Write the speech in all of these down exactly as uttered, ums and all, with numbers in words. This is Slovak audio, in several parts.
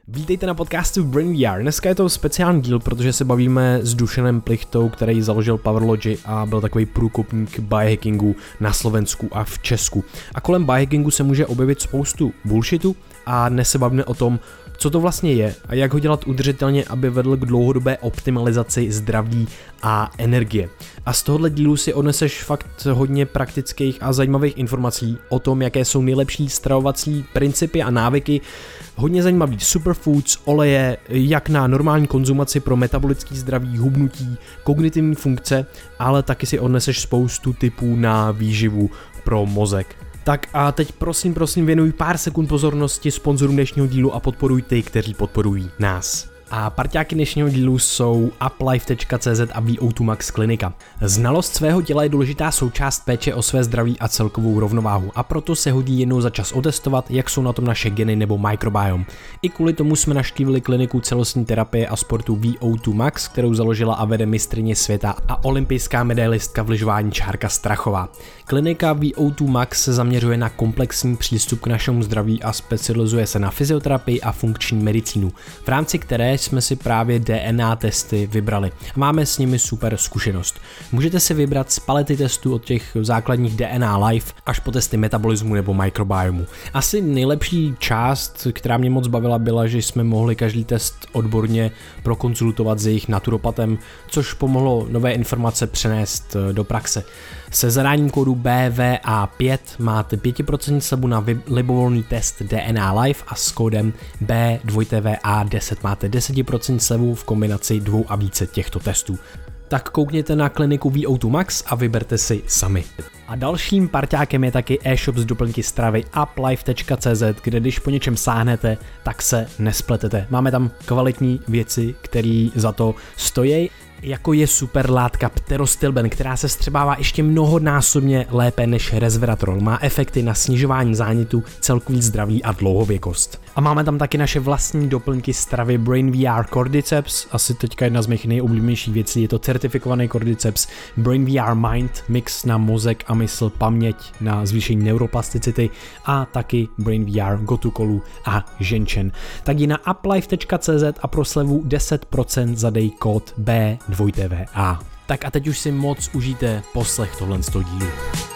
Vítejte na podcastu Brain V R. Dneska je to speciální díl, protože se bavíme s Dušanem Plichtou, který založil Powerlogy a byl takový průkopník biohackingu na Slovensku a v Česku. A kolem biohackingu se může objevit spoustu bullshitu a dnes se bavíme o tom, co to vlastně je a jak ho dělat udržitelně, aby vedl k dlouhodobé optimalizaci zdraví a energie. A z tohohle dílu si odneseš fakt hodně praktických a zajímavých informací o tom, jaké jsou nejlepší stravovací principy a návyky, hodně zajímavý superfoods, oleje, jak na normální konzumaci pro metabolický zdraví, hubnutí, kognitivní funkce, ale taky si odneseš spoustu tipů na výživu pro mozek. Tak a teď prosím, prosím věnuj pár sekund pozornosti sponzorům dnešního dílu a podporuj ty, kteří podporují nás. A parťáky dnešního dílu jsou uplife tečka cé zet a V O dva Max klinika. Znalost svého těla je důležitá součást péče o své zdraví a celkovou rovnováhu a proto se hodí jednou za čas otestovat, jak jsou na tom naše geny nebo microbiome. I kvůli tomu jsme navštívili kliniku celostní terapie a sportu V O dva Max, kterou založila a vede mistryně světa a olympijská medailistka v lyžování Čárka Strachová. Klinika V O dva Max se zaměřuje na komplexní přístup k našemu zdraví a specializuje se na fyzioterapii a funkční medicínu, v rámci které jsme si právě D N A testy vybrali a máme s nimi super zkušenost. Můžete si vybrat z palety testů od těch základních D N A Life až po testy metabolismu nebo mikrobiomu. Asi nejlepší část, která mě moc bavila, byla, že jsme mohli každý test odborně prokonzultovat s jejich naturopatem, což pomohlo nové informace přenést do praxe. Se zadáním kódu B V A pět máte pět procent slevu na libovolný test D N A Life a s kódem B V A deset máte deset procent slevu v kombinaci dvou a více těchto testů. Tak koukněte na kliniku V O dva Max a vyberte si sami. A dalším parťákem je taky e-shop z doplňky stravy uplife tečka cé zet, kde když po něčem sáhnete, tak se nespletete. Máme tam kvalitní věci, které za to stojí, jako je super látka pterostilben, která se střebává ještě mnohonásobně lépe než resveratrol. Má efekty na snižování zánětu, celkový zdraví a dlouhověkost. A máme tam taky naše vlastní doplňky stravy Brain V R Cordyceps, asi teďka jedna z mých nejoblíbenějších věcí, je to certifikovaný Cordyceps Brain V R Mind, mix na mozek a mysl, paměť na zvýšení neuroplasticity a taky Brain V R Gotukolu a ženčen. Tak jdi na uplife tečka cé zet a pro slevu deset procent zadej kód B V A. Tak a teď už si moc užijte poslech tohle z toho dílu.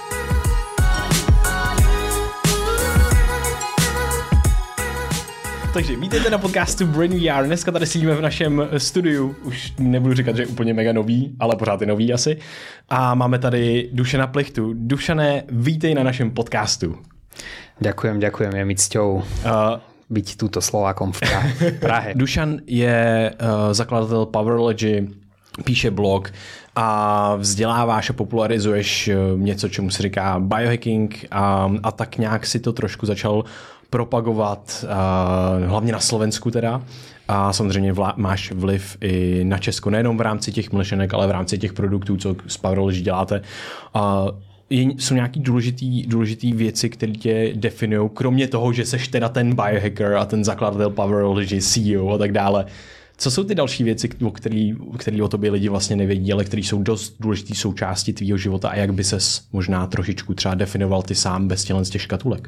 Takže vítejte na podcastu Brain V R. Dneska tady sedíme v našem studiu, už nebudu říkat, že je úplně mega nový, ale pořád je nový asi. A máme tady Dušana Plichtu. Dušané, vítej na našem podcastu. Ďakujem, ďakujem, je mi cťou uh, byť túto Slovákom v Prahe. Dušan je uh, zakladatel Powerlogy, píše blog a vzděláváš a popularizuješ něco, čemu se říká biohacking a, a tak nějak si to trošku začal propagovat, a, hlavně na Slovensku teda. A samozřejmě vla, máš vliv i na Česko, nejenom v rámci těch mlčenek, ale v rámci těch produktů, co s Powerlogy děláte. A, jsou nějaký důležitý, důležitý věci, které tě definují, kromě toho, že seš teda ten biohacker a ten zakladatel Powerlogy, C E O a tak dále. Co jsou ty další věci, o který, který o tobě lidi vlastně nevědí, ale které jsou dost důležitý součástí tvýho života a jak by ses možná trošičku třeba definoval ty sám bez tělen z těch škatulek?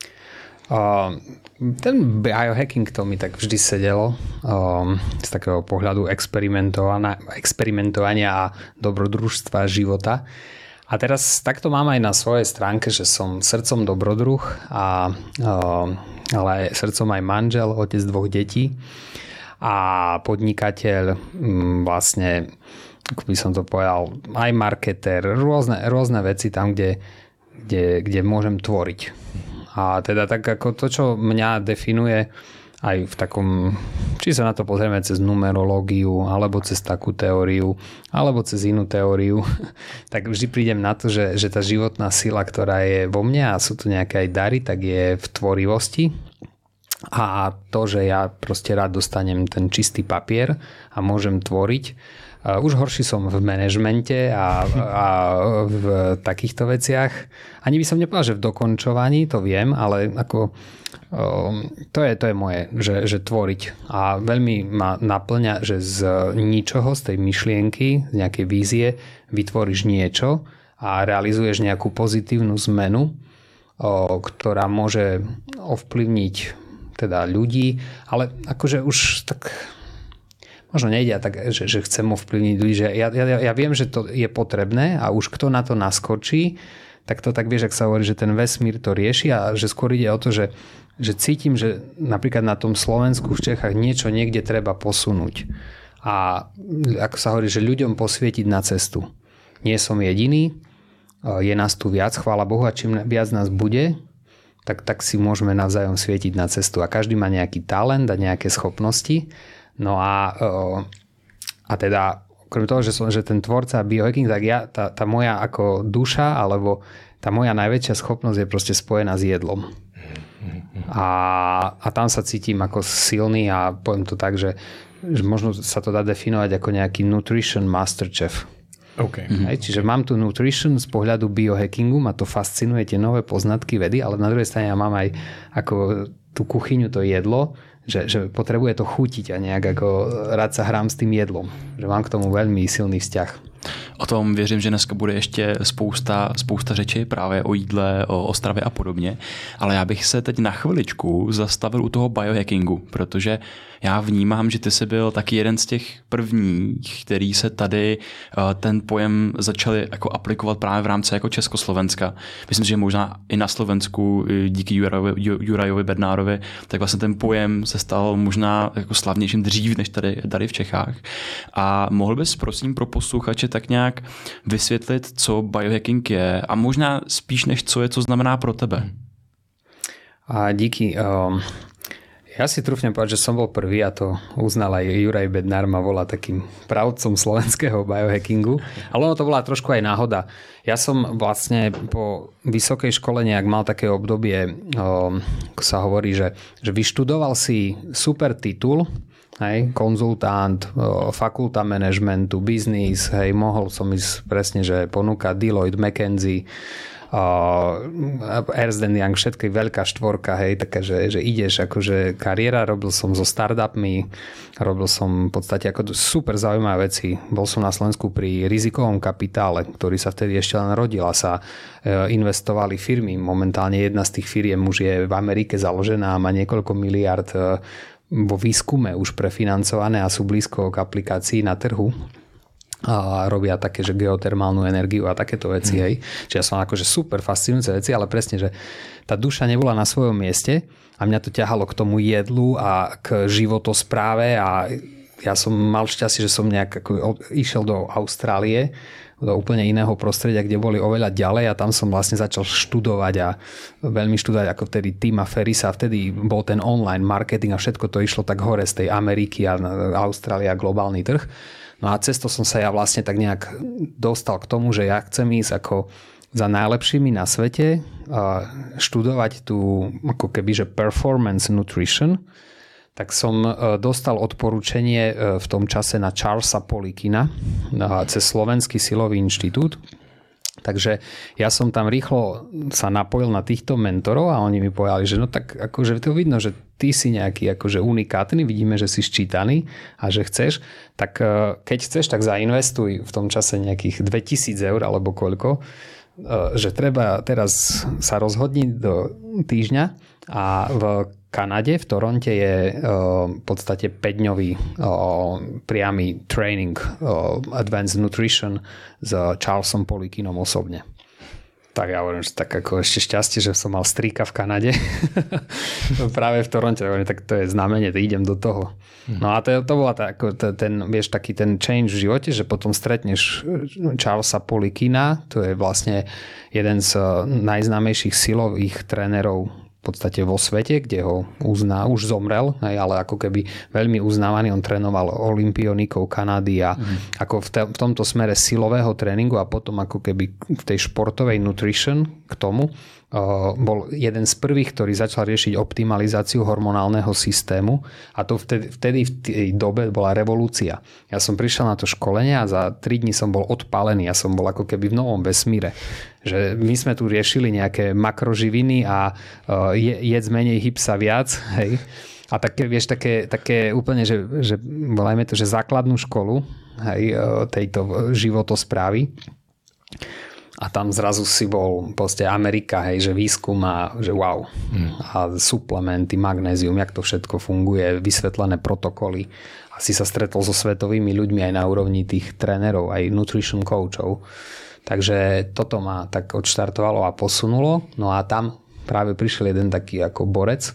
Uh, ten biohacking to mi tak vždy sedelo um, z takého pohľadu experimentovania a dobrodružstva života. A teraz takto mám aj na svojej stránke, že som srdcom dobrodruh, a, um, ale aj srdcom aj manžel, otec dvoch detí a podnikateľ, vlastne, ako by som to povedal, aj marketer, rôzne, rôzne veci tam, kde, kde, kde môžem tvoriť. A teda tak ako to, čo mňa definuje aj v takom, či sa na to pozrieme cez numerológiu, alebo cez takú teóriu, alebo cez inú teóriu, tak vždy prídem na to, že, že tá životná sila, ktorá je vo mne a sú tu nejaké aj dary, tak je v tvorivosti. A to, že ja proste rád dostanem ten čistý papier a môžem tvoriť. Už horší som v manažmente a, a v takýchto veciach. Ani by som nepovedal, že v dokončovaní, to viem, ale ako um, to, je, to je moje, že, že tvoriť. A veľmi ma naplňa, že z ničoho, z tej myšlienky, z nejakej vízie vytvoríš niečo a realizuješ nejakú pozitívnu zmenu, o, ktorá môže ovplyvniť teda ľudí, ale akože už tak možno nejde tak, že, že chcem ovplyvniť ľudí, že ja, ja, ja viem, že to je potrebné a už kto na to naskočí, tak to tak vieš, ak sa hovorí, že ten vesmír to rieši a že skôr ide o to, že, že cítim, že napríklad na tom Slovensku v Čechách niečo niekde treba posunúť. A ako sa hovorí, že ľuďom posvietiť na cestu. Nie som jediný, je nás tu viac, chvála Bohu, a čím viac nás bude, tak, tak si môžeme navzájom svietiť na cestu. A každý má nejaký talent a nejaké schopnosti. No a, a teda, okrem toho, že som že ten tvorca biohacking, tak ja, tá, tá moja ako duša, alebo tá moja najväčšia schopnosť je proste spojená s jedlom. A, a tam sa cítim ako silný a poviem to tak, že, že možno sa to dá definovať ako nejaký nutrition master chef. Okay. Hej, čiže mám tu nutrition z pohľadu biohackingu, ma to fascinuje, tie nové poznatky vedy, ale na druhej strane ja mám aj ako tú kuchyňu, to jedlo, že, že potrebuje to chutiť a nejak ako rád sa hrám s tým jedlom. Že mám k tomu veľmi silný vzťah. O tom věřím, že dneska bude ještě spousta, spousta řeči právě o jídle, o, o stravě a podobně, ale já bych se teď na chviličku zastavil u toho biohackingu, protože já vnímám, že ty jsi byl taky jeden z těch prvních, který se tady ten pojem začali jako aplikovat právě v rámci jako Československa. Myslím, že možná i na Slovensku díky Jurajovi, Jurajovi Bednárovi, tak vlastně ten pojem se stal možná jako slavnějším dřív než tady, tady v Čechách. A mohl bys prosím pro posluchače tak nějak vysvětlit, co biohacking je a možná spíš než co je, co znamená pro tebe? A díky. Um, ja si trúfnem povedať, že som bol prvý a to uznal aj Juraj Bednár, ma volá takým pravdcom slovenského biohackingu. Ale ono to bola trošku aj náhoda. Ja som vlastne po vysokej škole nejak mal také obdobie, um, ako sa hovorí, že, že vyštudoval si super titul, hej, konzultant, fakulta managementu, biznis, hej, mohol som ísť presne, že ponúkať Deloitte, McKinsey, uh, Ernst and Young, všetky veľká štvorka, hej, taká, že, že ideš akože kariéra, robil som so startupmi, robil som v podstate ako super zaujímavé veci. Bol som na Slovensku pri rizikovom kapitále, ktorý sa vtedy ešte len rodil a sa uh, investovali firmy. Momentálne jedna z tých firiem už je v Amerike založená a má niekoľko miliard uh, vo výskume už prefinancované a sú blízko k aplikácii na trhu a robia také, že geotermálnu energiu a takéto veci. Mm. Hej. Čiže ja som akože super fascinujúce veci, ale presne, že tá duša nebola na svojom mieste a mňa to ťahalo k tomu jedlu a k životospráve a ja som mal šťastie, že som nejak ako išiel do Austrálie, do úplne iného prostredia, kde boli oveľa ďalej a tam som vlastne začal študovať a veľmi študovať ako vtedy Tima Ferrisa a vtedy bol ten online marketing a všetko to išlo tak hore z tej Ameriky a Austrália a globálny trh. No a cez to som sa ja vlastne tak nejak dostal k tomu, že ja chcem ísť ako za najlepšími na svete študovať tú ako keby, že performance nutrition, tak som dostal odporúčanie v tom čase na Charlesa Polikina cez Slovenský silový inštitút. Takže ja som tam rýchlo sa napojil na týchto mentorov a oni mi povedali, že no tak akože to vidno, že ty si nejaký akože unikátny, vidíme, že si ščítaný a že chceš, tak keď chceš, tak zainvestuj v tom čase nejakých dvetisíc eur alebo koľko, že treba teraz sa rozhodniť do týždňa a v Kanade, v Toronte je v podstate päťdňový priamy training Advanced Nutrition s Charlesom Polikinom osobne. Tak ja hovorím, že tak ako ešte šťastie, že som mal strýka v Kanade. Práve v Toronte. Tak to je znamenie, to idem do toho. No a to, to bola tá, ten, vieš, taký ten change v živote, že potom stretneš Charlesa Polikina, to je vlastne jeden z najznámejších silových trénerov v podstate vo svete, kde ho uzná, už zomrel, ale ako keby veľmi uznávaný, on trénoval olympionikov Kanady a mm. ako v, te, v tomto smere silového tréningu a potom ako keby v tej športovej nutrition k tomu uh, bol jeden z prvých, ktorý začal riešiť optimalizáciu hormonálneho systému a to vtedy, vtedy v tej dobe bola revolúcia. Ja som prišiel na to školenie a za tri dni som bol odpálený, ja som bol ako keby v novom vesmíre. Že my sme tu riešili nejaké makroživiny a uh, je, jedz menej, hyb sa viac, hej. A také, vieš, také, také úplne, že, že volajme to, že základnú školu, hej, tejto životosprávy. a tam zrazu si bol proste Amerika, hej, že výskum a že wow. Mm. A suplementy, magnézium, jak to všetko funguje, vysvetlené protokoly. A si sa stretol so svetovými ľuďmi aj na úrovni tých trénerov, aj nutrition coachov. Takže toto ma tak odštartovalo a posunulo. No a tam práve prišiel jeden taký ako borec,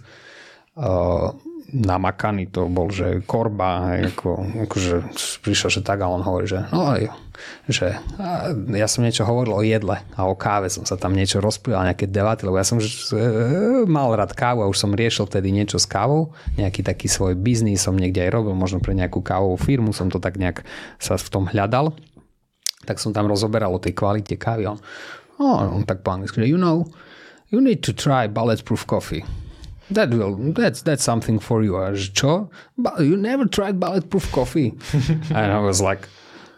uh, namakaný to bol, že korba, hej, ako, akože prišiel, že tak a on hovorí, že no že ja som niečo hovoril o jedle a o káve, som sa tam niečo rozprával, nejaké debaty, lebo ja som že, mal rád kávu a už som riešil tedy niečo s kávou, nejaký taký svoj biznis som niekde aj robil, možno pre nejakú kávovú firmu, som to tak nejak sa v tom hľadal, tak som tam rozoberal o tej kvalite kávy. On, oh, on tak po anglicky, you know, you need to try bulletproof coffee. That will, that's, that's something for you. A čo? But you never tried bulletproof coffee? And I was like,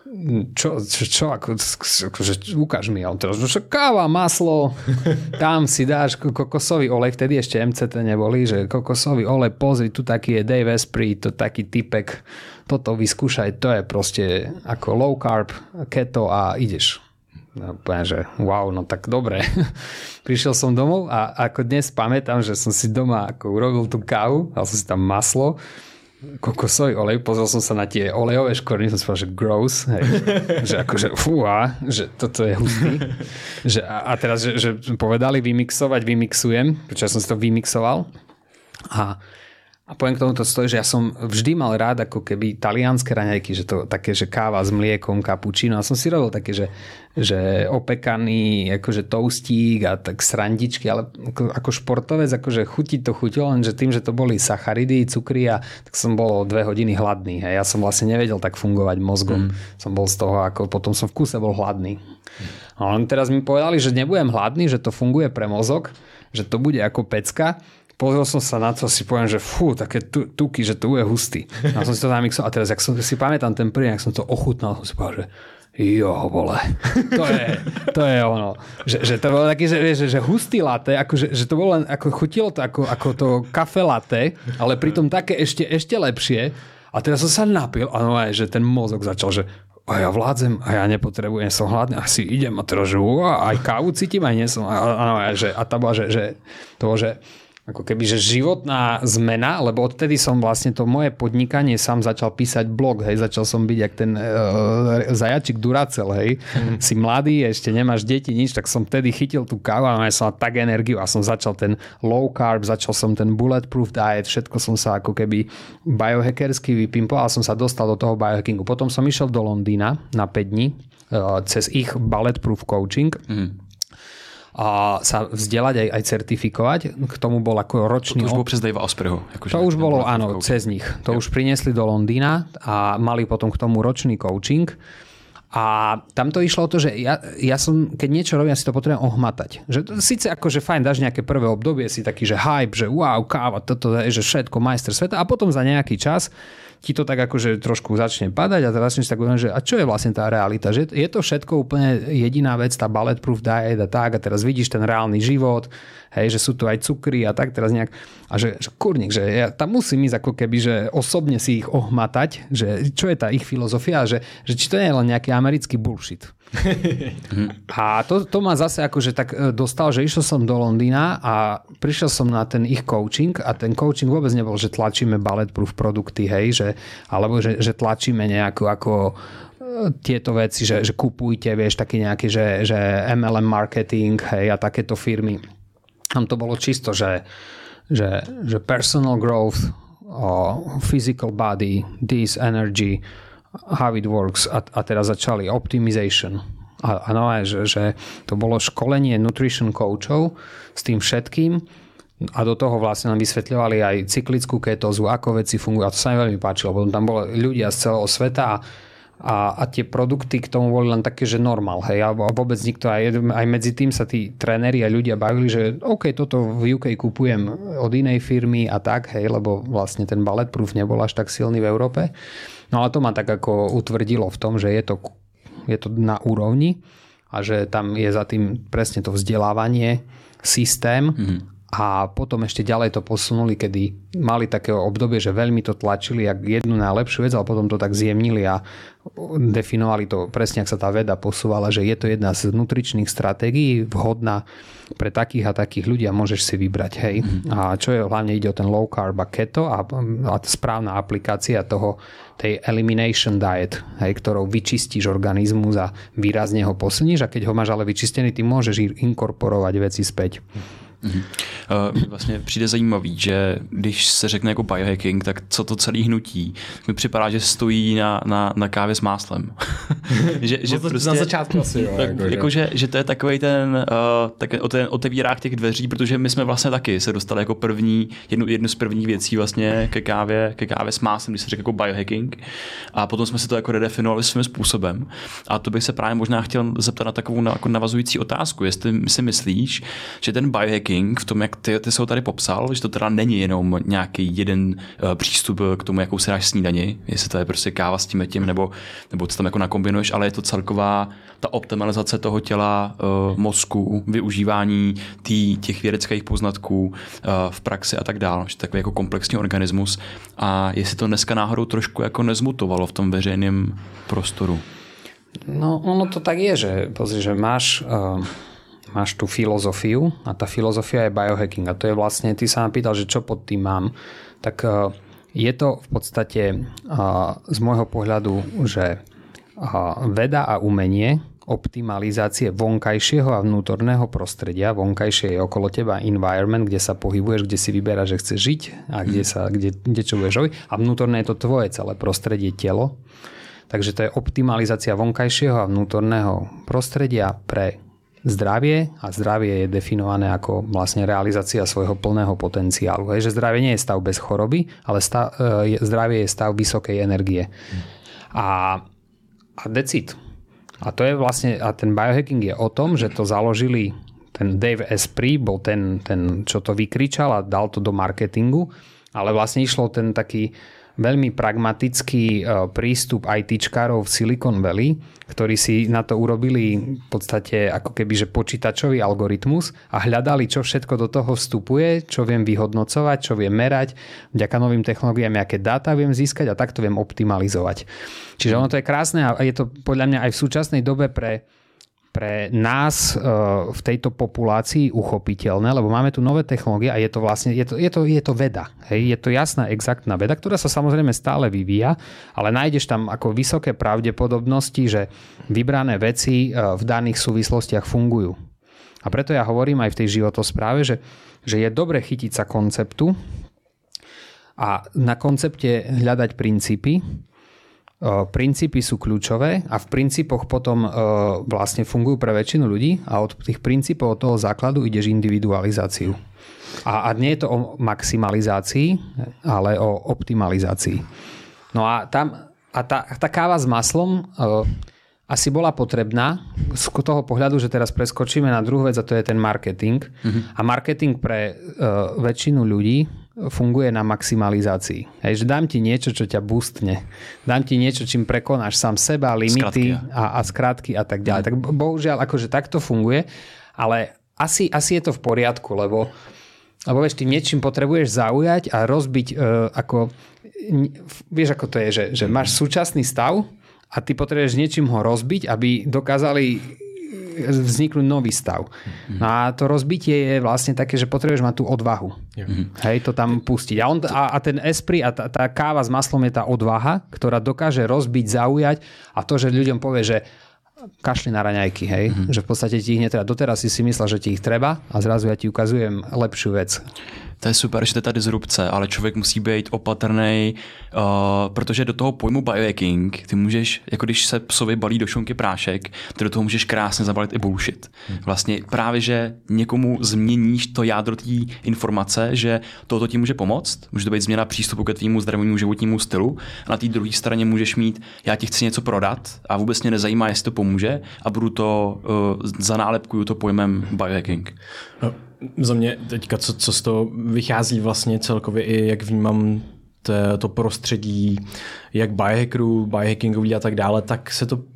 čo, čo, čo ako, akože ukáž mi. A on teraz, že káva, maslo, tam si dáš kokosový olej, vtedy ešte em cé té neboli, že kokosový olej, pozri, tu taký je Dave Asprey, to taký typek, toto vyskúšaj, to je proste ako low carb, keto a ideš. No, poviem, že wow, no tak dobre. Prišiel som domov a ako dnes pamätám, že som si doma ako urobil tú kávu, dal som si tam maslo, kokosový olej, pozrel som sa na tie olejové škvrny, som si povedal, že gross, hej, že akože fúha, že toto je hustý. Že, a, a teraz, že, že povedali vymixovať, vymixujem, pretože ja som si to vymixoval a A poviem k tomu to stojí, že ja som vždy mal rád ako keby talianské raňajky, že to také, že káva s mliekom, kapučino. A som si robil také, že, že opekaný akože toastík a tak srandičky, ale ako, ako športovec, akože chutiť to chutilo, lenže tým, že to boli sacharidy, cukry a tak som bol dve hodiny hladný. Hej. Ja som vlastne nevedel tak fungovať mozgom. Mm. Som bol z toho, ako potom som v kuse bol hladný. A on teraz mi povedali, že nebudem hladný, že to funguje pre mozog, že to bude ako pecka. Pozrel som sa na to, si poviem, že fú, také tuky, že to je hustý. A som si to zamixoval. A teraz, jak som si pamätám ten prvý, jak som to ochutnal, som si povedal, že jo, vole, to je, to je ono. Že, že to bolo taký, že, že, že hustý latte, ako, že, že to bolo len, ako chutilo to ako, ako to kafe latte, ale pritom také ešte, ešte lepšie. A teraz som sa napil a no aj, že ten mozog začal, že a ja vládzem a ja nepotrebujem, som hladný, asi idem a teraz, že uá, aj kávu cítim, aj nie som. A, a, a, že, a to bolo, že, že to bolo, že ako keby, že životná zmena, lebo odtedy som vlastne to moje podnikanie sám začal písať blog, hej, začal som byť jak ten uh, zajačik Duracell, hej, mm. si mladý, ešte nemáš deti, nič, tak som vtedy chytil tú kávu a mal som tak energiu a som začal ten low carb, začal som ten bulletproof diet, všetko som sa ako keby biohackersky vypimpoval a som sa dostal do toho biohackingu. Potom som išiel do Londýna na päť dní uh, cez ich bulletproof coaching. Mm. A sa vzdelať aj, aj certifikovať. K tomu bol ako ročný... To, to už bolo přes Davea Aspreyho. Akože to už bolo, áno, coaching. Cez nich. To jo. Už priniesli do Londýna a mali potom k tomu ročný coaching. A tam to išlo o to, že ja, ja som, keď niečo robím, ja si to potrebujem ohmatať. Že to, síce akože fajn, dáš nejaké prvé obdobie, si taký, že hype, že wow, káva, toto je, že všetko, majster sveta a potom za nejaký čas ti to tak akože trošku začne padať a teraz začneš tak uvedať, že a čo je vlastne tá realita? Že je to všetko úplne jediná vec, tá bulletproof diet a tak a teraz vidíš ten reálny život, hej, že sú tu aj cukry a tak teraz nejak a že, že kurník, že ja tam musím ísť ako keby, že osobne si ich ohmatať, že čo je tá ich filozofia, že, že či to nie je len nejaký americký bullshit. A to, to ma zase akože tak dostal, že išiel som do Londýna a prišiel som na ten ich coaching a ten coaching vôbec nebol, že tlačíme bulletproof produkty, hej, že, alebo že, že tlačíme nejakú ako tieto veci, že, že kupujte, vieš, taký nejaký, že, že em el em marketing, hej, a takéto firmy. Tam to bolo čisto, že, že, že personal growth, oh, physical body, this energy, how it works a, a teraz začali optimization a, a no aj, že, že to bolo školenie nutrition coachov s tým všetkým a do toho vlastne nám vysvetľovali aj cyklickú ketózu, ako veci fungujú a to sa mi veľmi páčilo, lebo tam boli ľudia z celého sveta a, a, a tie produkty k tomu boli len také, že normál, hej, a vôbec nikto aj, aj medzi tým sa tí tréneri a ľudia bavili, že OK, toto v ú ká kupujem od inej firmy a tak, hej, lebo vlastne ten bulletproof nebol až tak silný v Európe. No ale to ma tak ako utvrdilo v tom, že je to, je to na úrovni a že tam je za tým presne to vzdelávanie, systém mm-hmm. A potom ešte ďalej to posunuli, kedy mali takého obdobie, že veľmi to tlačili jak jednu najlepšiu vec, ale potom to tak zjemnili a definovali to presne, ak sa tá veda posúvala, že je to jedna z nutričných stratégií vhodná pre takých a takých ľudí a môžeš si vybrať. Hej. Mm. A čo je, hlavne ide o ten low carb a keto a, a správna aplikácia toho, tej elimination diet, hej, ktorou vyčistíš organizmus a výrazne ho posilníš a keď ho máš ale vyčistený, ty môžeš inkorporovať veci späť. Mm-hmm. Uh, vlastně přijde zajímavý, že když se řekne jako biohacking, tak co to celý hnutí, mi připadá, že stojí na, na, na kávě s máslem. že, že prostě, na začátku asi, jo. Tak, jako, jako, že, že to je takovej ten, uh, tak, ten otevírák těch dveří, protože my jsme vlastně taky se dostali jako první, jednu, jednu z prvních věcí vlastně ke kávě, ke kávě s máslem, když se řekne jako biohacking a potom jsme si to jako redefinovali svým způsobem. A to bych se právě možná chtěl zeptat na takovou jako navazující otázku, jestli si myslíš, že ten biohacking v tom, jak ty, ty jsi ho tady popsal, že to teda není jenom nějaký jeden uh, přístup k tomu, jakou si dáš snídani, jestli to je prostě káva s tím tím, nebo, nebo co tam jako nakombinuješ, ale je to celková ta optimalizace toho těla, uh, mozku, využívání tý, těch vědeckých poznatků uh, v praxi a tak dále, že takový jako komplexní organismus a jestli to dneska náhodou trošku jako nezmutovalo v tom veřejném prostoru. No ono to tak je, že pozri, že máš uh... máš tú filozofiu a tá filozofia je biohacking a to je vlastne, ty sa ma pýtal, že čo pod tým mám, tak je to v podstate z môjho pohľadu, že veda a umenie optimalizácie vonkajšieho a vnútorného prostredia, vonkajšie je okolo teba environment, kde sa pohybuješ, kde si vyberáš, že chceš žiť a kde, sa, kde, kde čo budeš robiť a vnútorné je to tvoje celé prostredie, telo. Takže to je optimalizácia vonkajšieho a vnútorného prostredia pre zdravie a zdravie je definované ako vlastne realizácia svojho plného potenciálu. Hej, že zdravie nie je stav bez choroby, ale stav, e, zdravie je stav vysokej energie. A, a decid. A to je vlastne, a ten biohacking je o tom, že to založili, ten Dave Asprey bol ten, ten čo to vykričal a dal to do marketingu, ale vlastne išlo ten taký veľmi pragmatický prístup ITčkárov v Silicon Valley, ktorí si na to urobili v podstate ako keby, že počítačový algoritmus a hľadali, čo všetko do toho vstupuje, čo viem vyhodnocovať, čo viem merať, vďaka novým technológiám, aké dáta viem získať a takto viem optimalizovať. Čiže ono to je krásne a je to podľa mňa aj v súčasnej dobe pre pre nás v tejto populácii uchopiteľné, lebo máme tu nové technológie a je to vlastne, je to, je to, je to veda. Hej? Je to jasná, exaktná veda, ktorá sa samozrejme stále vyvíja, ale nájdeš tam ako vysoké pravdepodobnosti, že vybrané veci v daných súvislostiach fungujú. A preto ja hovorím aj v tej životospráve, že, že je dobre chytiť sa konceptu a na koncepte hľadať princípy. Princípy sú kľúčové a v princípoch potom vlastne fungujú pre väčšinu ľudí a od tých princípov, od toho základu ideš individualizáciu. A, a nie je to o maximalizácii, ale o optimalizácii. No a tam a tá, tá káva s maslom asi bola potrebná z toho pohľadu, že teraz preskočíme na druhú vec a to je ten marketing. Mm-hmm. A marketing pre uh, väčšinu ľudí funguje na maximalizácii. Hej, že dám ti niečo, čo ťa boostne. Dám ti niečo, čím prekonáš sám seba, limity a, a skratky a tak ďalej. Mm. Tak bohužiaľ, akože takto funguje, ale asi, asi je to v poriadku, lebo, lebo vieš, ty niečím potrebuješ zaujať a rozbiť uh, ako, vieš, ako to je, že, že máš súčasný stav a ty potrebuješ niečím ho rozbiť, aby dokázali vzniknúť nový stav. No a to rozbitie je vlastne také, že potrebuješ mať tú odvahu. Mm-hmm. Hej, to tam pustiť. A, on, a, a ten Esprit a tá, tá káva s maslom je tá odvaha, ktorá dokáže rozbiť, zaujať a to, že ľuďom povie, že kašli na raňajky, hej, mm-hmm. že v podstate ti ich netreba. Doteraz si si myslel, že ti ich treba a zrazu ja ti ukazujem lepšiu vec. To je super, že to je ta disrupce, ale člověk musí být opatrný, uh, protože do toho pojmu biohacking ty můžeš, jako když se psovi balí do šunky prášek, ty do toho můžeš krásně zabalit i bullshit. Vlastně právě, že někomu změníš to jádro té informace, že toto ti může pomoct, může to být změna přístupu ke tvému zdravému životnímu stylu a na té druhé straně můžeš mít, já ti chci něco prodat a vůbec mě nezajímá, jestli to pomůže a budu to, uh, zanálepkuju to pojmem biohacking. No. Za mě teďka, co, co z toho vychází vlastně celkově i jak vnímám to, to prostředí, jak biohackerů, biohackingový a tak dále, tak se to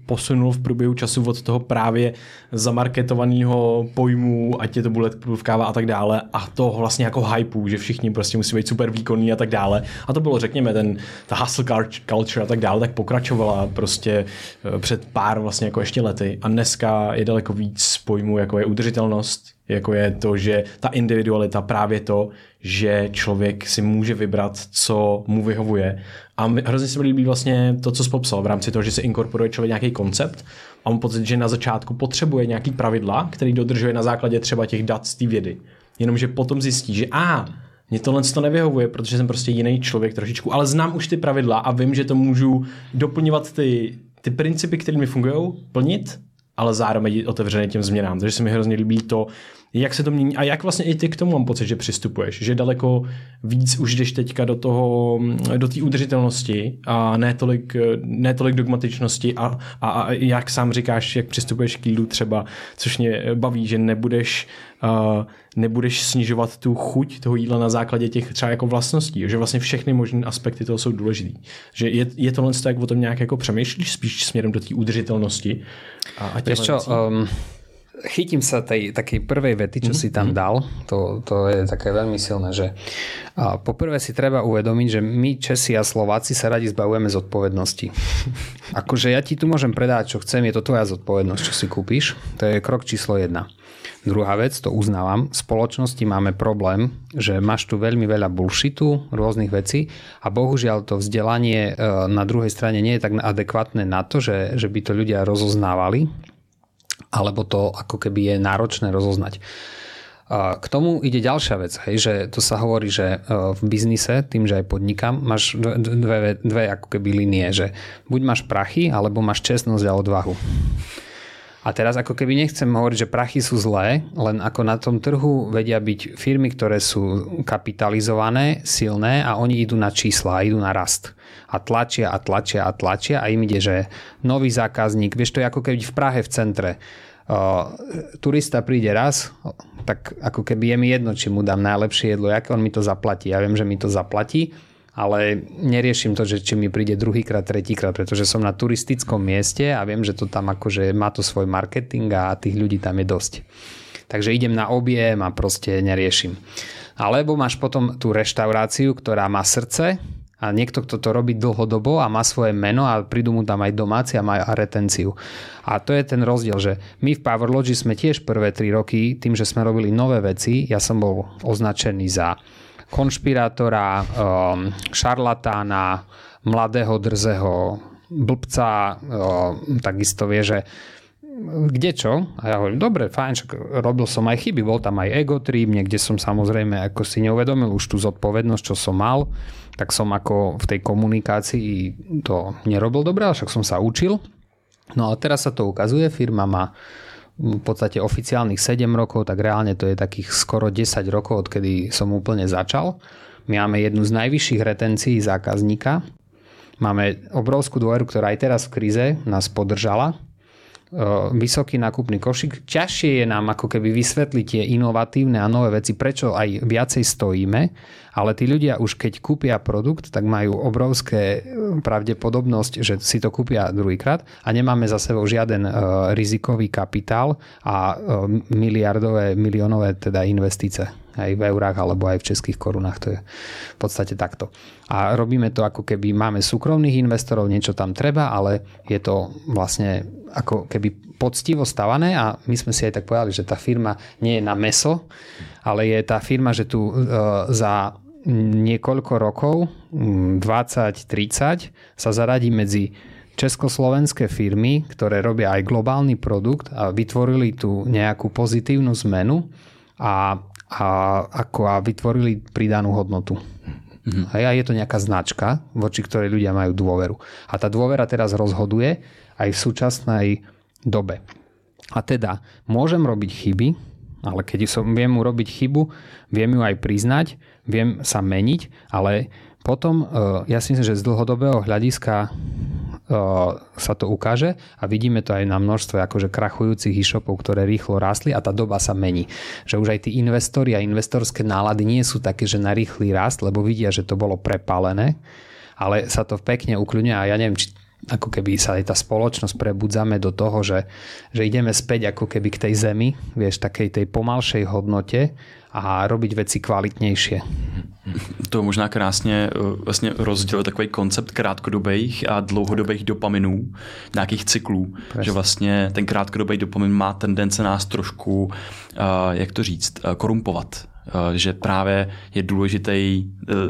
posunul v průběhu času od toho právě zamarketovaného pojmu, ať je to bulletproof káva a tak dále, a to vlastně jako hypeu, že všichni prostě musí být super výkonní a tak dále. A to bylo, řekněme, ten, ta hustle culture a tak dále, tak pokračovala prostě před pár vlastně jako ještě lety. A dneska je daleko víc pojmů, jako je udržitelnost, jako je to, že ta individualita, právě to, že člověk si může vybrat, co mu vyhovuje. A hrozně se mi líbí vlastně to, co jsi popsal v rámci toho, že se inkorporuje člověk nějaký koncept a mám pocit, že na začátku potřebuje nějaký pravidla, který dodržuje na základě třeba těch dat z té vědy. Jenomže potom zjistí, že a mně tohle to nevyhovuje, protože jsem prostě jiný člověk trošičku, ale znám už ty pravidla a vím, že to můžu doplňovat ty, ty principy, které mi fungují, plnit, ale zároveň otevřený těm změnám. Takže se mi hrozně líbí to, jak se to mění a jak vlastně i ty k tomu mám pocit, že přistupuješ, že daleko víc už jdeš teďka do toho, do té udržitelnosti a ne tolik, ne tolik dogmatičnosti a, a, a jak sám říkáš, jak přistupuješ k jídlu třeba, což mě baví, že nebudeš, uh, nebudeš snižovat tu chuť toho jídla na základě těch třeba jako vlastností, že vlastně všechny možné aspekty toho jsou důležitý. Že je, je tohle, jak o tom nějak jako přemýšlíš spíš směrem do té udržitelnosti a, a Vieš čo, um, chytím sa tej takej prvej vety, čo mm-hmm. si tam dal. To, to je také veľmi silné, že a poprvé si treba uvedomiť, že my Česi a Slováci sa radi zbavujeme zodpovednosti. Akože ja ti tu môžem predať, čo chcem, je to tvoja zodpovednosť, čo si kúpiš. To je krok číslo jedna. Druhá vec, to uznávam, v spoločnosti máme problém, že máš tu veľmi veľa bullshitu, rôznych vecí a bohužiaľ to vzdelanie na druhej strane nie je tak adekvátne na to, že, že by to ľudia rozoznávali, alebo to ako keby je náročné rozoznať. K tomu ide ďalšia vec, hej, že to sa hovorí, že v biznise, tým, že aj podnikám, máš dve, dve, dve ako keby linie, že buď máš prachy, alebo máš čestnosť a odvahu. A teraz ako keby nechcem hovoriť, že prachy sú zlé, len ako na tom trhu vedia byť firmy, ktoré sú kapitalizované, silné a oni idú na čísla, idú na rast. A tlačia a tlačia a tlačia a im ide, že nový zákazník, vieš, to je ako keby v Prahe v centre. Uh, turista príde raz, tak ako keby je mi jedno, či mu dám najlepšie jedlo, aké on mi to zaplatí. Ja viem, že mi to zaplatí, ale neriešim to, že či mi príde druhýkrát, tretíkrát, pretože som na turistickom mieste a viem, že to tam akože má to svoj marketing a tých ľudí tam je dosť. Takže idem na objem a proste neriešim. Alebo máš potom tú reštauráciu, ktorá má srdce a niekto, kto to robí dlhodobo a má svoje meno a prídu mu tam aj domáci a má retenciu. A to je ten rozdiel, že my v Powerlogy sme tiež prvé tri roky, tým, že sme robili nové veci, ja som bol označený za konšpirátora, šarlatána, mladého, drzého blbca, takisto vie, že kde čo? A ja hovorím, dobre, fajn, čak robil som aj chyby, bol tam aj ego trip, niekde som samozrejme ako si neuvedomil už tú zodpovednosť, čo som mal, tak som ako v tej komunikácii to nerobil dobre, ale však som sa učil. No a teraz sa to ukazuje, firma má v podstate oficiálnych sedem rokov, tak reálne to je takých skoro desať rokov, odkedy som úplne začal. My máme jednu z najvyšších retencií zákazníka. Máme obrovskú dôveru, ktorá aj teraz v kríze nás podržala. Vysoký nákupný košík. Ťažšie je nám ako keby vysvetliť tie inovatívne a nové veci, prečo aj viacej stojíme, ale tí ľudia už keď kúpia produkt, tak majú obrovské pravdepodobnosť, že si to kúpia druhýkrát a nemáme za sebou žiaden rizikový kapitál a miliardové, miliónové teda investície aj v eurách alebo aj v českých korunách. To je v podstate takto. A robíme to ako keby máme súkromných investorov, niečo tam treba, ale je to vlastne ako keby poctivo stavané a my sme si aj tak povedali, že tá firma nie je na mäso, ale je tá firma, že tu e, za niekoľko rokov, dvadsať tridsať, sa zaradí medzi československé firmy, ktoré robia aj globálny produkt a vytvorili tu nejakú pozitívnu zmenu a a ako a vytvorili pridanú hodnotu. Mm-hmm. A je to nejaká značka, voči ktorej ľudia majú dôveru. A tá dôvera teraz rozhoduje aj v súčasnej dobe. A teda môžem robiť chyby, ale keď som, viem urobiť chybu, viem ju aj priznať, viem sa meniť, ale potom ja si myslím, že z dlhodobého hľadiska sa to ukáže a vidíme to aj na množstve akože krachujúcich e-shopov, ktoré rýchlo rástli a tá doba sa mení. Že už aj tí investori a investorské nálady nie sú také, že na rýchly rast, lebo vidia, že to bolo prepálené, ale sa to pekne ukľudňuje a ja neviem, či ako keby sa aj tá spoločnosť prebudzame do toho, že, že ideme späť ako keby k tej zemi, vieš, takej tej pomalšej hodnote a robiť veci kvalitnejšie. To možná krásně vlastně rozdělil takový koncept krátkodobých a dlouhodobých dopaminů, nějakých cyklů, Presne. Že vlastně ten krátkodobý dopamin má tendence nás trošku, jak to říct, korumpovat. Že právě je důležitý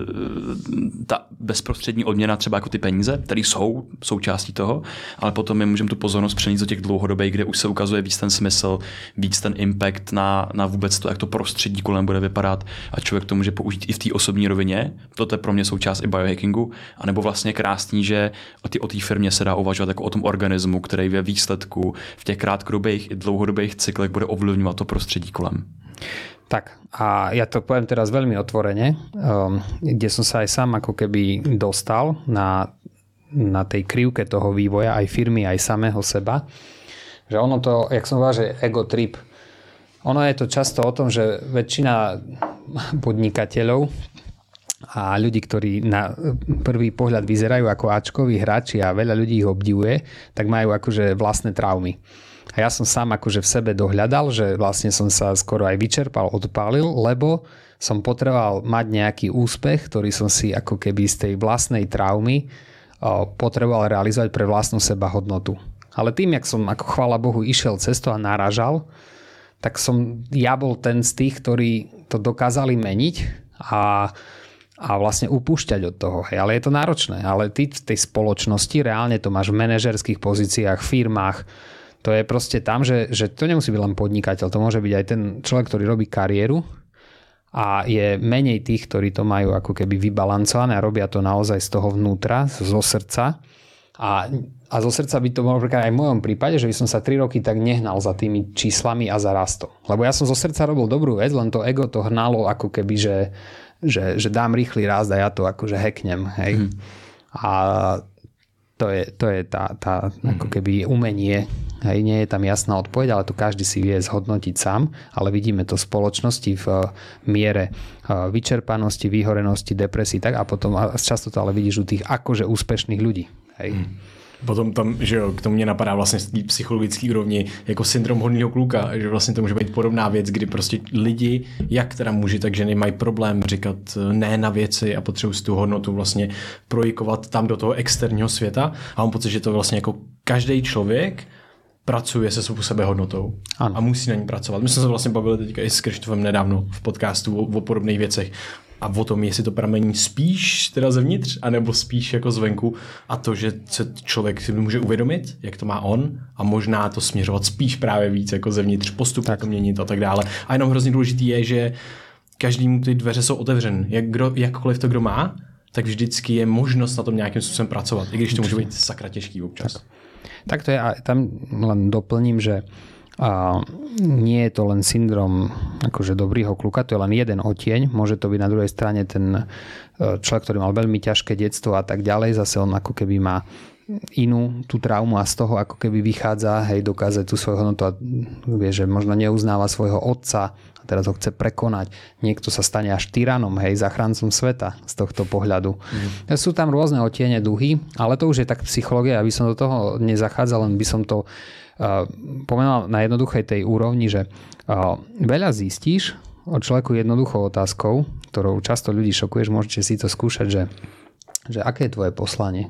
ta bezprostřední odměna, třeba jako ty peníze, které jsou součástí toho, ale potom my můžeme tu pozornost přenést do těch dlouhodobých, kde už se ukazuje víc ten smysl, víc ten impact na, na vůbec to, jak to prostředí kolem bude vypadat a člověk to může použít i v té osobní rovině. To je pro mě součást i biohackingu, anebo vlastně krásný, že o té o té firmě se dá uvažovat jako o tom organismu, který ve výsledku v těch krátkodobých i dlouhodobých cyklech bude ovlivňovat to prostředí kolem. Tak a ja to poviem teraz veľmi otvorene, um, kde som sa aj sám ako keby dostal na, na tej krivke toho vývoja aj firmy, aj samého seba, že ono to, jak som povedal, že ego trip, ono je to často o tom, že väčšina podnikateľov a ľudí, ktorí na prvý pohľad vyzerajú ako áčkoví hráči a veľa ľudí ich obdivuje, tak majú akože vlastné traumy. A ja som sám akože v sebe dohľadal, že vlastne som sa skoro aj vyčerpal, odpálil, lebo som potreboval mať nejaký úspech, ktorý som si ako keby z tej vlastnej traumy potreboval realizovať pre vlastnú sebahodnotu. Ale tým, jak som ako chvála Bohu išiel cesto a narážal, tak som ja bol ten z tých, ktorí to dokázali meniť a, a vlastne upúšťať od toho. Hej. Ale je to náročné. Ale ty v tej spoločnosti, reálne to máš v manažerských pozíciách, firmách, to je proste tam, že, že to nemusí byť len podnikateľ, to môže byť aj ten človek, ktorý robí kariéru a je menej tých, ktorí to majú ako keby vybalancované a robia to naozaj z toho vnútra, zo srdca. A, a zo srdca by to bolo aj v mojom prípade, že by som sa tri roky tak nehnal za tými číslami a za rastom. Lebo ja som zo srdca robil dobrú vec, len to ego to hnalo ako keby, že, že, že dám rýchly rast a ja to akože hacknem. Hej. Hmm. A to je, to je tá, tá ako keby umenie. Hej, nie je tam jasná odpoveď, ale to každý si vie zhodnotiť sám, ale vidíme to v spoločnosti v miere vyčerpanosti, vyhorenosti, depresí, tak a potom a často to ale vidíš u tých akože úspešných ľudí. Hej. Hmm. Potom tam, že jo, k tomu mě napadá vlastně z té psychologické úrovni jako syndrom hodného kluka, že vlastně to může být podobná věc, kdy prostě lidi, jak teda muži, tak ženy mají problém říkat ne na věci a potřebují si tu hodnotu vlastně projikovat tam do toho externího světa a mám pocit, že to vlastně jako každý člověk pracuje se svou sebehodnotou ano. A musí na ní pracovat. My jsme se vlastně bavili teďka i s Krištofem nedávno v podcastu o, o podobných věcech a o tom, jestli to pramení spíš teda zevnitř, anebo spíš jako zvenku a to, že se člověk si může uvědomit, jak to má on a možná to směřovat spíš právě víc jako zevnitř, postupně to měnit a tak dále. A jenom hrozně důležitý je, že každému ty dveře jsou otevřené. Jak kdo, jakkoliv to kdo má, tak vždycky je možnost na tom nějakým způsobem pracovat, i když to může být sakra těžký občas. Tak. Tak to je, a tam len doplním, že a nie je to len syndrom akože dobrýho kluka, to je len jeden odtieň, môže to byť na druhej strane ten človek, ktorý mal veľmi ťažké detstvo a tak ďalej, zase on ako keby má inú tú traumu a z toho ako keby vychádza, hej, dokáže tú svoju hodnotu a vie, že možno neuznáva svojho otca a teraz ho chce prekonať. Niekto sa stane až tyranom, hej, zachráncom sveta z tohto pohľadu. Mm. Sú tam rôzne odtiene duhy, ale to už je tak psychológia, aby som do toho nezachádzal, len by som to uh, pomenoval na jednoduchej tej úrovni, že uh, veľa zistíš o človeku jednoduchou otázkou, ktorou často ľudí šokuješ, môžete si to skúšať, že, že aké je tvoje poslanie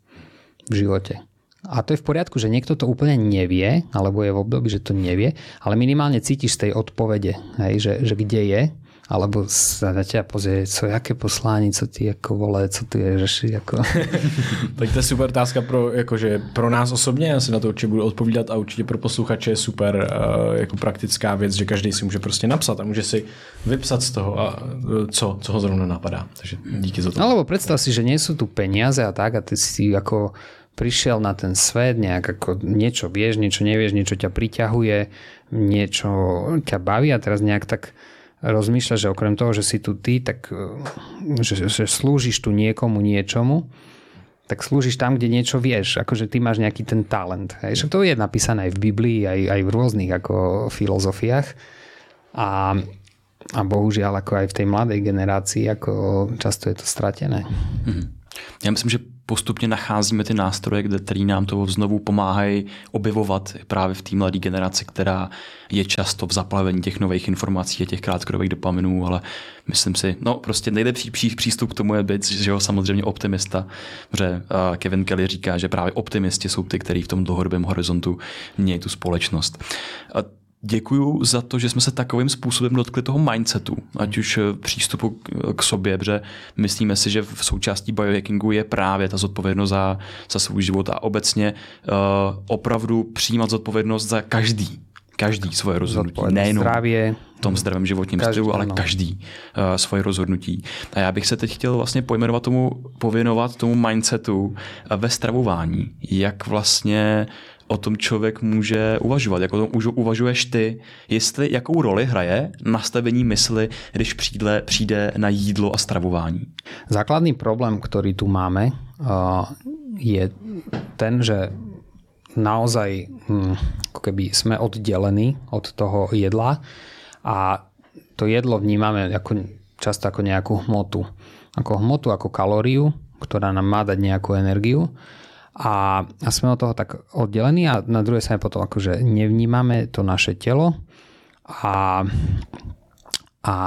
v živote. A to je v poriadku, že niekto to úplne nevie, alebo je v období, že to nevie, ale minimálne cítiš z tej odpovede, hej, že, že kde je, alebo sa na ťa pozrie, co, jaké poslání, co ty jako vole, co ty řeší, jako. Tak to je super otázka pro, jakože pro nás osobně, já si na to určitě budu odpovídat a určitě pro posluchače je super uh, jako praktická věc, že každý si může prostě napsat a může si vypsat z toho, a, uh, co, co ho zrovna napadá. Takže díky za to. No, lebo predstav si, že nie sú tu peniaze a tak a ty si ako prišiel na ten svet, nejak ako niečo vieš, niečo nevieš, niečo ťa priťahuje, niečo ťa baví a teraz nejak tak rozmýšľaš, že okrem toho, že si tu ty, tak že, že slúžiš tu niekomu niečomu, tak slúžiš tam, kde niečo vieš. Akože ty máš nejaký ten talent. Hej. To je napísané aj v Biblii, aj, aj v rôznych ako filozofiách. A, a bohužiaľ ako aj v tej mladej generácii, ako často je to stratené. Hmm. Já myslím, že postupně nacházíme ty nástroje, které nám to znovu pomáhají objevovat právě v té mladé generaci, která je často v zaplavení těch nových informací a těch krátkodobých dopaminů, ale myslím si, no prostě nejlepší přístup k tomu je být, že jo, samozřejmě optimista, protože Kevin Kelly říká, že právě optimisti jsou ty, kteří v tom dlouhodobém horizontu mějí tu společnost. Děkuju za to, že jsme se takovým způsobem dotkli toho mindsetu, ať už přístupu k sobě, protože myslíme si, že v součástí biohackingu je právě ta zodpovědnost za, za svůj život a obecně uh, opravdu přijímat zodpovědnost za každý, každý svoje rozhodnutí. Nejenom zdravě, v tom zdravém životním stylu, ale no. každý uh, svoje rozhodnutí. A já bych se teď chtěl vlastně pojmenovat tomu, pověnovat tomu mindsetu uh, ve stravování, jak vlastně o tom člověk může uvažovat, jak o tom uvažuješ ty, jestli jakou roli hraje nastavení mysli, když přijde, přijde na jídlo a stravování. Základný problém, ktorý tu máme, je ten, že naozaj ako keby sme oddelení od toho jedla a to jedlo vnímame ako, často ako nejakú hmotu. Ako hmotu, ako kalóriu, ktorá nám má dať nejakú energiu. A, a sme od toho tak oddelení a na druhej strane potom akože nevnímame to naše telo a, a,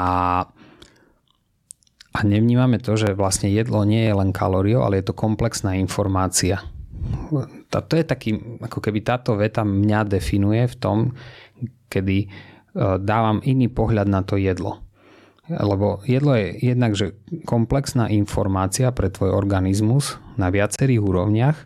a nevnímame to, že vlastne jedlo nie je len kalóriou, ale je to komplexná informácia. To je taký, ako keby táto veta mňa definuje v tom, kedy dávam iný pohľad na to jedlo. Lebo jedlo je jednak, že komplexná informácia pre tvoj organizmus na viacerých úrovniach.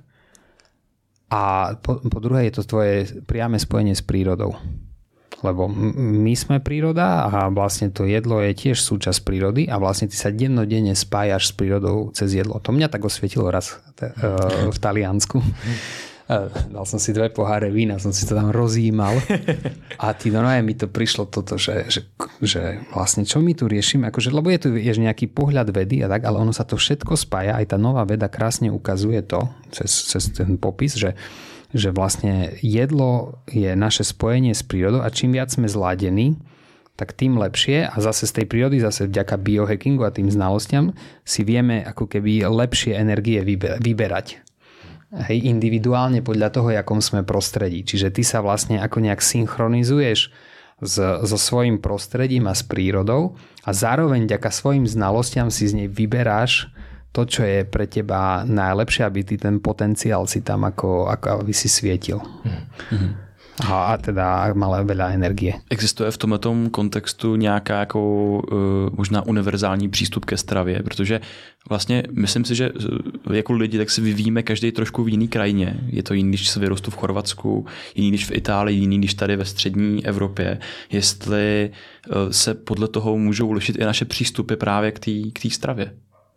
A po, po druhé je to tvoje priame spojenie s prírodou. Lebo my sme príroda a vlastne to jedlo je tiež súčasť prírody a vlastne ty sa dennodenne spájaš s prírodou cez jedlo. To mňa tak osvietilo raz v Taliansku. Dal som si dve poháre vína, som si to tam rozjímal a ty normálne mi to prišlo toto, že, že, že vlastne čo my tu riešime, akože, lebo je tu je nejaký pohľad vedy a tak, ale ono sa to všetko spája, aj tá nová veda krásne ukazuje to cez, cez ten popis, že, že vlastne jedlo je naše spojenie s prírodou a čím viac sme zladení, tak tým lepšie a zase z tej prírody, zase vďaka biohackingu a tým znalostiam si vieme ako keby lepšie energie vyberať. Hej, individuálne podľa toho, akom sme prostredí. Čiže ty sa vlastne ako nejak synchronizuješ s, so svojím prostredím a s prírodou a zároveň vďaka svojim znalostiam si z nej vyberáš to, čo je pre teba najlepšie, aby ty ten potenciál si tam ako, ako aby si svietil. Mm-hmm. A teda malé veľa energie. Existuje v tomhletom kontextu nějaká jako uh, možná univerzální přístup ke stravě, protože vlastně myslím si, že jako lidi tak si vyvíjíme každý trošku v jiný krajině. Je to jiný, když se vyrostu v Chorvatsku, jiný, když v Itálii, jiný, když tady ve střední Evropě. Jestli uh, se podle toho můžou lišit i naše přístupy právě k té k té stravě.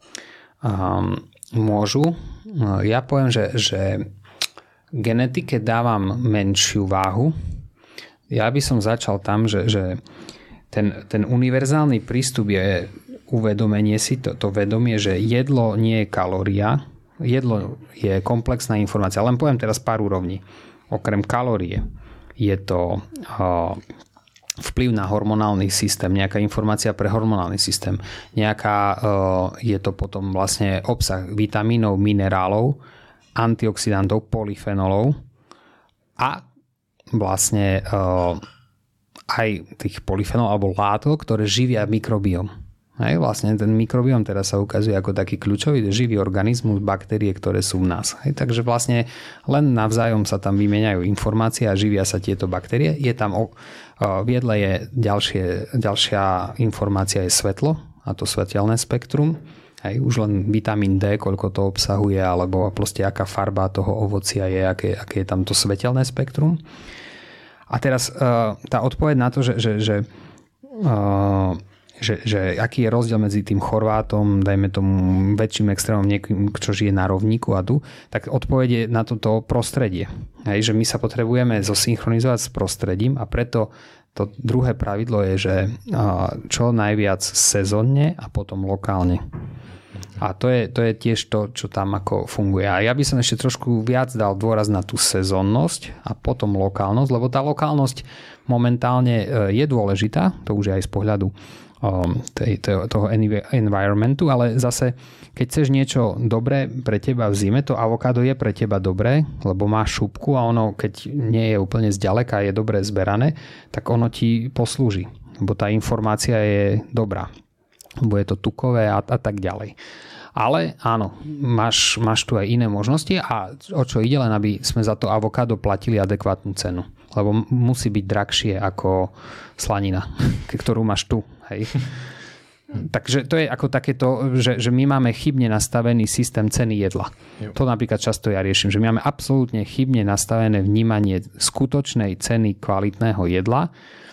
Um, môžu. Ja poviem, že, že genetike dávam menšiu váhu. Ja by som začal tam, že, že ten, ten univerzálny prístup je uvedomenie si, to, to vedomie, že jedlo nie je kalória, jedlo je komplexná informácia. Len poviem teraz pár úrovní. Okrem kalórie je to uh, vplyv na hormonálny systém, nejaká informácia pre hormonálny systém, nejaká uh, je to potom vlastne obsah vitamínov, minerálov, antioxidantov, polyfenolov a vlastne uh, aj tých polyfenolov alebo látok, ktoré živia mikrobióm. Hej, vlastne ten mikrobióm teraz sa ukazuje ako taký kľúčový živý organizmus, baktérie, ktoré sú v nás. Hej, takže vlastne len navzájom sa tam vymieňajú informácie a živia sa tieto baktérie. Je tam uh, v jedle je ďalšie, ďalšia informácia je svetlo a to svetelné spektrum. Hej, už len vitamín D, koľko to obsahuje, alebo proste aká farba toho ovocia je, aké, aké je tam to svetelné spektrum. A teraz uh, tá odpoveď na to, že, že, že, uh, že, že aký je rozdiel medzi tým Chorvátom, dajme tomu väčším extrémom, niekým, čo žije na rovníku a tu, tak odpoveď je na toto prostredie. Hej, že my sa potrebujeme zosynchronizovať s prostredím a preto to druhé pravidlo je, že uh, čo najviac sezónne a potom lokálne. A to je, to je tiež to, čo tam ako funguje. A ja by som ešte trošku viac dal dôraz na tú sezónnosť a potom lokálnosť, lebo tá lokálnosť momentálne je dôležitá, to už je aj z pohľadu tej, toho environmentu, ale zase keď chceš niečo dobré pre teba v zime, to avokádo je pre teba dobré, lebo má šupku a ono, keď nie je úplne zďaleka a je dobre zberané, tak ono ti poslúži, lebo tá informácia je dobrá. Lebo je to tukové a, a tak ďalej. Ale áno, máš, máš tu aj iné možnosti a o čo ide, len aby sme za to avokádo platili adekvátnu cenu. Lebo musí byť drahšie ako slanina, ktorú máš tu. Hej. Takže to je ako takéto, že, že my máme chybne nastavený systém ceny jedla. Jo. To napríklad často ja riešim, že my máme absolútne chybne nastavené vnímanie skutočnej ceny kvalitného jedla.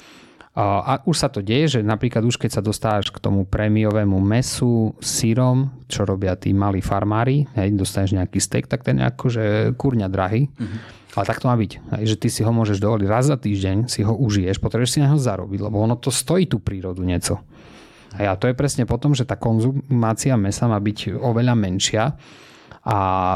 A už sa to deje, že napríklad už keď sa dostávaš k tomu prémiovému mäsu, syrom, čo robia tí malí farmári, hej, dostaneš nejaký steak, tak ten je akože kurňa drahý. Mm-hmm. Ale tak to má byť, hej, že ty si ho môžeš dovoliť raz za týždeň, si ho užiješ, potrebuješ si na ho zarobiť, lebo ono to stojí tú prírodu nieco. A to je presne potom, že tá konzumácia mäsa má byť oveľa menšia a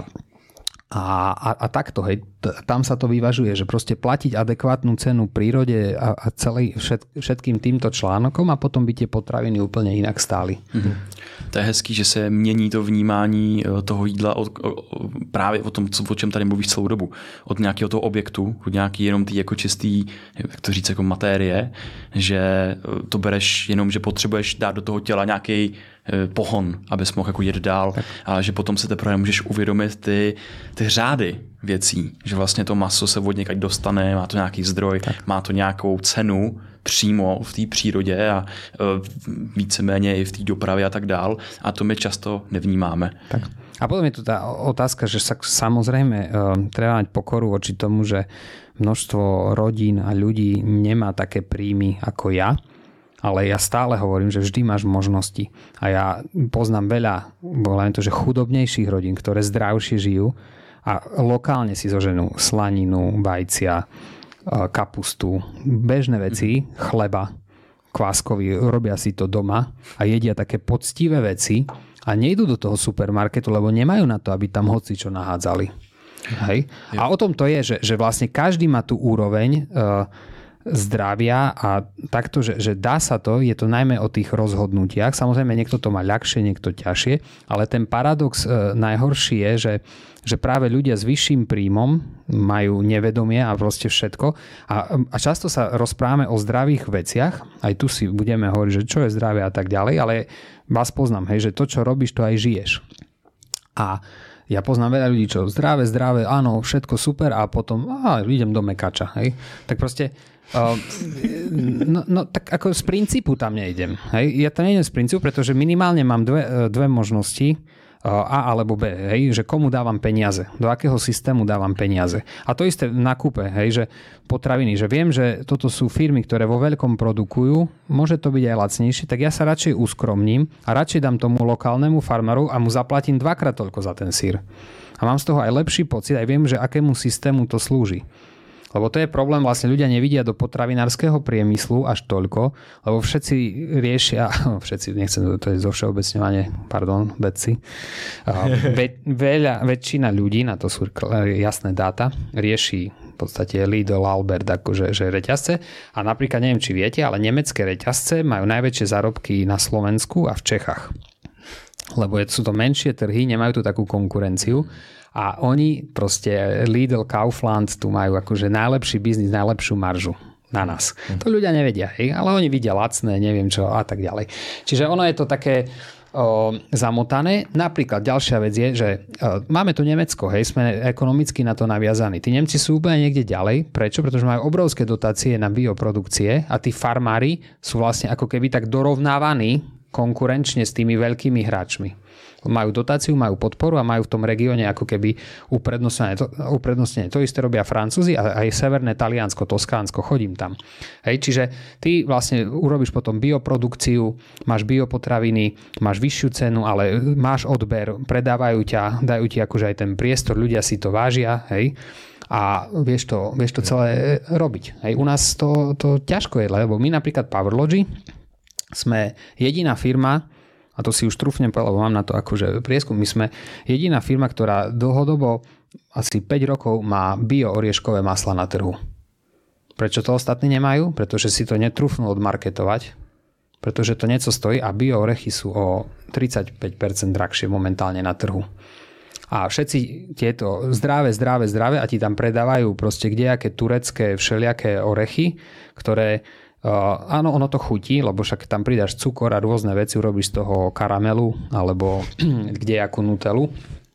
A, a, a takto, hej, tam sa to vyvažuje, že proste platiť adekvátnu cenu prírode a, a celý, všet, všetkým týmto článkom a potom by tie potraviny úplně jinak stály. Mm-hmm. To je hezký, že se mění to vnímání toho jídla od, o, právě o tom, co, o čem tady mluvíš celou dobu. Od nějakého toho objektu, od nějaký jenom tý jako čistý, jak to říct, jako matérie, že to bereš jenom, že potřebuješ dát do toho těla nějaký pohon, abys mohl jako jet dál, tak. Ale že potom se teprve můžeš uvědomit ty, ty řády věcí, že vlastně to maso se od někať dostane, má to nějaký zdroj, tak. Má to nějakou cenu přímo v té přírodě a víceméně i v té dopravě a tak dál a to my často nevnímáme. Tak. A potom je tu tá otázka, že sa, samozrejme uh, treba mať pokoru voči tomu, že množstvo rodín a ľudí nemá také príjmy ako ja. Ale ja stále hovorím, že vždy máš možnosti. A ja poznám veľa, len to, že chudobnejších rodín, ktoré zdravšie žijú a lokálne si zoženú slaninu, vajcia, kapustu, bežné veci, chleba, kváskový, robia si to doma a jedia také poctivé veci a nejdú do toho supermarketu, lebo nemajú na to, aby tam hocičo nahádzali. Hej? A o tom to je, že, že vlastne každý má tú úroveň zdravia a takto, že, že dá sa to, je to najmä o tých rozhodnutiach. Samozrejme, niekto to má ľahšie, niekto ťažšie, ale ten paradox e, najhorší je, že, že práve ľudia s vyšším príjmom majú nevedomie a proste všetko. A, a často sa rozprávame o zdravých veciach, aj tu si budeme hovoriť, že čo je zdravie a tak ďalej, ale vás poznám, hej, že to, čo robíš, to aj žiješ. A ja poznám veľa ľudí, čo zdravé, zdravé, áno, všetko super a potom á, idem do mekača. Hej. Tak proste Uh, no, no tak ako z princípu tam nejdem. Hej? Ja tam nejdem z princípu, pretože minimálne mám dve, dve možnosti uh, A alebo B. Hej? Že komu dávam peniaze, do akého systému dávam peniaze. A to isté v nákupe, hej? Že potraviny, že viem, že toto sú firmy, ktoré vo veľkom produkujú, môže to byť aj lacnejšie, tak ja sa radšej uskromním a radšej dám tomu lokálnemu farmáru a mu zaplatím dvakrát toľko za ten syr. A mám z toho aj lepší pocit, aj viem, že akému systému to slúži. Lebo to je problém, vlastne ľudia nevidia do potravinárskeho priemyslu až toľko, lebo všetci riešia, všetci, nechcem, to je zovšeobecňovanie, pardon, vedci, Ve, veľa, väčšina ľudí, na to sú jasné dáta, rieši v podstate Lidl, Albert, akože že reťazce a napríklad, neviem, či viete, ale nemecké reťazce majú najväčšie zárobky na Slovensku a v Čechách. Lebo sú to menšie trhy, nemajú tu takú konkurenciu. A oni proste, Lidl, Kaufland, tu majú akože najlepší biznis, najlepšiu maržu na nás. Mm. To ľudia nevedia, hej? Ale oni vidia lacné, neviem čo a tak ďalej. Čiže ono je to také o, zamotané. Napríklad ďalšia vec je, že o, máme tu Nemecko, hej? Sme ekonomicky na to naviazaní. Tí Nemci sú úplne niekde ďalej. Prečo? Pretože majú obrovské dotácie na bioprodukcie a tí farmári sú vlastne ako keby tak dorovnávaní konkurenčne s tými veľkými hráčmi. Majú dotáciu, majú podporu a majú v tom regióne ako keby uprednostnené. To, uprednostnené. To isté robia Francúzi a aj severné Taliansko, Toskánsko, chodím tam. Hej, čiže ty vlastne urobíš potom bioprodukciu, máš biopotraviny, máš vyššiu cenu, ale máš odber, predávajú ťa, dajú ti akože aj ten priestor, ľudia si to vážia, hej, a vieš to, vieš to celé robiť. Hej, u nás to, to ťažko je, lebo my napríklad PowerLogy sme jediná firma, a to si už trúfnem povedať, lebo mám na to akože prieskum. My sme jediná firma, ktorá dlhodobo asi päť rokov má bio-orieškové masla na trhu. Prečo to ostatní nemajú? Pretože si to netrúfnú odmarketovať. pretože to niečo stojí a bio-orechy sú o tridsaťpäť percent drahšie momentálne na trhu. A všetci tieto zdravé, zdravé, zdravé a ti tam predávajú proste kdejaké turecké všelijaké orechy, ktoré Uh, áno, ono to chutí, lebo však tam pridáš cukor a rôzne veci, urobíš z toho karamelu alebo kdejakú nutelu.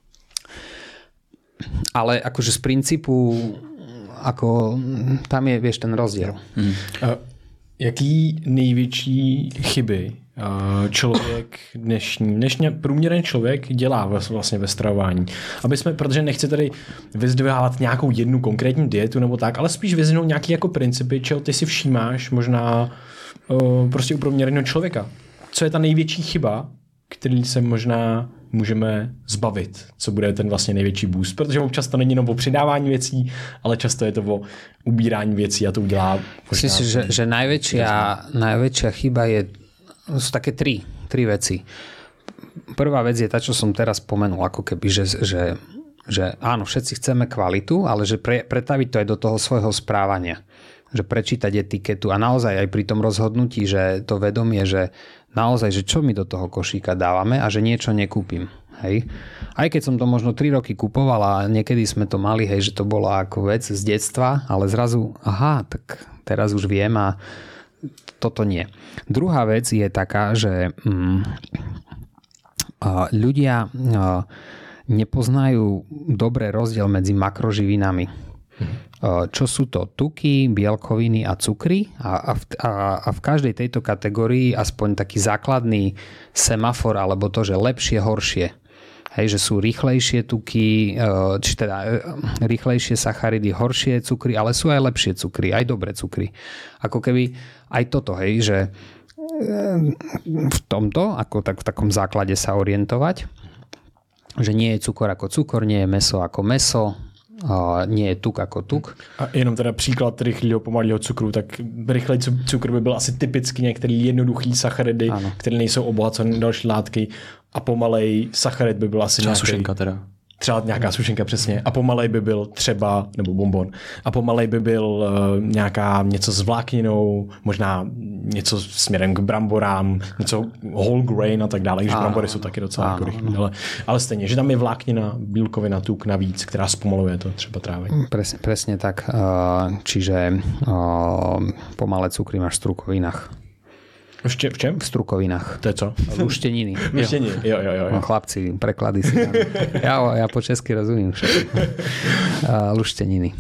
Ale akože z princípu ako tam je, vieš, ten rozdiel. Hmm. Uh, jaký největší chyby člověk dnešní, dnešní průměrný člověk dělá vlastně ve stravování. Aby jsme, protože nechci tady vyzdvihávat nějakou jednu konkrétní dietu nebo tak, ale spíš vyzvinout nějaký jako principy, čeho ty si všímáš možná uh, prostě u průměrného člověka. Co je ta největší chyba, který se možná můžeme zbavit, co bude ten vlastně největší boost, protože občas to není jenom o přidávání věcí, ale často je to o ubírání věcí a to udělá... Myslím si, že, že najväčšia, najväčšia chyba je sú také tri, tri veci. Prvá vec je tá, čo som teraz spomenul, ako keby, že, že, že áno, všetci chceme kvalitu, ale že pre, pretaviť to aj do toho svojho správania. Že prečítať etiketu a naozaj aj pri tom rozhodnutí, že to vedomie, že naozaj, že čo my do toho košíka dávame a že niečo nekúpim. Hej. Aj keď som to možno tri roky kupoval a niekedy sme to mali, hej, že to bola ako vec z detstva, ale zrazu, aha, tak teraz už viem a toto nie. Druhá vec je taká, že mm, ľudia nepoznajú dobrý rozdiel medzi makroživinami. Čo sú to tuky, bielkoviny a cukry a, a, v, a, a v každej tejto kategórii aspoň taký základný semafor alebo to, že lepšie, horšie. Hej, že sú rýchlejšie tuky, či teda rýchlejšie sacharidy, horšie cukry, ale sú aj lepšie cukry, aj dobré cukry. Ako keby aj toto, hej, že v tomto, ako tak v takom základe sa orientovať, že nie je cukor ako cukor, nie je mäso ako mäso, nie je tuk ako tuk. A jenom teda příklad rychlého pomalého cukru, tak rychlej cukr by byl asi typicky některý jednoduchý sacharidy, ano, které nejsou obohacené další látky a pomalej sacharid by byl asi třeba nějaký... sušenka teda. Třeba nějaká sušenka, přesně. A pomalej by byl třeba, nebo bonbon, a pomalej by byl uh, nějaká něco s vlákninou, možná něco směrem k bramborám, něco whole grain a tak dále, když brambory jsou taky docela ano, jako rychlý, ale, ale stejně, že tam je vláknina, bílkovina, tuk navíc, která zpomaluje to třeba trávení. Presne, presne tak. Čiže pomalé cukry máš v strukovinách. V čem? V strukovinách. To je co? Lušteniny. Lušteniny, jo, jo, jo. jo. Chlapci, preklady si. Ja, ja po česky rozumím všetko. Lušteniny.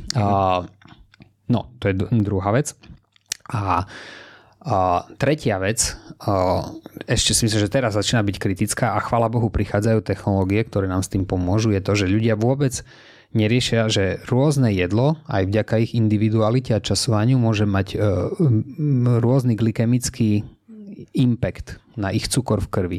No, to je druhá vec. A, a tretia vec, a ešte si myslím, že teraz začína byť kritická a chvála Bohu prichádzajú technológie, ktoré nám s tým pomôžu, je to, že ľudia vôbec neriešia, že rôzne jedlo, aj vďaka ich individualite a časovaniu, môže mať uh, rôzny glykemický impact na ich cukor v krvi.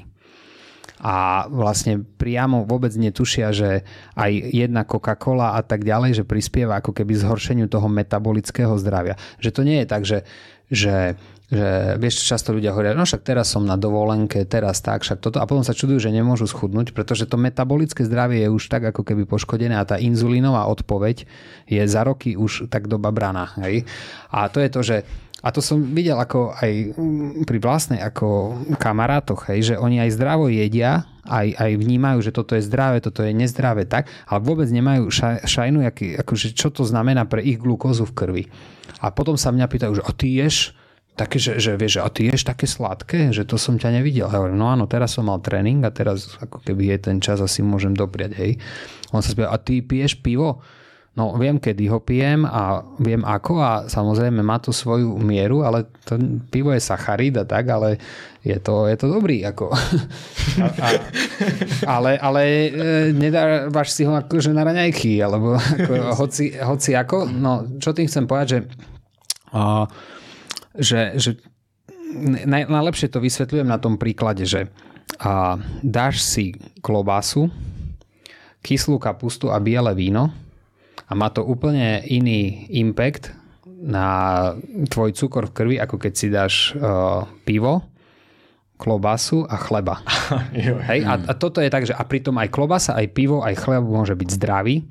A vlastne priamo vôbec netušia, že aj jedna Coca-Cola a tak ďalej, že prispieva ako keby zhoršeniu toho metabolického zdravia. Že to nie je tak, že, že, že vieš, často ľudia hovoria, no však teraz som na dovolenke, teraz tak, však toto. A potom sa čudujú, že nemôžu schudnúť, pretože to metabolické zdravie je už tak ako keby poškodené a tá inzulínová odpoveď je za roky už tak doba braná. Hej? A to je to, že a to som videl ako aj pri vlastnej ako kamarátoch, hej, že oni aj zdravo jedia, aj, aj vnímajú, že toto je zdravé, toto je nezdravé, tak, ale vôbec nemajú šaj, šajnu, aký, akože čo to znamená pre ich glukózu v krvi. A potom sa mňa pýtajú, že a ty ješ také, že, že vieš, a ty ješ také sladké, že to som ťa nevidel. Ja hovorím, no áno, teraz som mal tréning a teraz ako keby je ten čas, asi môžem dopriať, hej. On sa spýta, a ty piješ pivo? No viem, kedy ho pijem a viem ako a samozrejme má to svoju mieru, ale to pivo je sacharid a tak, ale je to, je to dobrý. Ako. A, a, ale ale e, nedávaš si ho akože na raňajky, alebo ako, hoci, hoci ako. No čo tým chcem povedať, že, a, že, že naj, najlepšie to vysvetľujem na tom príklade, že a, dáš si klobásu, kyslú kapustu a biele víno, a má to úplne iný impact na tvoj cukor v krvi, ako keď si dáš uh, pivo, klobasu a chleba. Hej? A, a toto je tak, že a pritom aj klobasa, aj pivo, aj chleba môže byť zdravý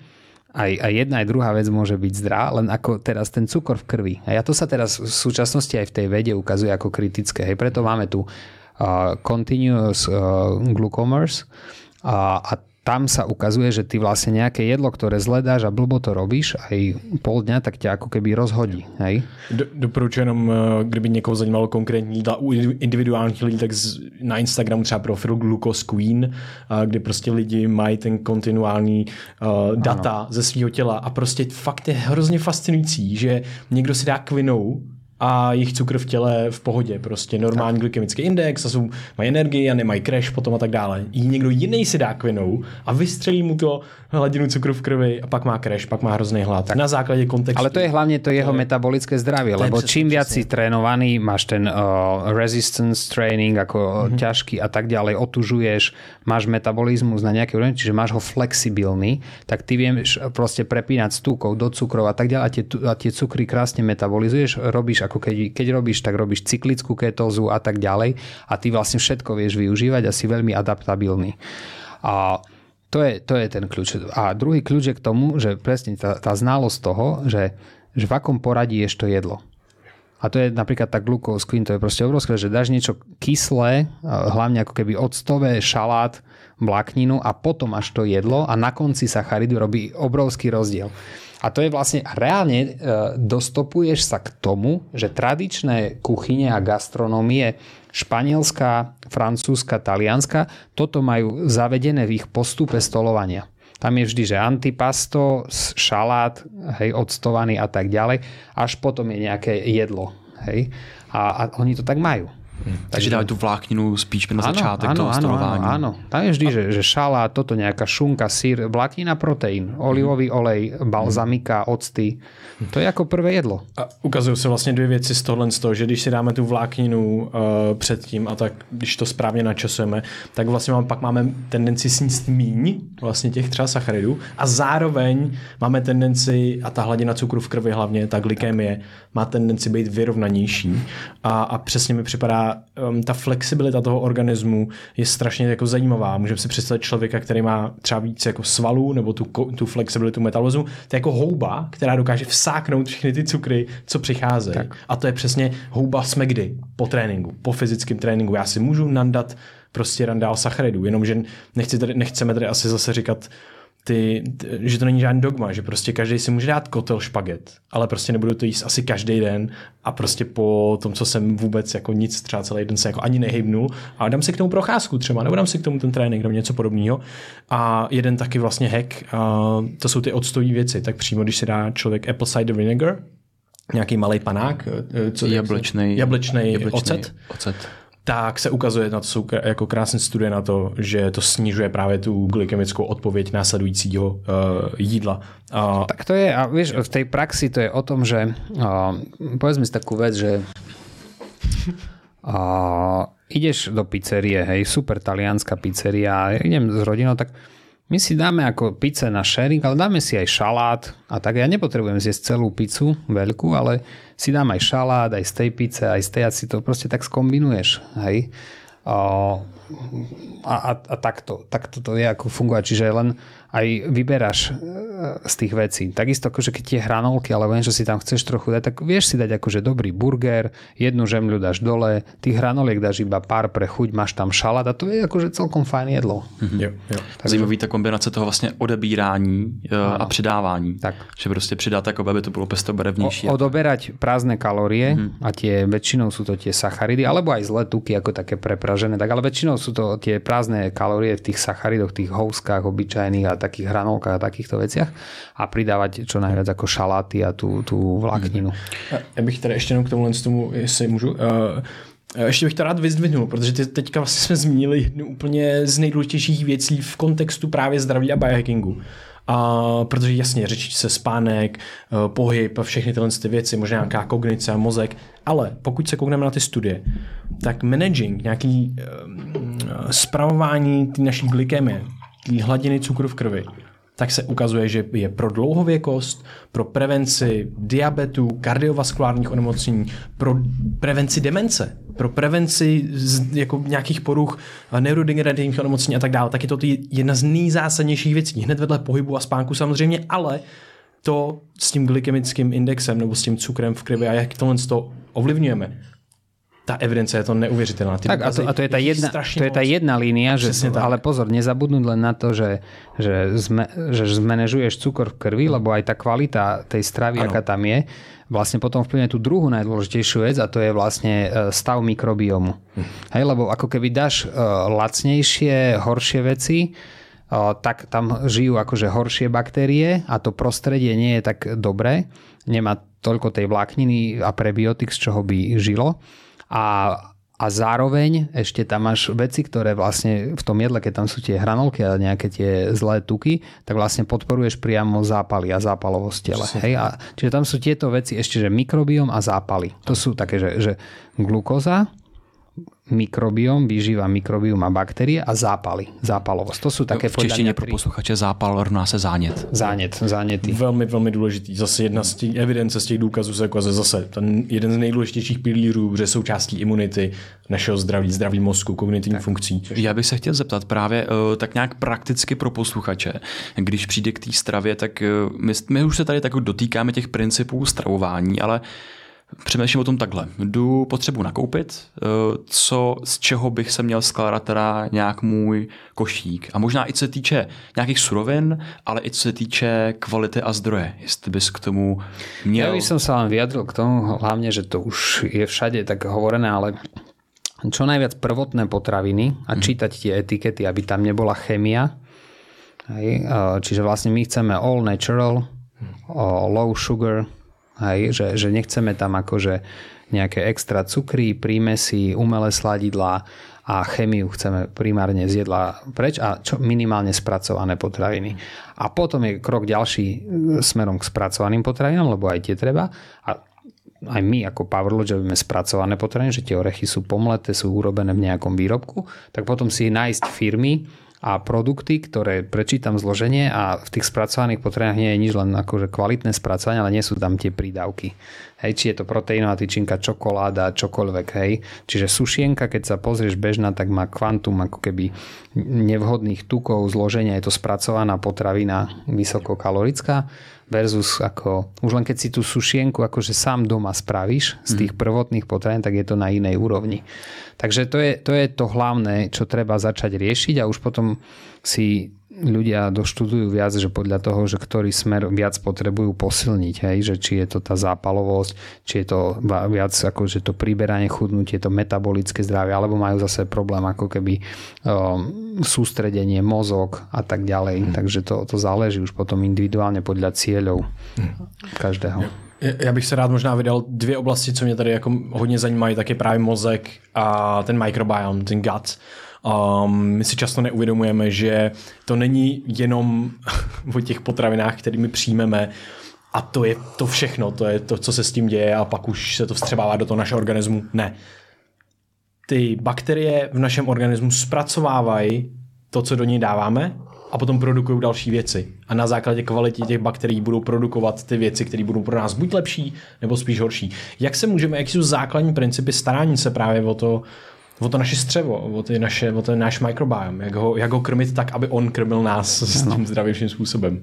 aj, aj jedna, aj druhá vec môže byť zdrá, len ako teraz ten cukor v krvi. A ja to sa teraz v súčasnosti aj v tej vede ukazuje ako kritické. Hej, preto máme tu uh, continuous uh, glucomers a, a tam sa ukazuje, že ty vlastne nejaké jedlo, ktoré zledáš a blbo to robíš, aj pol dňa, tak ťa ako keby rozhodí. Hej? Do, doporučuji jenom, kdyby někoho zajímalo konkrétní jídla u individuálních lidí, tak z, na Instagramu třeba profil Glucose Queen, kde prostě lidi mají ten kontinuální uh, data ano. ze svého těla a prostě fakt je hrozně fascinující, že někdo si dá kvinou a jejich cukr v těle v pohodě, prostě normální tak. glykemický index a jsou, mají energii a nemají crash potom a tak dále. I někdo jiný si dá kvinou a vystřelí mu to hladinu cukru v krvi a pak má crash, pak má hrozný hlad. Tak na základě kontextu. Ale to je hlavne to jeho to je, metabolické zdravie, lebo čím viac si trénovaný, máš ten uh, resistance training ako mm-hmm. ťažký a tak ďalej, otužuješ, máš metabolizmus na nejaké úrovni, čiže máš ho flexibilný, tak ty vieš proste prepínať z tukov do cukrov a tak ďalej a tie, a tie cukry krásne metabolizuješ, robíš ako keď, keď robíš, tak robíš cyklickú ketózu a tak ďalej a ty vlastne všetko vieš využívať a si veľmi adaptabilný. A to je, to je ten kľúč. A druhý kľúč je k tomu, že presne tá, tá znalosť toho, že, že v akom poradí ješ to jedlo. A to je napríklad tá glucose queen, to je proste obrovské, že dáš niečo kyslé, hlavne ako keby octové, šalát, vlákninu a potom až to jedlo a na konci sacharidu robí obrovský rozdiel. A to je vlastne, reálne e, dostopuješ sa k tomu, že tradičné kuchyne a gastronómie španielská, francúzska, talianska, toto majú zavedené v ich postupe stolovania. Tam je vždy, že antipasto, šalát, hej, octovaný a tak ďalej, až potom je nejaké jedlo. Hej. A, a oni to tak majú. Hmm. Takže dávajú tú vlákninu spíš na začátek toho stolování. Áno, áno. Tam je vždy, že, že šalát, toto nejaká šunka, sír, vláknina, proteín, olivový olej, balzamika, octy. To je jako prvé jedlo. A ukazují se vlastně dvě věci z tohle, z toho, že když si dáme tu vlákninu uh, předtím a tak, když to správně načasujeme, tak vlastně máme, pak máme tendenci sníst míň vlastně těch třeba sacharidů a zároveň máme tendenci, a ta hladina cukru v krvi hlavně, ta glykemie, má tendenci být vyrovnanější a, a přesně mi připadá um, ta flexibilita toho organismu je strašně jako zajímavá. Můžeme si představit člověka, který má třeba víc jako svalů nebo tu, tu flexibilitu metabolismu, to je jako houba, která dokáže vsáknout všechny ty cukry, co přicházejí. Tak. A to je přesně houba jsme kdy? Po tréninku, po fyzickém tréninku. Já si můžu nandat prostě randál sacharidů, jenomže nechci tady, nechceme tady asi zase říkat Ty, ty, že to není žádný dogma, že prostě každý si může dát kotel špaget, ale prostě nebudu to jíst asi každý den a prostě po tom, co jsem vůbec jako nic, třeba celý den se jako ani nehybnul a dám si k tomu procházku třeba, nebo dám si k tomu ten trénink, nebo něco podobného. A jeden taky vlastně hack, a to jsou ty octové věci, tak přímo, když si dá člověk apple cider vinegar, nějaký malej panák, co, jablečnej, jablečnej, jablečnej ocet, ocet. Tak se ukazuje, na to jsou jako krásné studie na to, že to snižuje právě tu glykemickou odpověď následujícího uh, jídla. Uh, tak to je, a vieš, v tej praxi to je o tom, že uh, povedzme si takú vec, že uh, ideš do pizzerie, hej, super talianská pizzeria, idem s rodinou, tak my si dáme ako pizze na sharing, ale dáme si aj šalát a tak ja nepotrebujem zjesť celú pizzu veľkú, ale si dám aj šalát, aj z tej pizze, aj z tej a si to proste tak skombinuješ. Hej. A, a, a takto, takto to je ako fungovať. Čiže len aj vyberáš z tých vecí. Takisto akože keď tie hranolky, alebo niečo si tam chceš trochu dať, tak vieš si dať akože dobrý burger, jednu žemľu dáš dole, tých hranoliek dáš iba pár pre chuť, máš tam šalát a to je akože celkom fajn jedlo. Mm-hmm. Jo, jo. Zajímavý ta kombinace toho vlastně odebírání ano. a přidávání. Tak. Že prostě přidat tak, aby to bylo pestobarevnější. O, odoberať prázdne kalórie mm-hmm. a tie väčšinou sú to tie sacharidy, alebo aj zlé tuky, ako také prepražené, tak ale väčšinou sú to tie prázdne kalórie v tých sacharidoch, tých houskách obyčajných a takých hranolkách a takýchto veciach a pridávať čo najviac ako šaláty a tú, tú vlákninu. Já bych tady ještě jenom k tomu, tomu jestli můžu, uh, ještě bych to rád vyzdvihnul, protože ty teďka vlastně jsme zmínili jednu úplně z nejdůležitějších věcí v kontextu právě zdraví a biohackingu. A protože jasně řečí se spánek, pohyb a všechny tyhle ty věci, možná nějaká kognice a mozek, ale pokud se koukneme na ty studie, tak managing, nějaký um, spravování ty naší glykemie, ty hladiny cukru v krvi, tak se ukazuje, že je pro dlouhověkost, pro prevenci diabetu, kardiovaskulárních onemocnění, pro prevenci demence. pro prevenci z, jako nějakých poruch, neurodegenerativních onemocnění a tak dále, tak je to jedna z nejzásadnějších věcí. Hned vedle pohybu a spánku samozřejmě, ale to s tím glykemickým indexem nebo s tím cukrem v krvi a jak tohle to ovlivňujeme. Ta evidence je to neuvěřitelná. Ty tak a to, a to je tá jedna, to je tá jedna línia, že, ale pozor, nezabudnúť len na to, že, že, zme, že zmanéžuješ cukor v krvi, lebo aj tá kvalita tej stravy, ano. Aká tam je, vlastne potom vplyvne tú druhú najdôležitejšiu vec a to je vlastne stav mikrobiomu. Hm. Hej, lebo ako keby dáš uh, lacnejšie, horšie veci, uh, tak tam žijú akože horšie baktérie a to prostredie nie je tak dobré, nemá toľko tej vlákniny a prebiotik, z čoho by žilo. A, a zároveň ešte tam máš veci, ktoré vlastne v tom jedle, keď tam sú tie hranolky a nejaké tie zlé tuky, tak vlastne podporuješ priamo zápaly a zápalovosť tela. Hej? A, čiže tam sú tieto veci ešte, že mikrobióm a zápaly. To sú také, že, že glukóza, mikrobióm, výživa mikrobióm a baktérie a zápaly, zápalovosť. To sú také v češtině pro posluchače zápal rovná se zánět. Zánět, záněty. Velmi, velmi důležitý. Zase jedna z těch evidence z těch důkazů se jako zase ten jeden z nejdůležitějších pilířů, že součástí imunity, našeho zdraví, zdraví mozku, kognitivní tak. funkcí. Já bych se chtěl zeptat právě tak nějak prakticky pro posluchače, když přijde k té stravě, tak my, my už se tady tak dotýkáme těch principů stravování, ale přemýšlím o tom takhle. Jdu potřebu nakoupit, co, z čeho bych se měl skládat teda nějak můj košík. A možná i co se týče nějakých surovin, ale i co se týče kvality a zdroje. Jestli bys k tomu měl... Ja by som sa vám vyjadril k tomu, hlavne, že to už je všade tak hovorené, ale čo najviac prvotné potraviny a čítať tie etikety, aby tam nebola chémia. Čiže vlastne my chceme all natural, low sugar, hej, že, že nechceme tam akože nejaké extra cukry, prímesy, umelé sladidlá a chemiu chceme primárne z jedla preč a čo minimálne spracované potraviny. A potom je krok ďalší smerom k spracovaným potravinám, lebo aj tie treba. A aj my ako Powerlodge robíme spracované potraviny, že tie orechy sú pomleté, sú urobené v nejakom výrobku, tak potom si nájsť firmy a produkty, ktoré prečítam zloženie a v tých spracovaných potravinách nie je nič len akože kvalitné spracovanie, ale nie sú tam tie prídavky. Hej, či je to proteínová tyčinka, čokoláda, čokoľvek, hej. Čiže sušienka, keď sa pozrieš bežná, tak má kvantum ako keby nevhodných tukov, zloženia, je to spracovaná potravina vysokokalorická versus ako, už len keď si tú sušienku akože sám doma spravíš z tých prvotných potravín, tak je to na inej úrovni. Takže to je, to je to hlavné, čo treba začať riešiť a už potom si ľudia doštudujú viac, že podľa toho, že ktorý smer viac potrebujú posilniť, hej, že či je to tá zápalovosť, či je to viac ako, že to priberanie, chudnutie, to metabolické zdravie, alebo majú zase problém ako keby um, sústredenie, mozog a tak ďalej. Hmm. Takže to, to záleží už potom individuálne podľa cieľov hmm. každého. Já bych se rád možná vydal dvě oblasti, co mě tady jako hodně zajímají, tak je právě mozek a ten microbiome, ten gut. Um, my si často neuvědomujeme, že to není jenom o těch potravinách, kterými přijmeme a to je to všechno, to je to, co se s tím děje a pak už se to vstřebává do toho našeho organismu. Ne. Ty bakterie v našem organismu zpracovávají to, co do něj dáváme a potom produkují další věci. A na základě kvality těch bakterií budou produkovat ty věci, které budou pro nás buď lepší, nebo spíš horší. Jak se můžeme, jaký jsou základní principy starání se právě o to, o to naše střevo, o, ty naše, o ten náš microbiome, jak ho, jak ho krmit tak, aby on krmil nás s tím zdravějším způsobem.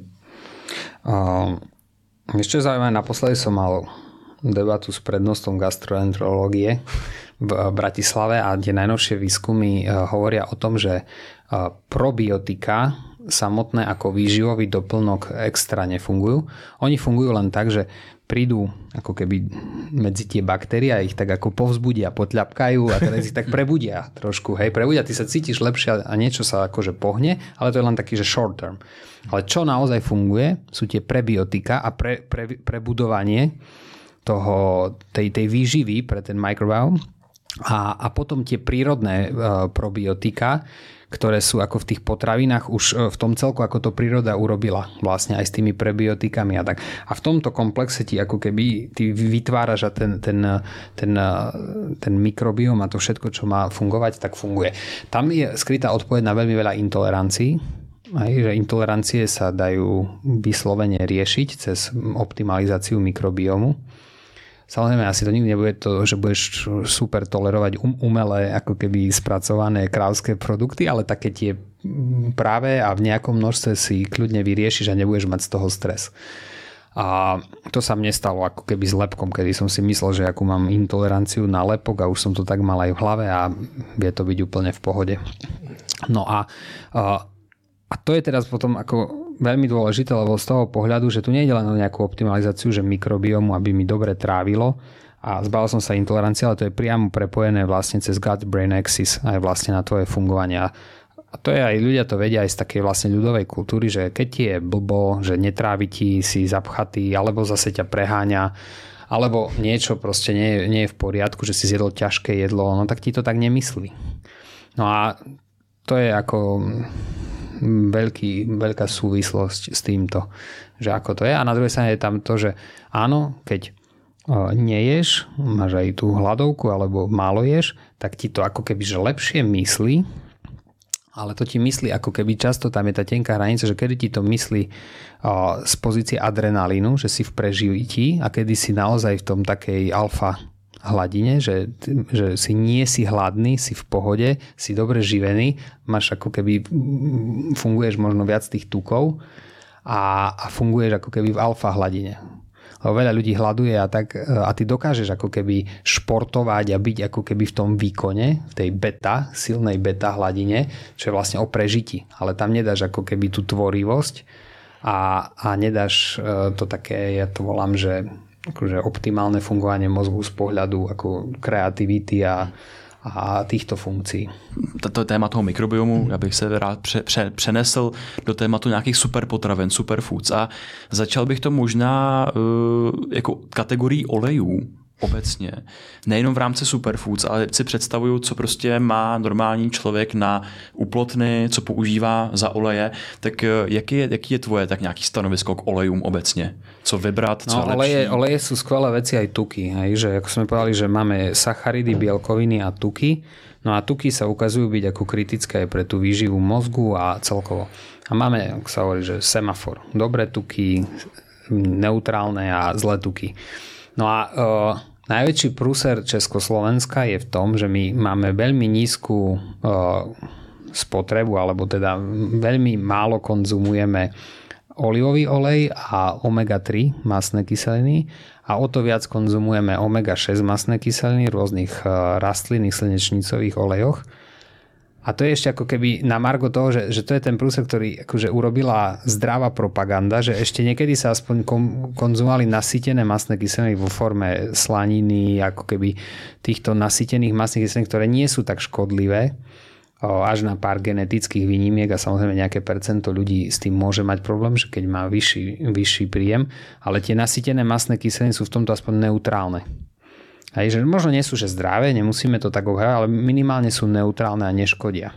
Uh, ešte zaujímavé, naposledy som mal debatu s prednostom gastroenterológie v Bratislave a tie najnovšie výskumy hovoria o tom, že probiotika samotné ako výživový doplnok extra nefungujú. Oni fungujú len tak, že prídu ako keby medzi tie baktérie a ich tak ako povzbudia, potľapkajú a teraz ich tak prebudia trošku. Hej, prebudia, ty sa cítiš lepšie a niečo sa akože pohne, ale to je len taký, že short term. Ale čo naozaj funguje, sú tie prebiotika a pre, pre, prebudovanie toho, tej, tej výživy pre ten microbiome a, a potom tie prírodné uh, probiotika, ktoré sú ako v tých potravinách už v tom celku, ako to príroda urobila vlastne aj s tými prebiotikami a tak. A v tomto komplexe ti ako keby ty vytváraš a ten, ten, ten, ten mikrobióm a to všetko, čo má fungovať, tak funguje. Tam je skrytá odpoveď na veľmi veľa intolerancií. Aj, že intolerancie sa dajú vyslovene riešiť cez optimalizáciu mikrobiomu. Samozrejme, asi to nikdy nebude to, že budeš super tolerovať um, umelé, ako keby spracované krávské produkty, ale také tie práve a v nejakom množstve si kľudne vyriešiš a nebudeš mať z toho stres. A to sa mne stalo ako keby s lepkom, kedy som si myslel, že akú mám intoleranciu na lepok a už som to tak mal aj v hlave a vie to byť úplne v pohode. No a, a, a to je teraz potom ako veľmi dôležité, lebo z toho pohľadu, že tu nie je len o nejakú optimalizáciu, že mikrobiomu, aby mi dobre trávilo a zbavil som sa intolerancie, ale to je priamo prepojené vlastne cez gut-brain axis aj vlastne na tvoje fungovanie. A to je aj, ľudia to vedia aj z takej vlastne ľudovej kultúry, že keď ti je blbo, že netrávi ti, si zapchatý, alebo zase ťa preháňa, alebo niečo proste nie, nie je v poriadku, že si zjedol ťažké jedlo, no tak ti to tak nemyslí. No a to je ako veľký, veľká súvislosť s týmto, že ako to je. A na druhej strane je tam to, že áno, keď neješ, máš aj tú hladovku alebo málo ješ, tak ti to ako keby že lepšie myslí, ale to ti myslí ako keby často, tam je tá tenká hranica, že kedy ti to myslí z pozície adrenalínu, že si v prežití a kedy si naozaj v tom takej alfa hladine, že, že si nie si hladný, si v pohode, si dobre živený, máš ako keby, funguješ možno viac tých tukov a, a funguješ ako keby v alfa hladine. Lebo veľa ľudí hladuje a, tak, a ty dokážeš ako keby športovať a byť ako keby v tom výkone, v tej beta, silnej beta hladine, čo je vlastne o prežití. Ale tam nedáš ako keby tú tvorivosť a, a nedáš to také, ja to volám, že akože optimálne fungovanie mozgu z pohľadu ako kreativity a, a týchto funkcí. To téma toho mikrobiomu, já bych se rád pře, pře, přenesl do tématu nějakých superpotravin, superfoods a začal bych to možná uh, jako kategorii olejů obecně. Nejenom v rámci superfoods, ale si představuju, co prostě má normální člověk na uplotny, co používá za oleje. Tak jaký je, jaký je tvoje tak nějaký stanovisko k olejům obecně? Co vybrat, co no, lepší? Oleje, oleje sú skvelé veci aj tuky. Hej? Že ako sme povedali, že máme sacharidy, bielkoviny a tuky. No a tuky sa ukazujú byť ako kritické aj pre tú výživu mozgu a celkovo. A máme, ako sa hovorí, že semafor. Dobré tuky, neutrálne a zlé tuky. No a uh, najväčší prúser Československa je v tom, že my máme veľmi nízku uh, spotrebu, alebo teda veľmi málo konzumujeme olivový olej a omega tri masné kyseliny a o to viac konzumujeme omega šesť masné kyseliny v rôznych uh, rastlinných slnečnicových olejoch. A to je ešte ako keby na margo toho, že, že to je ten prúser, ktorý akože urobila zdravá propaganda, že ešte niekedy sa aspoň konzumovali nasýtené masné kyseliny vo forme slaniny, ako keby týchto nasýtených masných kyselín, ktoré nie sú tak škodlivé, až na pár genetických výnimiek a samozrejme nejaké percento ľudí s tým môže mať problém, že keď má vyšší, vyšší príjem, ale tie nasýtené masné kyseliny sú v tomto aspoň neutrálne. Hej, že možno nie sú že zdravé, nemusíme to tak obhajovať, ale minimálne sú neutrálne a neškodia.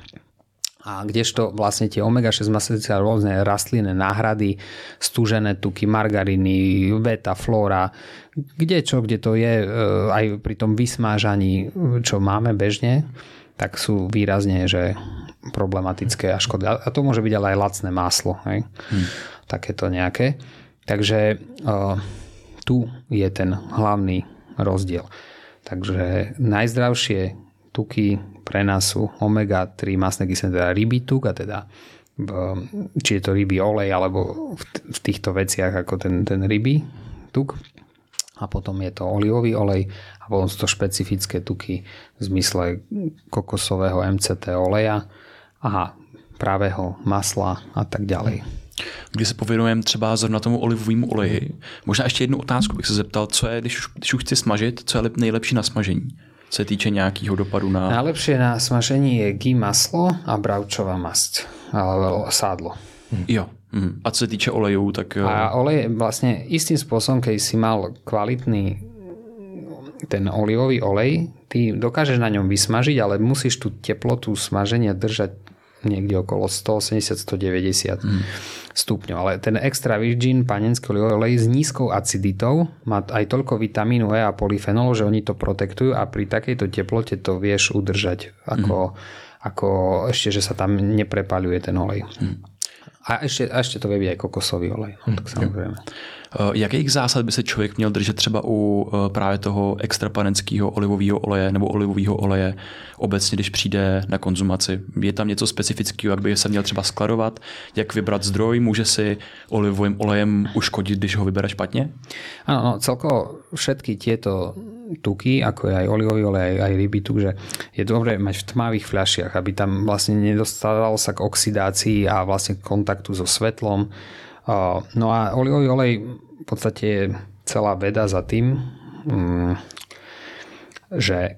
A kdežto vlastne tie omega šesť masné kyseliny, rôzne rastlinné náhrady, stúžené tuky, margariny, beta, flóra, kde čo, kde to je, aj pri tom vysmážaní, čo máme bežne, tak sú výrazne že problematické a škodlivé. A to môže byť ale aj lacné máslo, hej? Hmm. Takéto nejaké. Takže uh, tu je ten hlavný rozdiel. Takže najzdravšie tuky pre nás sú omega tri masné kyseliny, teda rybí tuk, a teda či je to rybí olej, alebo v, v týchto veciach ako ten, ten rybí tuk. A potom je to olivový olej a potom sú to špecifické tuky v zmysle kokosového em cé té oleja a pravého masla a tak ďalej. Když se pověnujeme třeba zrovna tomu olivovému oleji, možná ještě jednu otázku bych se zeptal, co je, když už, když už chci smažit, co je nejlepší na smažení? Co se týče nějakého dopadu na... Najlepšie na smažení je ghee maslo a bravčová masť, alebo sádlo. Jo. A co se týče olejů, tak... A olej vlastne istým spôsobom, keď si mal kvalitný ten olivový olej, ty dokážeš na ňom vysmažiť, ale musíš tú teplotu smaženia držať niekde okolo sto osemdesiat až stodeväťdesiat mm. stupňov. Ale ten extra virgin panenský olivový olej s nízkou aciditou má aj toľko vitamínu E a polyfenolu, že oni to protektujú a pri takejto teplote to vieš udržať ako, mm. ako ešte, že sa tam neprepaľuje ten olej. Mm. A ešte, a ešte to vie byť aj kokosový olej. No, tak samozrejme. Jakých zásad by se člověk měl držet třeba u právě toho extrapanenského olivového oleje nebo olivového oleje obecně, když přijde na konzumaci? Je tam něco specifického, jak by se měl třeba skladovat? Jak vybrat zdroj? Může si olivovým olejem uškodit, když ho vybere špatně? Áno, no, celkovo všetky tieto tuky, ako je aj olivový olej, aj ryby tuk, že je dobré mať v tmavých fľašiach, aby tam vlastne nedostávalo sa k oxidácii a vlastne k kontaktu so svetlom. No a olivový olej v podstate je celá veda za tým, že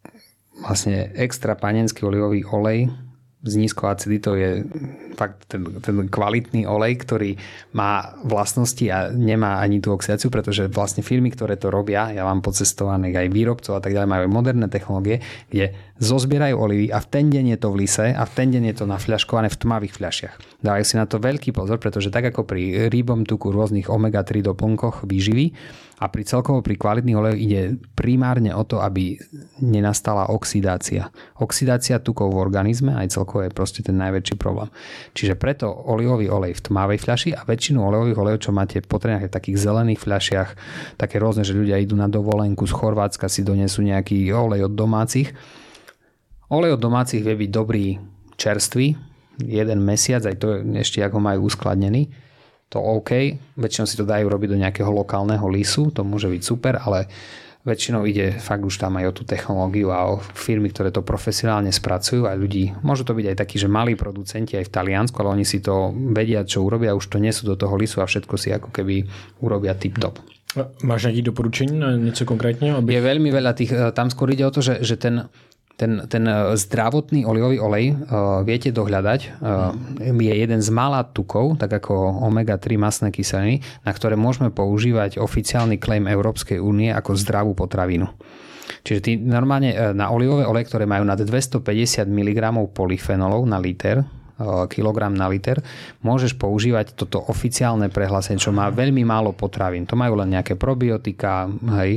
vlastne extra panenský olivový olej s nízkou aciditou je fakt ten, ten kvalitný olej, ktorý má vlastnosti a nemá ani tú oxidáciu, pretože vlastne firmy, ktoré to robia, ja mám pocestovaných aj výrobcov a tak ďalej, majú moderné technológie, kde zozbierajú olivy a v ten deň je to v lise a v ten deň je to nafľaškované v tmavých fľašiach. Dávajú si na to veľký pozor, pretože tak ako pri rybom tuku rôznych omega tri doplnkoch výživy a pri celkovo pri kvalitných olejoch ide primárne o to, aby nenastala oxidácia. Oxidácia tukov v organizme aj celkovo je proste ten najväčší problém. Čiže preto olivový olej v tmavej fľaši a väčšinu olivových olejov, čo máte v potrebných v takých zelených fľašiach, také rôzne, že ľudia idú na dovolenku z Chorvátska, si donesú nejaký olej od domácich. Olej od domácich vie byť dobrý čerstvý, jeden mesiac, aj to ešte ako majú uskladnený, to OK. Väčšinou si to dajú robiť do nejakého lokálneho lisu, to môže byť super, ale väčšinou ide fakt už tam aj o tú technológiu a o firmy, ktoré to profesionálne spracujú a ľudí. Môžu to byť aj takí, že malí producenti aj v Taliansku, ale oni si to vedia, čo urobia, už to nesú do toho lisu a všetko si ako keby urobia tip-top. Máš nejaké doporučení na niečo konkrétne? Aby... Je veľmi veľa tých, tam skôr ide o to, že, že ten Ten, ten zdravotný olivový olej uh, viete dohľadať. Uh, je jeden z mála tukov, tak ako omega tri mastné kyseliny, na ktoré môžeme používať oficiálny claim Európskej únie ako zdravú potravinu. Čiže ty normálne na olivové oleje, ktoré majú nad dvestopäťdesiat miligramov polyfenolov na liter, kilogram na liter, môžeš používať toto oficiálne prehlásenie, čo má veľmi málo potravín. To majú len nejaké probiotika, hej,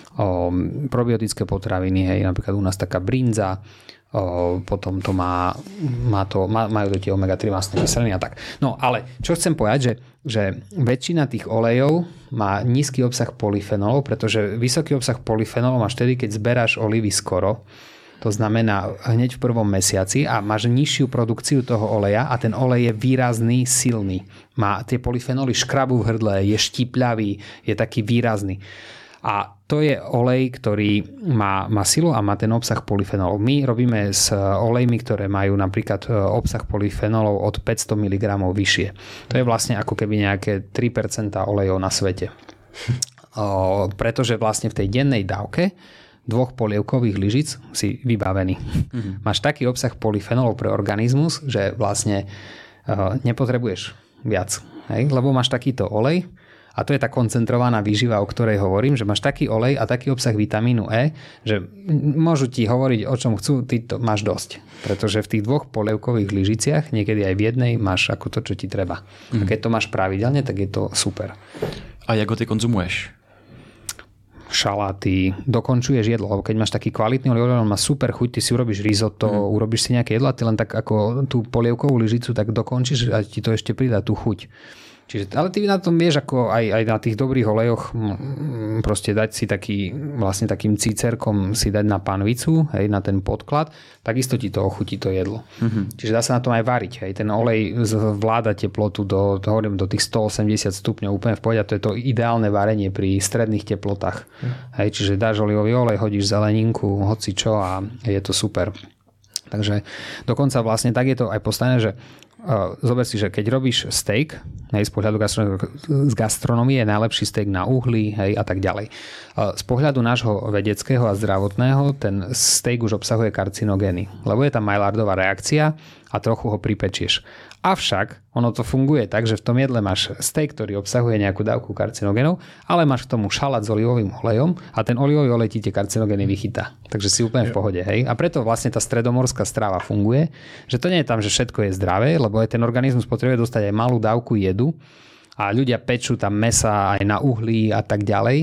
o, probiotické potraviny, hej, napríklad u nás taká brinza, o, potom to má, má to, má, majú to tie omega tri mastné kyseliny a tak. No ale čo chcem povedať, že, že väčšina tých olejov má nízky obsah polyfenolov, pretože vysoký obsah polyfenolov máš vtedy, keď zberáš olivy skoro. To znamená hneď v prvom mesiaci a máš nižšiu produkciu toho oleja a ten olej je výrazný, silný. Má tie polyfenoly škrabu v hrdle, je štipľavý, je taký výrazný. A to je olej, ktorý má, má silu a má ten obsah polyfenolov. My robíme s olejmi, ktoré majú napríklad obsah polyfenolov od päťsto miligramov vyššie. To je vlastne ako keby nejaké tri percentá olejov na svete. O, pretože vlastne v tej dennej dávke dvoch polievkových lyžic si vybavený. Mm-hmm. Máš taký obsah polyfenolov pre organizmus, že vlastne uh, nepotrebuješ viac. Hej? Lebo máš takýto olej a to je tá koncentrovaná výživa, o ktorej hovorím, že máš taký olej a taký obsah vitamínu E, že môžu ti hovoriť o čom chcú, ty to máš dosť. Pretože v tých dvoch polievkových lyžiciach, niekedy aj v jednej, máš ako to, čo ti treba. Mm-hmm. A keď to máš pravidelne, tak je to super. A jak ho ty konzumuješ? Šaláty, dokončuješ jedlo, lebo keď máš taký kvalitný olej, on má super chuť, ty si urobíš risotto, mm. urobíš si nejaké jedlo a ty len tak ako tú polievkovú lyžicu tak dokončíš a ti to ešte pridá tú chuť. Čiže, ale ty na tom vieš, ako aj, aj na tých dobrých olejoch proste dať si taký, vlastne takým cícerkom si dať na panvicu, hej, na ten podklad, takisto ti to ochutí to jedlo. Mm-hmm. Čiže dá sa na tom aj variť. Hej. Ten olej zvláda teplotu do, hovorím, do tých stoosemdesiat stupňov úplne v pohode a to je to ideálne varenie pri stredných teplotách. Mm. Hej, čiže dáš olivový olej, hodíš zeleninku, hoci čo a je to super. Takže dokonca vlastne tak je to aj postavené, že Uh, zober si, že keď robíš steak, hej, z pohľadu gastronomie, z gastronomie je najlepší steak na uhli, hej, a tak ďalej. Uh, z pohľadu nášho vedeckého a zdravotného ten steak už obsahuje karcinogény, lebo je tam Maillardová reakcia a trochu ho pripečieš. Avšak ono to funguje tak, že v tom jedle máš steak, ktorý obsahuje nejakú dávku karcinogénov, ale máš k tomu šalát s olivovým olejom a ten olivový olej ti tie karcinogény vychytá. Takže si úplne v pohode, hej. A preto vlastne tá stredomorská strava funguje, že to nie je tam, že všetko je zdravé, lebo aj ten organizmus potrebuje dostať aj malú dávku jedu a ľudia pečú tam mesa aj na uhlí a tak ďalej.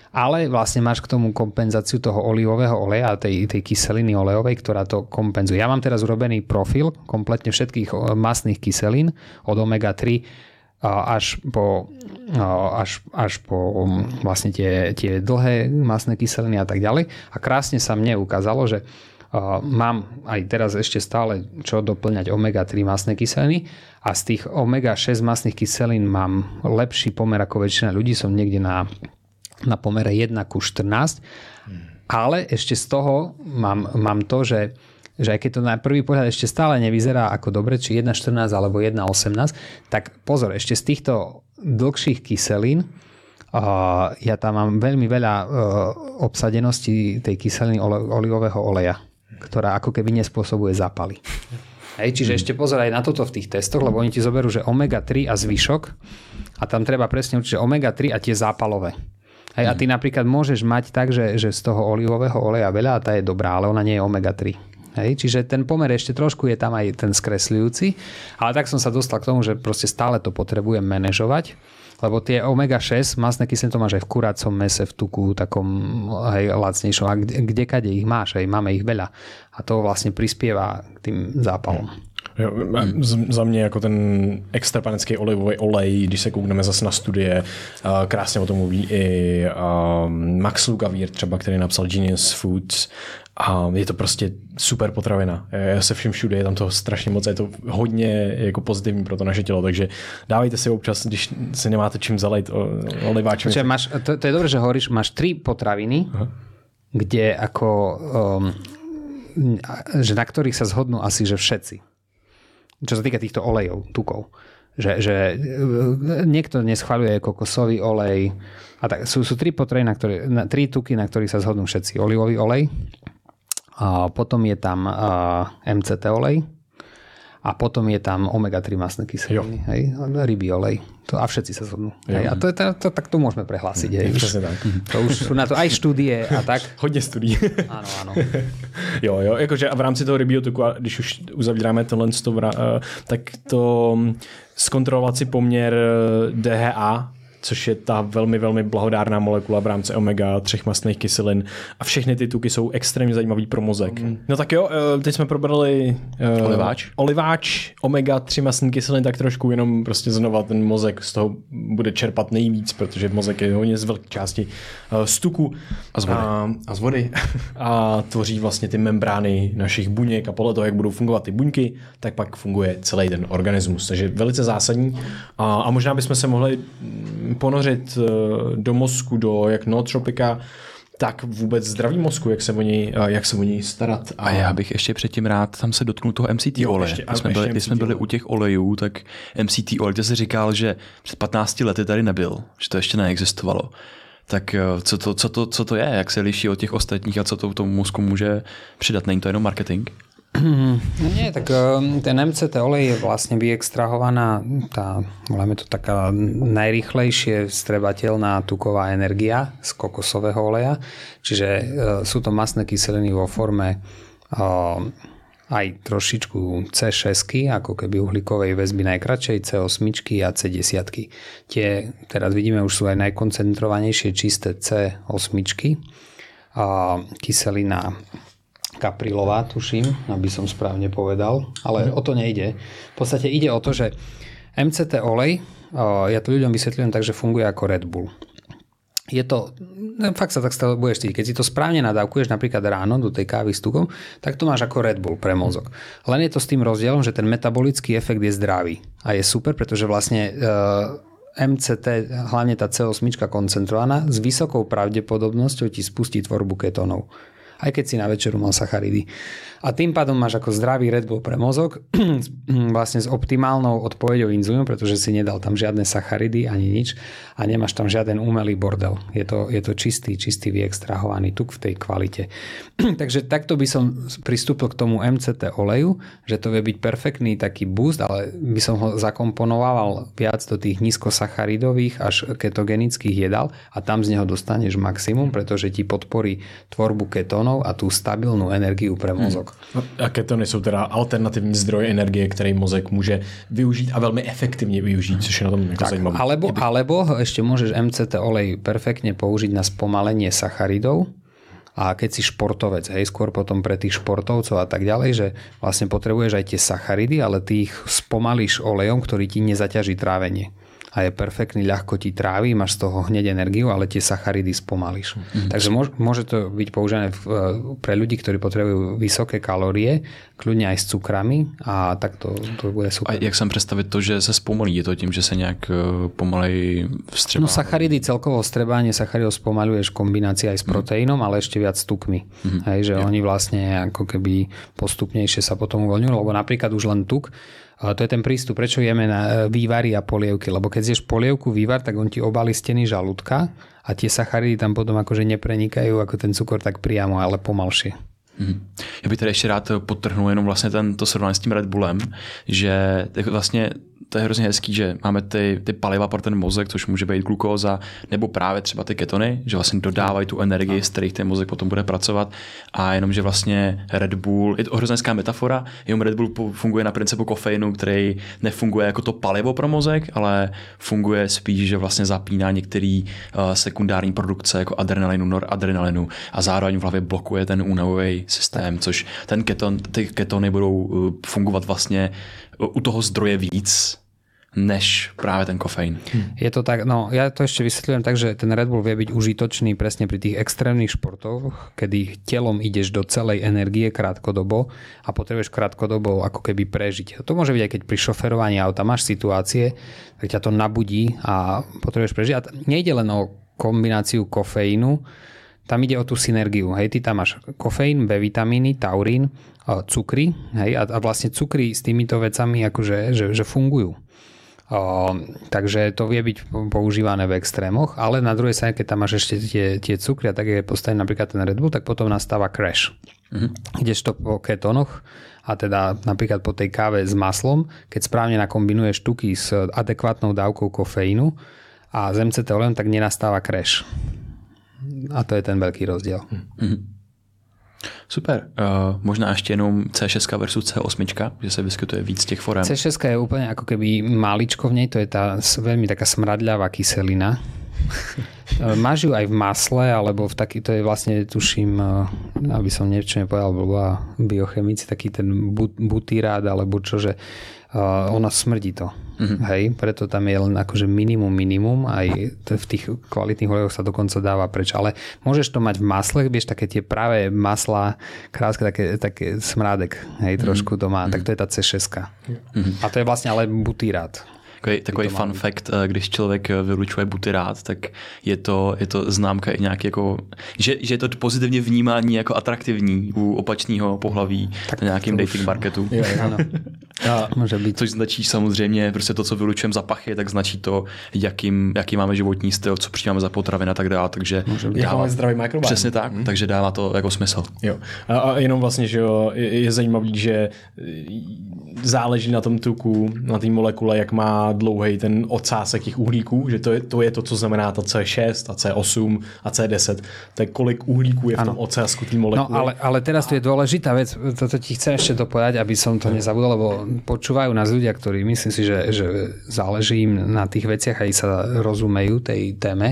ale vlastne máš k tomu kompenzáciu toho olivového oleja a tej, tej kyseliny olejovej, ktorá to kompenzuje. Ja mám teraz urobený profil kompletne všetkých mastných kyselín od omega tri až po, až, až po vlastne tie, tie dlhé mastné kyseliny a tak ďalej. A krásne sa mne ukázalo, že mám aj teraz ešte stále čo doplňať omega tri mastné kyseliny a z tých omega šesť mastných kyselín mám lepší pomer ako väčšina ľudí, som niekde na na pomere jeden ku štrnásť, hmm. ale ešte z toho mám, mám to, že, že aj keď to na prvý pohľad ešte stále nevyzerá ako dobre, či jeden štrnásť alebo jeden osemnásť, tak pozor, ešte z týchto dlhších kyselín uh, ja tam mám veľmi veľa uh, obsadenosti tej kyseliny ole, olivového oleja, ktorá ako keby nespôsobuje zápaly. Hej, čiže hmm. ešte pozor aj na toto v tých testoch, lebo oni ti zoberú, že omega tri a zvyšok a tam treba presne určiť, že omega tri a tie zápalové. Hej, a ty napríklad môžeš mať tak, že, že z toho olivového oleja veľa a tá je dobrá, ale ona nie je omega tri. Hej, čiže ten pomer ešte trošku je tam aj ten skresľujúci, ale tak som sa dostal k tomu, že proste stále to potrebujem manažovať, lebo tie omega šesť masné kyseliny to máš aj v kuracom mese, v tuku, takom hej, lacnejšom, a kde, kdekade ich máš, hej, máme ich veľa a to vlastne prispieva k tým zápalom. Jo, za mě jako ten extrapanický olivový olej, když se koukneme zase na studie, krásně o tom mluví i Max Lugavere třeba, který napsal Genius Foods, a je to prostě super potravina. Já se všem všude, je tam toho strašně moc, je to hodně jako pozitivní pro to naše tělo, takže dávejte si občas, když si nemáte čím zalejt oliváčem. Čiže máš, to, to je dobré, že hovoríš, máš tri potraviny, aha, kde ako, um, že na ktorých sa zhodnú asi, že všetci. Čo sa týka týchto olejov, tukov. Že, že niekto neschvaľuje kokosový olej. A tak, sú, sú tri potraviny, na ktoré, na, tri tuky, na ktorých sa zhodnú všetci. Olivový olej, a potom je tam a, em cé té olej a potom je tam omega tri mastné kyseliny. Hej? Rybí olej. To, a všetci sa zhodnú. Hej? A to, to, to, tak to môžeme prehlásiť. Hej? Už, to už sú na to aj štúdie a tak. Hodně studií. Áno, áno. Jo, jo, jakože a v rámci toho rybího tuku, a když už uzavíráme tohle, tak to zkontrolovat si poměr dé há á, což je ta velmi, velmi blahodárná molekula v rámci omega tři mastných kyselin a všechny ty tuky jsou extrémně zajímavý pro mozek. Mm. No tak jo, teď jsme probrali uh, oliváč. oliváč, omega tři mastný kyselin, tak trošku jenom prostě znova ten mozek z toho bude čerpat nejvíc, protože mozek je hodně z velké části uh, z tuku a z vody. A, a z vody. A tvoří vlastně ty membrány našich buněk a podle toho, jak budou fungovat ty buňky, tak pak funguje celý ten organismus. Takže velice zásadní. A, a možná bychom se mohli ponořit do mozku, do jak nootropika, tak vůbec zdraví mozku, jak se o něj, jak se o něj starat. A já bych ještě předtím rád tam se dotknul toho em cé té oleje. Když jsme, byli, když jsme byli u těch olejů, tak em cé té olej, ty jsi říkal, že před patnácti lety tady nebyl, že to ještě neexistovalo. Tak co to, co to, co to je? Jak se liší od těch ostatních a co to tomu mozku může přidat? Není to jenom marketing? No nie, tak ten em cé té olej je vlastne vyextrahovaná tá, voláme to taká najrýchlejšie vstrebateľná tuková energia z kokosového oleja. Čiže sú to mastné kyseliny vo forme aj trošičku cé šesť, ako keby uhlíkovej väzby najkratšej, cé osem a cé desať. Tie, teraz vidíme, už sú aj najkoncentrovanejšie čisté cé osem. Kyselina kaprilová, tuším, aby som správne povedal, ale o to nejde. V podstate ide o to, že em cé té olej, ja to ľuďom vysvetľujem tak, že funguje ako Red Bull. Je to, fakt sa tak stále budeš cítiť, keď si to správne nadávkuješ napríklad ráno do tej kávy s tukom, tak to máš ako Red Bull pre mozog. Len je to s tým rozdielom, že ten metabolický efekt je zdravý a je super, pretože vlastne em cé té, hlavne tá cé osem koncentrovaná, s vysokou pravdepodobnosťou ti spustí tvorbu ketónov. Aj keď si na večeru mal sacharidy. A tým pádom máš ako zdravý Red Bull pre mozog, vlastne s optimálnou odpoveďou inzulínu, pretože si nedal tam žiadne sacharidy ani nič a nemáš tam žiaden umelý bordel. Je to, je to čistý, čistý vyextrahovaný tuk v tej kvalite. Takže takto by som pristúpil k tomu em cé té oleju, že to vie byť perfektný taký boost, ale by som ho zakomponoval viac do tých nízkosacharidových až ketogenických jedál a tam z neho dostaneš maximum, pretože ti podporí tvorbu ketónov ketónov a tú stabilnú energiu pre mozog. Hmm. A ketony jsou teda alternativní zdroj energie, který mozek může využít a velmi efektivně využít, což je na tom jako zajímavé. Alebo, alebo ešte môžeš em cé té olej perfektne použiť na spomalenie sacharidov. A keď si športovec, hej, skôr potom pre tých športovcov a tak ďalej, že vlastne potrebuješ aj tie sacharidy, ale ty ich spomalíš olejom, ktorý ti nezaťaží trávenie. A je perfektný, ľahko ti trávi, máš z toho hneď energiu, ale tie sacharidy spomalíš. Mm-hmm. Takže môže, môže to byť používané pre ľudí, ktorí potrebujú vysoké kalórie, kľudne aj s cukrami a tak to, to bude super. A jak sam představit to, že se zpomalí? Je to tím, že se nějak pomalej vstřebá? No sacharidy, celkovo vstrebanie sacharidov spomaľuješ v kombinácii aj s proteínom, ale ešte viac s tukmi. Mm-hmm. Hej, že ja. Oni vlastne ako keby postupnejšie sa potom uvoľňujú, lebo napríklad už len tuk. A to je ten prístup, prečo jeme na vývary a polievky, lebo keď zješ polievku, vývar, tak on ti obalí steny žalúdka a tie sacharidy tam potom akože neprenikajú ako ten cukor tak priamo, ale pomalšie. Mm. Já bych tady ještě rád podtrhnul jenom vlastně tento srovnání s tím Red Bullem, že vlastně to je hrozně hezký, že máme ty, ty paliva pro ten mozek, což může být glukóza, nebo právě třeba ty ketony, že vlastně dodávají tu energii, z kterých ten mozek potom bude pracovat. A jenom, že vlastně Red Bull, je to hrozně hezká metafora, jenom Red Bull funguje na principu kofeinu, který nefunguje jako to palivo pro mozek, ale funguje spíš, že vlastně zapíná některé uh, sekundární produkce jako adrenalinu, noradrenalinu a zároveň v hlavě blokuje ten únavový systém, což ten keton, ty ketony budou uh, fungovat vlastně u toho zdroje víc, než práve ten kofeín. Je to tak, no ja to ešte vysvetľujem tak, že ten Red Bull vie byť užitočný presne pri tých extrémnych športoch, kedy telom ideš do celej energie krátkodobo a potrebuješ krátkodobo ako keby prežiť. To môže byť aj keď pri šoferovaní auta máš situácie, tak ťa to nabudí a potrebuješ prežiť. A nejde len o kombináciu kofeínu, tam ide o tú synergiu. Hej, ty tam máš kofeín, B vitamíny, taurín, cukry, hej, a, a vlastne cukry s týmito vecami akože, že, že fungujú. O, takže to vie byť používané v extrémoch, ale na druhej strane, keď tam máš ešte tie, tie cukry a tak je postavený napríklad ten Red Bull, tak potom nastáva crash. Mm-hmm. Kdežto po ketónoch a teda napríklad po tej káve s maslom, keď správne nakombinuješ tuky s adekvátnou dávkou kofeínu a s em cé té olejom, tak nenastáva crash. A to je ten veľký rozdiel. Mm-hmm. Super. Uh, možná ještě jenom cé šesť versus cé osm, že se vyskytuje víc těch forem. cé šesť je úplne ako keby máličko v nej, to je tá veľmi taká smradľavá kyselina. Máš ju aj v masle, alebo v taký, to je vlastne, tuším, aby som niečo nepovedal, bola biochemici, taký ten butyrát, alebo čo, že uh, ona smrdí to. Mm-hmm. Hej, preto tam je len akože minimum, minimum, aj v tých kvalitných olejoch sa dokonca dáva preč, ale môžeš to mať v masle, vieš, také tie pravé maslá, krásne, také, také smrádek, hej, trošku to má, mm-hmm. tak to je tá cé šesť. Mm-hmm. A to je vlastne ale butyrát. Takový, takový fun fact, když člověk vylučuje butyrát, tak je to, je to známka i nějaký jako, že, že je to pozitivně vnímání jako atraktivní u opačného pohlaví tak na nějakým dating marketu. Jo, ano. A může být. Což značí samozřejmě, prostě to, co vylučujeme za pachy, tak značí to, jakým, jaký máme životní styl, co přijímáme za potraviny a tak dále. Takže dává, zdravý mikrobiom. Přesně tak, hmm. takže dává to jako smysl. Jo. A, a jenom vlastně, že jo, je, je zajímavý, že záleží na tom tuku, na té molekule, jak má dlouhý ten odsásek těch uhlíků, že to je, to je to, co znamená ta cé šesť a cé osm a cé deset. Tak kolik uhlíků je v tom odsásku té molekuly. No ale, ale teraz tu je dôležitá vec, toto ti chcem ešte dopovedať, aby som to nezabudol, lebo počúvajú nás ľudia, ktorí myslím si, že, že záleží im na tých veciach aj sa rozumejú tej téme.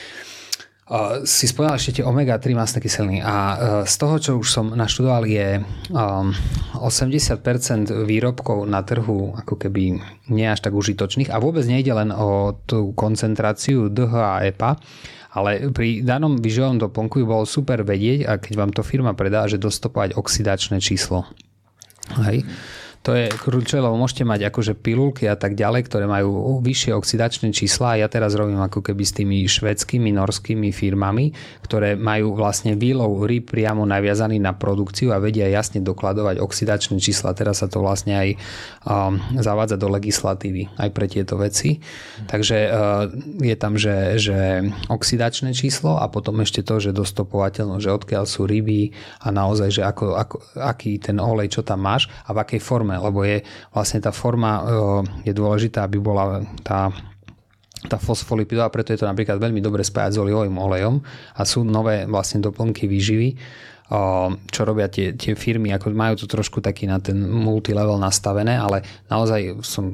Uh, si spomínal ešte tie omega tri mastné kyseliny a uh, z toho, čo už som naštudoval, je um, osemdesiat percent výrobkov na trhu ako keby nie až tak užitočných a vôbec nejde len o tú koncentráciu dé há a é pé á, ale pri danom výživovom doplnku by bolo super vedieť, a keď vám to firma predá, že dostopovať oxidačné číslo. Hej. To je kľúčové, lebo môžete mať akože pilulky a tak ďalej, ktoré majú vyššie oxidačné čísla a ja teraz robím ako keby s tými švédskymi, norskými firmami, ktoré majú vlastne výlov rýb priamo naviazaný na produkciu a vedia jasne dokladovať oxidačné čísla. Teraz sa to vlastne aj um, zavádza do legislatívy aj pre tieto veci. Takže uh, je tam, že, že oxidačné číslo a potom ešte to, že dostopovateľno, že odkiaľ sú ryby a naozaj, že ako, ako, aký ten olej, čo tam máš a v akej forme, lebo je vlastne tá forma je dôležitá, aby bola tá, tá fosfolipidová, preto je to napríklad veľmi dobre spájať s olivovým olejom a sú nové vlastne doplnky výživy, čo robia tie, tie firmy, ako majú to trošku taký na ten multilevel nastavené, ale naozaj som,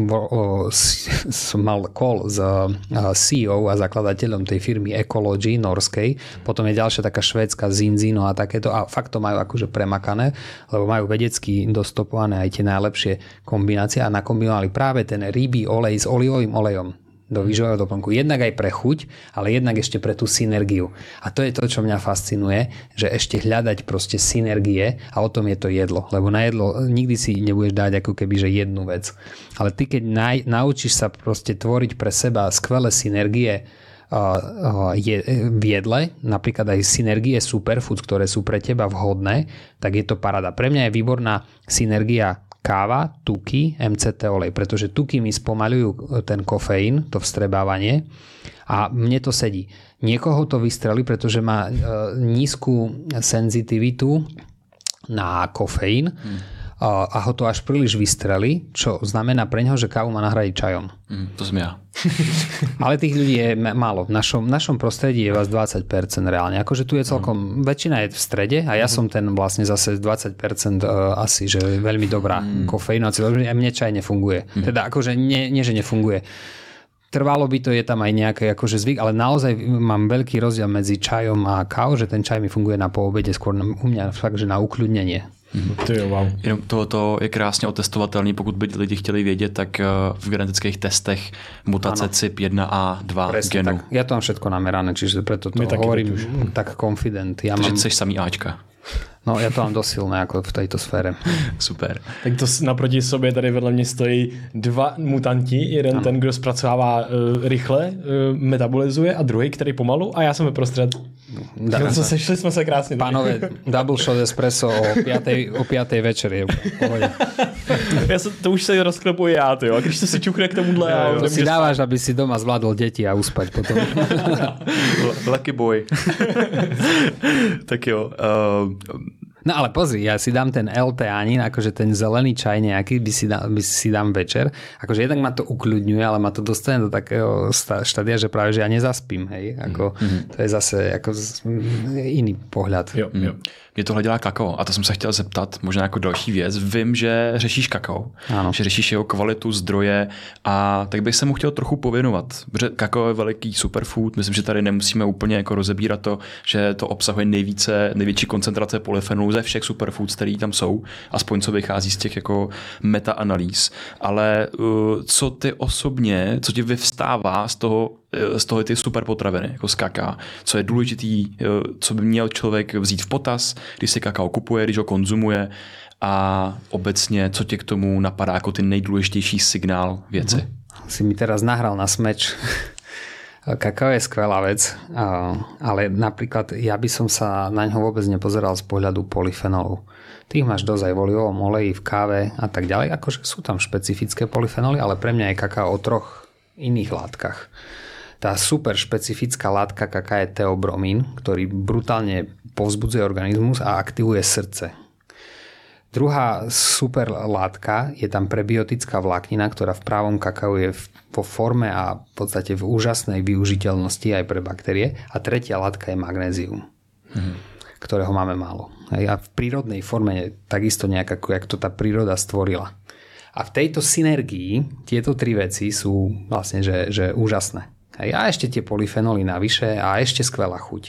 som mal call s C E O a zakladateľom tej firmy Ecology norskej, potom je ďalšia taká švédska Zinzino a takéto a fakt to majú akože premakané, lebo majú vedecky dostopované aj tie najlepšie kombinácie a nakombinovali práve ten rybí olej s olivovým olejom do výživového doplnku. Jednak aj pre chuť, ale jednak ešte pre tú synergiu. A to je to, čo mňa fascinuje, že ešte hľadať proste synergie a o tom je to jedlo. Lebo na jedlo nikdy si nebudeš dať ako keby, že jednu vec. Ale ty, keď naj, naučíš sa proste tvoriť pre seba skvelé synergie uh, uh, je, v jedle, napríklad aj synergie superfood, ktoré sú pre teba vhodné, tak je to paráda. Pre mňa je výborná synergia káva, tuky, em cé té olej, pretože tuky mi spomaľujú ten kofeín, to vstrebávanie a mne to sedí. Niekoho to vystrelí, pretože má e, nízku senzitivitu na kofeín hmm. a, a ho to až príliš vystrelí, čo znamená pre neho, že kávu má nahradiť čajom. Hmm, to som ja. Ale tých ľudí je málo. V našom, našom prostredí je vás dvadsať percent reálne. Akože tu je celkom, mm. väčšina je v strede a ja mm. som ten vlastne zase dvadsať percent uh, asi, že je veľmi dobrá mm. kofeína. Mne čaj nefunguje. Mm. Teda akože nie, nie, že nefunguje. Trvalo by to, je tam aj nejaký akože zvyk, ale naozaj mám veľký rozdiel medzi čajom a kávou, že ten čaj mi funguje na poobede, skôr na, u mňa fakt, že na ukľudnenie. To je wow. Jenom tohoto je krásně otestovatelný, pokud by lidi chtěli vědět, tak v genetických testech mutace ano. C Y P jedna a dva presne, genu. Tak. Ja to mám všetko namerané, čiže preto to hovorím tak confident. Ja Takže mám... chceš samý Ačka. No ja to mám dosť silné ako v tejto sfére. Super. Tak to naproti sobě tady vedle mě stojí dva mutanti. Jeden ano. ten, kdo zpracovává uh, rychle, uh, metabolizuje a druhý, který pomalu a já jsem vyprostřed. No, co sešli jsme se krásně. Pánové, double shot espresso o piatej, o piatej večer je pohode. Ja sa, to už sa rozklepuji já, tyjo. A když to si čuchne k tomuhle... Jo, jo, to si dáváš, aby si doma zvládol deti a uspať potom. Lucky boy. Tak jo. Uh, No ale pozri, ja si dám ten L-teanín, akože ten zelený čaj nejaký, by si, dá, by si dám večer. Akože jednak ma to ukľudňuje, ale ma to dostane do takého štádia, že práve, že ja nezaspím. Hej? Ako, mm-hmm. To je zase ako iný pohľad. Jo, jo. Mě tohle dělá kakao a to jsem se chtěl zeptat, možná jako další věc. Vím, že řešíš kakao, ano. že řešíš jeho kvalitu, zdroje a tak bych se mu chtěl trochu pověnovat. Protože kakao je veliký superfood, myslím, že tady nemusíme úplně jako rozebírat to, že to obsahuje nejvíce, největší koncentrace polyfenolů ze všech superfoods, které tam jsou, aspoň co vychází z těch jako metaanalýz. Ale uh, co ty osobně, co ti vyvstává z toho, z toho ty super potraviny, jako z kaká, co je důležitý, co by měl člověk vzít v potaz, když si kakao kupuje, když ho konzumuje a obecně, co tě k tomu napadá jako ty nejdůležitější signál věci. Mm-hmm. Si mi teraz nahral na smeč. Kakao je skvelá vec, ale napríklad ja by som sa na ňo vôbec nepozeral z pohľadu polyfenolov. Ty ich máš dosť aj v olivovom oleji, v káve a tak ďalej. Akože sú tam špecifické polyfenoly, ale pre mňa je kakao o troch iných látkach. Tá super špecifická látka kaká je teobromín, ktorý brutálne povzbudzuje organizmus a aktivuje srdce. Druhá super látka je tam prebiotická vláknina, ktorá v právom kakao je vo forme a v podstate v úžasnej využiteľnosti aj pre baktérie. A tretia látka je magnézium, hmm. ktorého máme málo. A v prírodnej forme takisto nejak ako jak to tá príroda stvorila. A v tejto synergii tieto tri veci sú vlastne že, že úžasné. A ešte tie polyfenoly navyše a ešte skvelá chuť.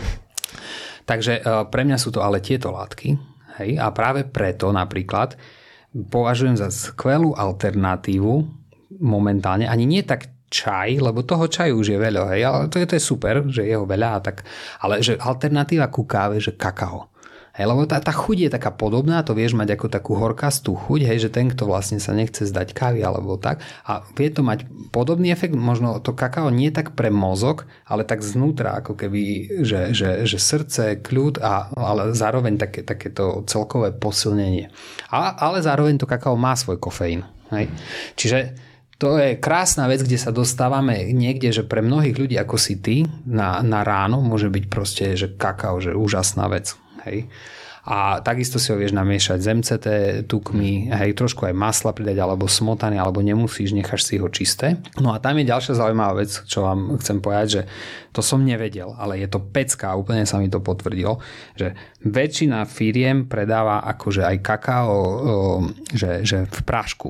Takže pre mňa sú to ale tieto látky. Hej? A práve preto napríklad považujem za skvelú alternatívu momentálne, ani nie tak čaj, lebo toho čaju už je veľa, hej? Ale to je, to je super, že je ho veľa, tak, ale že alternatíva ku káve, že kakao. Hej, lebo tá, tá chuť je taká podobná, to vieš mať ako takú horkastú chuť, hej, že ten, kto vlastne sa nechce zdať kávy alebo tak. A vie to mať podobný efekt, možno to kakao nie tak pre mozog, ale tak znútra, ako keby, že, že, že srdce, kľud, a, ale zároveň také, takéto celkové posilnenie. A, ale zároveň to kakao má svoj kofeín. Hej. Čiže to je krásna vec, kde sa dostávame niekde, že pre mnohých ľudí ako si ty na, na ráno môže byť proste, že kakao, že úžasná vec. Hej. A takisto si ho vieš namiešať z em cé té tukmi, hej, trošku aj masla pridať, alebo smotany, alebo nemusíš, necháš si ho čisté. No a tam je ďalšia zaujímavá vec, čo vám chcem povedať, že to som nevedel, ale je to pecka, úplne sa mi to potvrdilo, že väčšina firiem predáva akože aj kakao, že, že v prášku.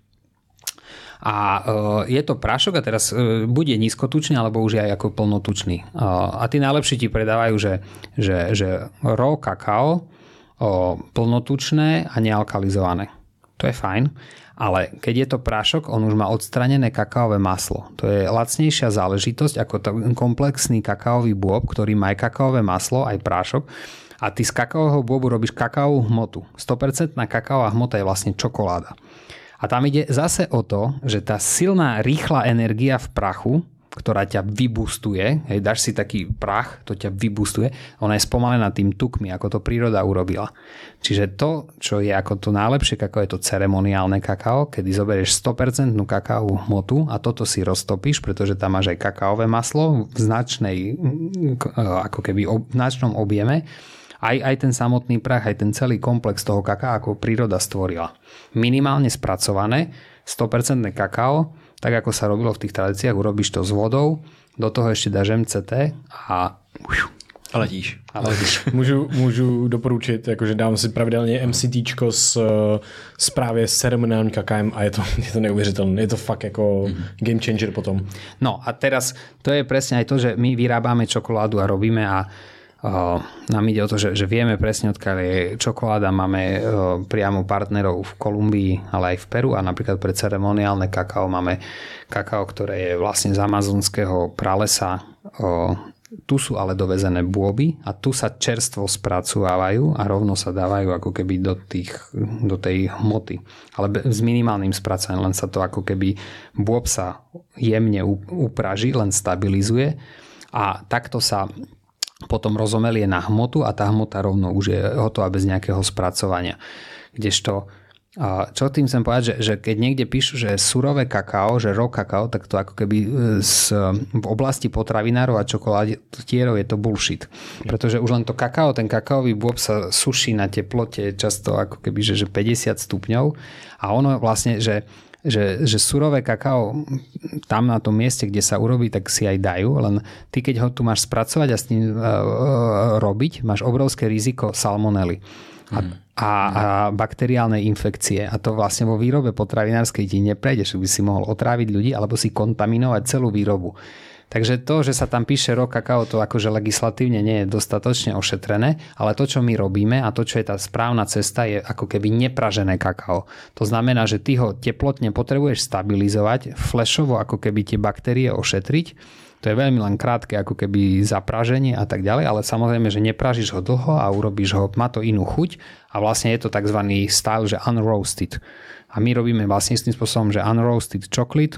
A je to prášok a teraz bude nízkotučný, alebo už je aj ako plnotučný. A tí najlepší ti predávajú, že, že, že raw kakao, plnotučné a nealkalizované. To je fajn, ale keď je to prášok, on už má odstranené kakaové maslo. To je lacnejšia záležitosť ako ten komplexný kakaový bôb, ktorý má aj kakaové maslo, aj prášok. A ty z kakaového bôbu robíš kakaovú hmotu. sto percent kakaová hmota je vlastne čokoláda. A tam ide zase o to, že tá silná, rýchla energia v prachu, ktorá ťa vybustuje, hej, dáš si taký prach, to ťa vybustuje, ona je spomalená tým tukmi, ako to príroda urobila. Čiže to, čo je ako to najlepšie kakao, je to ceremoniálne kakao, kedy zoberieš sto percent kakaovú hmotu a toto si roztopíš, pretože tam máš aj kakaové maslo v značnej, ako keby v značnom objeme. Aj, aj ten samotný prach, aj ten celý komplex toho kakaa, ako príroda stvorila. Minimálne spracované, sto percent kakao, tak ako sa robilo v tých tradíciách, urobíš to s vodou, do toho ešte dáš em cé té a... A letíš. A letíš. můžu, můžu doporučit, jakože dám si pravidelně MCTčko s, s právě s ceremoniálním kakaem a je to, je to neuvěřitelné. Je to fakt jako mm-hmm. game changer potom. No a teraz to je presne aj to, že my vyrábame čokoládu a robíme a Uh, nám ide o to, že, že vieme presne, odkiaľ je čokoláda, máme uh, priamo partnerov v Kolumbii, ale aj v Peru a napríklad pre ceremoniálne kakao máme kakao, ktoré je vlastne z amazonského pralesa. Uh, tu sú ale dovezené bôby a tu sa čerstvo spracovávajú a rovno sa dávajú ako keby do, tých, do tej hmoty. Ale s minimálnym spracovaním, len sa to ako keby bôb sa jemne upraží, len stabilizuje a takto sa potom rozomelie na hmotu a tá hmota rovno už je hotová bez nejakého spracovania. Kdežto, čo tým chcem povedať, že, že keď niekde píšu, že surové kakao, že raw kakao, tak to ako keby z, v oblasti potravinárov a čokoládierov je to bullshit. Pretože už len to kakao, ten kakaový bôb sa suší na teplote často ako keby, že, že päťdesiat stupňov a ono vlastne, že Že, že surové kakao tam na tom mieste, kde sa urobí, tak si aj dajú, len ty keď ho tu máš spracovať a s tým uh, robiť, máš obrovské riziko salmonely a, mm. a, a bakteriálnej infekcie a to vlastne vo výrobe potravinárskej ti neprejde, že by si mohol otráviť ľudí alebo si kontaminovať celú výrobu. Takže to, že sa tam píše raw kakao, to akože legislatívne nie je dostatočne ošetrené, ale to, čo my robíme a to, čo je tá správna cesta, je ako keby nepražené kakao. To znamená, že ty ho teplotne potrebuješ stabilizovať, flashovo ako keby tie baktérie ošetriť. To je veľmi len krátke ako keby zapraženie a tak ďalej, ale samozrejme, že nepražíš ho dlho a urobíš ho, má to inú chuť a vlastne je to tzv. Style, že unroasted. A my robíme vlastne s tým spôsobom, že unroasted chocolate.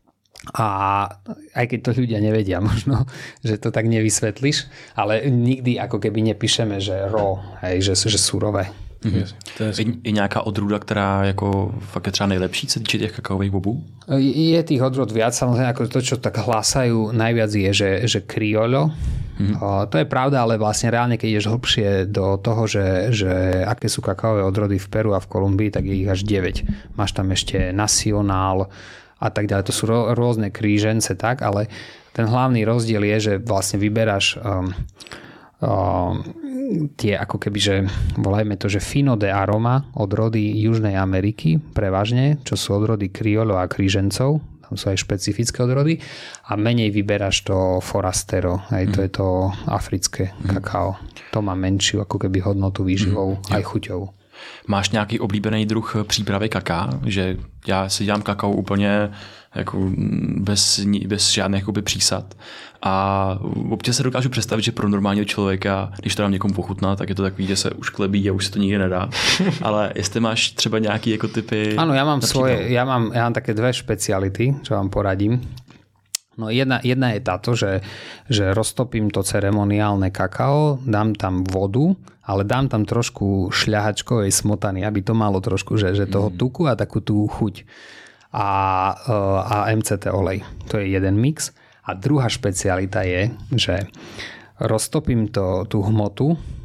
A aj keď to ľudia nevedia možno, že to tak nevysvetlíš, ale nikdy ako keby nepíšeme, že raw, hej, že, že surové. Mm-hmm. Je, je nějaká odrůda, která jako fakt je třeba nejlepší, co týče těch kakaových bobů? Je tých odrôd viac, samozrejme ako to, čo tak hlásajú najviac je, že, že criollo. Mm-hmm. O, to je pravda, ale vlastne reálne, keď ideš hlbšie do toho, že, že aké sú kakaové odrody v Peru a v Kolumbii, tak je ich až deväť. Máš tam ešte Nacional a tak ďalej. To sú rôzne krížence, tak, ale ten hlavný rozdiel je, že vlastne vyberáš um, um, tie ako keby, že volajme to, že Fino de Aroma odrody Južnej Ameriky prevažne, čo sú odrody kriolo a krížencov, tam sú aj špecifické odrody a menej vyberáš to Forastero, aj to mm. je to africké mm. kakao. To má menšiu ako keby hodnotu výživou mm. aj chuťou. Máš nějaký oblíbený druh přípravy kaká? Že já si dělám kakao úplně jako bez, bez žádných jakoby přísad a občas se dokážu představit, že pro normálního člověka, když to dám někomu pochutnat, tak je to takový, že se už klebí a už se to nikdy nedá. Ale jestli máš třeba nějaký jako typy... Áno, ja mám svoje, ja mám, ja mám také dve špeciality, čo vám poradím. No jedna, jedna je táto, že, že roztopím to ceremoniálne kakao, dám tam vodu, ale dám tam trošku šľahačkovej smotany, aby to malo trošku, že, že toho tuku a takú tú chuť. A, a em cé té olej. To je jeden mix. A druhá špecialita je, že roztopím to, tú hmotu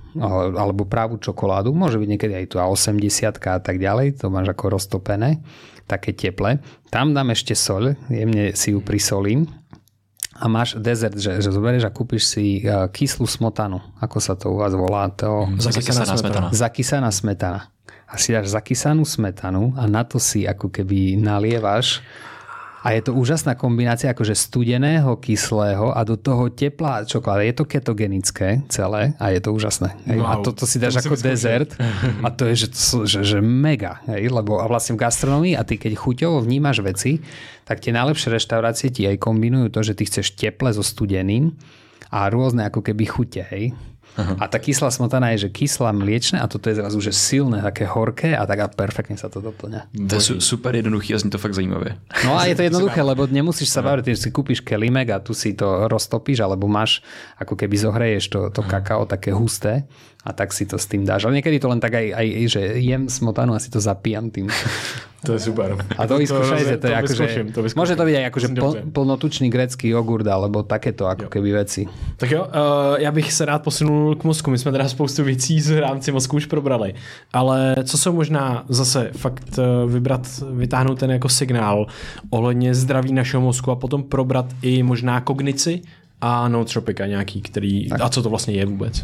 alebo pravú čokoládu, môže byť niekedy aj tu a osemdesiat a tak ďalej, to máš ako roztopené, také teple. Tam dám ešte soľ, jemne si ju prisolím a máš dezert, že, že zoberieš a kúpiš si kyslú smotanu, ako sa to u vás volá? To... Zakysaná smetana. Zakysaná smetana. A si dáš zakysanú smetanu a na to si ako keby nalievaš. A je to úžasná kombinácia akože studeného, kyslého a do toho teplá čokoláda. Je to ketogenické celé a je to úžasné. Wow, a toto si dáš to ako dezert a to je že, že, že mega. Hej? Lebo a vlastne v gastronomii a ty keď chuťovo vnímaš veci, tak tie najlepšie reštaurácie ti aj kombinujú to, že ty chceš teple so studeným a rôzne ako keby chute. Hej? Aha. A tá kyslá smotana je, že kyslá mliečne a toto je zrazu, že silné, také horké a tak a perfektne sa to doplňa. To je super jednoduchý a zní to fakt zajímavé. No a je to jednoduché, lebo nemusíš sa baviť, že si kúpiš kelimek a tu si to roztopíš, alebo máš, ako keby zohreješ to, to kakao také husté a tak si to s tým dáš. Ale niekedy to len tak aj, aj že jem smotanu a si to zapijam tým. To je super. A to vyskúšajte, to, to, to je akože, môže to byť aj akože pl, plnotučný grécky jogurt, alebo takéto ako jo. Keby veci. Tak jo, uh, já bych se rád posunul k mozku. My jsme teda spoustu věcí z rámci mozku už probrali. Ale co jsou možná zase fakt vybrat, vytáhnout ten jako signál ohledně zdraví našeho mozku a potom probrat i možná kognici a nootropika nějaký, který, tak. A co to vlastně je vůbec?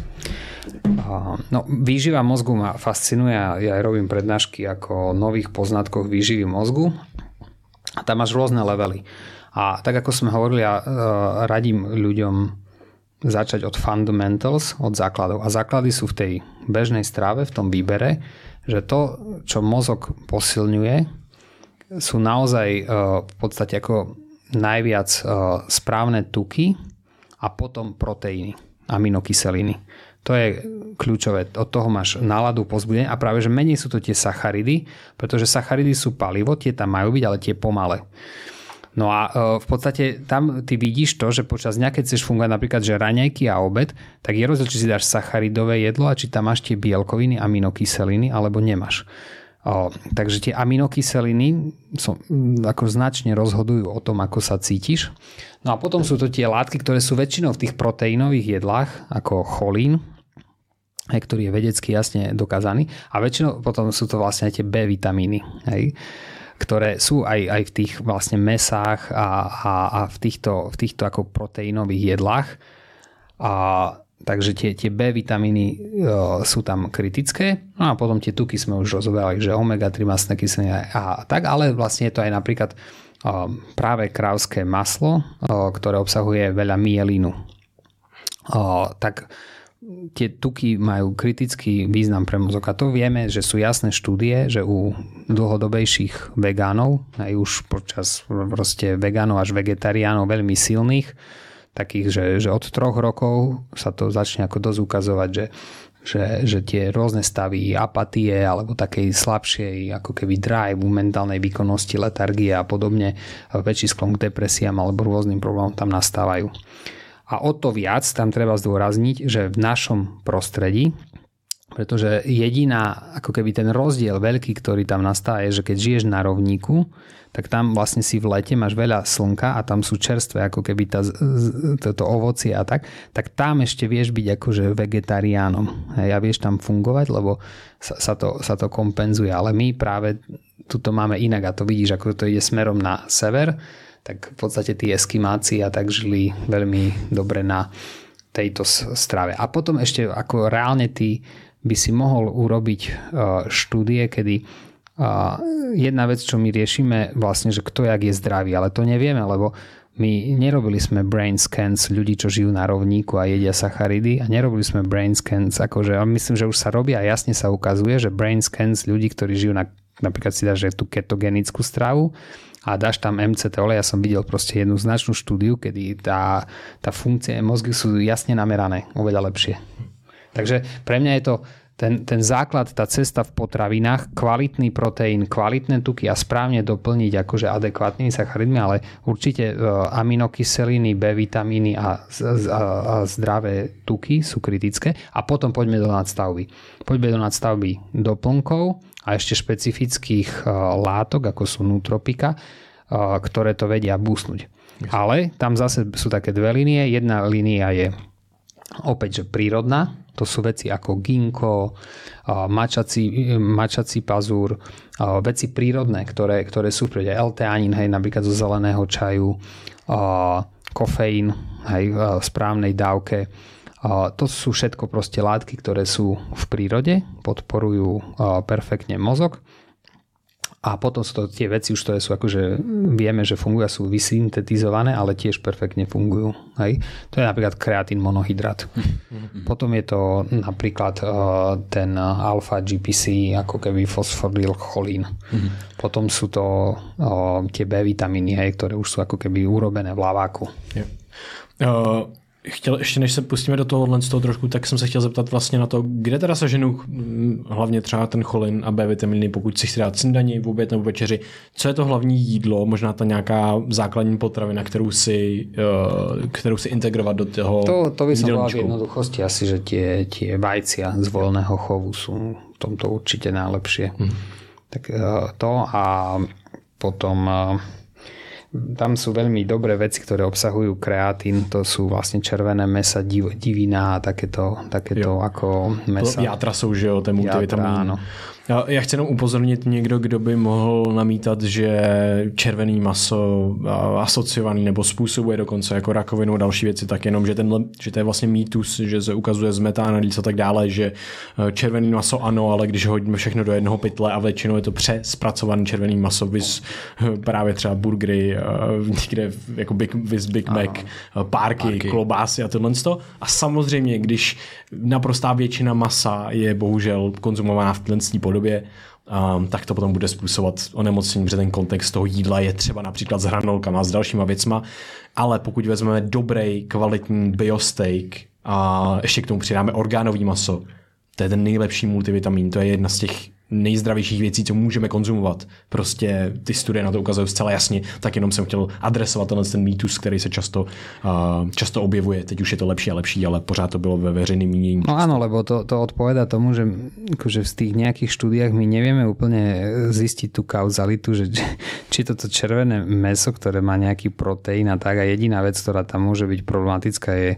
No, výživa mozgu ma fascinuje a ja aj robím prednášky ako o nových poznatkoch výživy mozgu a tam máš rôzne levely. A tak ako sme hovorili, ja radím ľuďom začať od fundamentals, od základov. A základy sú v tej bežnej strave, v tom výbere, že to, čo mozog posilňuje, sú naozaj v podstate ako najviac správne tuky a potom proteíny, aminokyseliny. To je kľúčové. Od toho máš náladu, povzbudenie a práve, že menej sú to tie sacharidy, pretože sacharidy sú palivo, tie tam majú byť, ale tie pomale. No a v podstate tam ty vidíš to, že počas dňa, keď chceš fungovať napríklad, že raňajky a obed, tak je rozdiel, či si dáš sacharidové jedlo a či tam máš tie bielkoviny, aminokyseliny, alebo nemáš. O, takže tie aminokyseliny som, ako značne rozhodujú o tom, ako sa cítiš. No a potom sú to tie látky, ktoré sú väčšinou v tých proteínových jedlách, ako cholín, ktorý je vedecky jasne dokázaný. A väčšinou potom sú to vlastne aj tie B vitamíny, hej, ktoré sú aj, aj v tých vlastne mesách a, a, a v týchto, v týchto ako proteínových jedlách. A takže tie, tie B vitamíny e, sú tam kritické. No a potom tie tuky sme už rozoberali, že omega tri mastné kyseliny a, a tak, ale vlastne je to aj napríklad e, práve krávské maslo, e, ktoré obsahuje veľa myelínu. E, tak tie tuky majú kritický význam pre mozog. A to vieme, že sú jasné štúdie, že u dlhodobejších vegánov, aj už počas proste vegánov až vegetariánov veľmi silných, takých, že, že od troch rokov sa to začne ako dosť ukazovať, že, že, že tie rôzne stavy apatie alebo takej slabšej ako keby drive, mentálnej výkonnosti, letargie a podobne, väčší sklon k depresiám alebo rôznym problémom tam nastávajú. A o to viac tam treba zdôrazniť, že v našom prostredí, pretože jediná, ako keby ten rozdiel veľký, ktorý tam nastáva, je, že keď žiješ na rovníku, tak tam vlastne si v lete máš veľa slnka a tam sú čerstvé, ako keby tá, toto ovocie a tak, tak tam ešte vieš byť akože vegetariánom. Hej, a vieš tam fungovať, lebo sa, sa, to, sa to kompenzuje. Ale my práve tuto máme inak a to vidíš, ako to ide smerom na sever, tak v podstate tí eskimáci a tak žili veľmi dobre na tejto strave. A potom ešte ako reálne ty by si mohol urobiť štúdie, kedy jedna vec, čo my riešime vlastne, že kto jak je zdravý, ale to nevieme, lebo my nerobili sme brain scans ľudí, čo žijú na rovníku a jedia sacharidy a nerobili sme brain scans, akože myslím, že už sa robia a jasne sa ukazuje, že brain scans ľudí, ktorí žijú na, napríklad si dáš tú ketogenickú stravu a dáš tam em cé té olej, ja som videl proste jednu značnú štúdiu, kedy tá, tá funkcie mozgu sú jasne namerané, oveľa lepšie. Takže pre mňa je to ten, ten základ, tá cesta v potravinách, kvalitný proteín, kvalitné tuky a správne doplniť akože adekvátnymi sacharidmi, ale určite aminokyseliny, B vitamíny a, a, a zdravé tuky sú kritické. A potom poďme do nadstavby. Poďme do nadstavby doplnkov a ešte špecifických látok, ako sú nootropika, ktoré to vedia boostnúť. Ale tam zase sú také dve línie. Jedna línia je opäť, že prírodná, to sú veci ako ginkgo, mačací, mačací pazúr, veci prírodné, ktoré, ktoré sú prírodné, L-teanín, hej, napríklad zo zeleného čaju, kofeín, hej, v správnej dávke. To sú všetko proste látky, ktoré sú v prírode, podporujú perfektne mozog. A potom sú to tie veci už, ktoré sú akože vieme, že fungujú, sú vysyntetizované, ale tiež perfektne fungujú. Hej. To je napríklad kreatín monohydrát. Mm-hmm. Potom je to napríklad uh, ten alfa G P C, ako keby fosfodylcholín. Mm-hmm. Potom sú to uh, tie B vitamíny, hej, ktoré už sú ako keby urobené v laváku. Yeah. Uh... Chtěl, ještě než se pustíme do tohohle z toho trošku, tak jsem se chtěl zeptat vlastně na to, kde teda seženu hlavně třeba ten cholin a B vitaminy, pokud si chci dát snídani, v oběd nebo večeři. Co je to hlavní jídlo, možná ta nějaká základní potravina, kterou si, kterou si integrovat do toho To, to by som povedal v jednoduchosti asi, že tie, tie vajcia z voľného chovu sú v tomto určite najlepšie. Hmm. Tak to a potom... Tam sú veľmi dobré veci, ktoré obsahujú kreatín, to sú vlastne červené mäsa, div, divina a takéto, takéto ako mäsa. Játra jsou, že jo, ten multivitamin. Já chci jenom upozornit někdo, kdo by mohl namítat, že červený maso asociovaný nebo způsobuje dokonce jako rakovinu a další věci, tak jenom, že, tenhle, že to je vlastně mýtus, že se ukazuje z metaanalýz a tak dále, že červený maso ano, ale když hodíme všechno do jednoho pytle a většinou je to přespracovaný červený maso, vys právě třeba burgery, někde jako Big, vys Big Mac, párky, párky, klobásy a tohle. A samozřejmě, když naprostá většina masa je bohužel konzumovaná v plnstní podobě, Um, tak to potom bude způsobovat onemocnění, protože ten kontext toho jídla je třeba například s hranolkama a s dalšíma věcma, ale pokud vezmeme dobrý, kvalitní biosteak a ještě k tomu přidáme orgánový maso, to je ten nejlepší multivitamin, to je jedna z těch nejzdravějších věcí, co můžeme konzumovat. Prostě ty studie na to ukazují zcela jasně, tak jenom jsem chtěl adresovat tenhle ten mýtus, který se často, uh, často objevuje. Teď už je to lepší a lepší, ale pořád to bylo ve veřejném mínění. No áno, lebo to, to odpoveda tomu, že akože v tých nejakých štúdiách my nevieme úplne zistiť tú kauzalitu, že či toto červené mäso, ktoré má nejaký proteín a tak, a jediná vec, ktorá tam môže byť problematická, je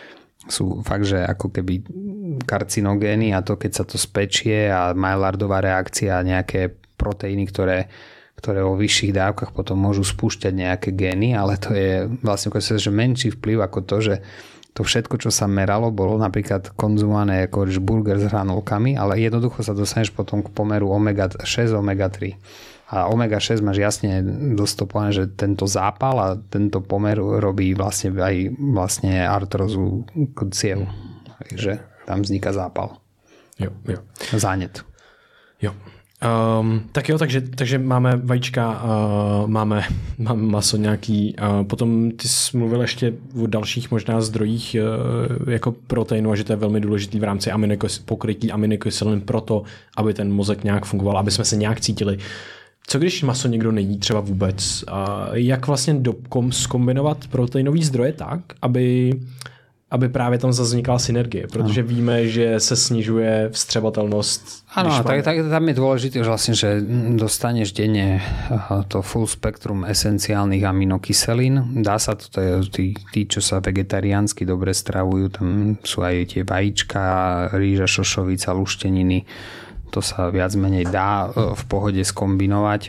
sú fakt, že ako keby karcinogény a to, keď sa to spečie a Maillardová reakcia a nejaké proteíny, ktoré, ktoré vo vyšších dávkach potom môžu spúšťať nejaké gény, ale to je vlastne že menší vplyv ako to, že to všetko, čo sa meralo, bolo napríklad konzumované ako burger s hranolkami, ale jednoducho sa dostaneš potom k pomeru omega šesť, omega tri. A omega šesť máš jasne dostupované, že tento zápal a tento pomer robí vlastne aj vlastne artrozu ciev. Takže tam vzniká zápal. Jo, jo. Zánět. Jo. Um, tak jo, takže, takže máme vajíčka, uh, máme, máme maso nějaký, uh, potom ty jsi mluvil ještě o dalších možná zdrojích uh, jako proteinu a že to je velmi důležitý v rámci aminokys- pokrytí aminokyselin proto, aby ten mozek nějak fungoval, aby jsme se nějak cítili. Co když maso někdo nejí třeba vůbec? A jak vlastně do, kom, zkombinovat proteinový zdroje tak, aby, aby právě tam zaznikala synergie? Protože ano. Víme, že se snižuje vstřebatelnost. Áno, tak, tak tam je dôležité, že vlastne, že dostaneš denne to full spektrum esenciálnych aminokyselín. Dá sa to, to je, tí, tí, čo sa vegetariánsky dobre stravujú, tam sú aj tie vajíčka, rýža, šošovica, lušteniny. To sa viac menej dá v pohode skombinovať.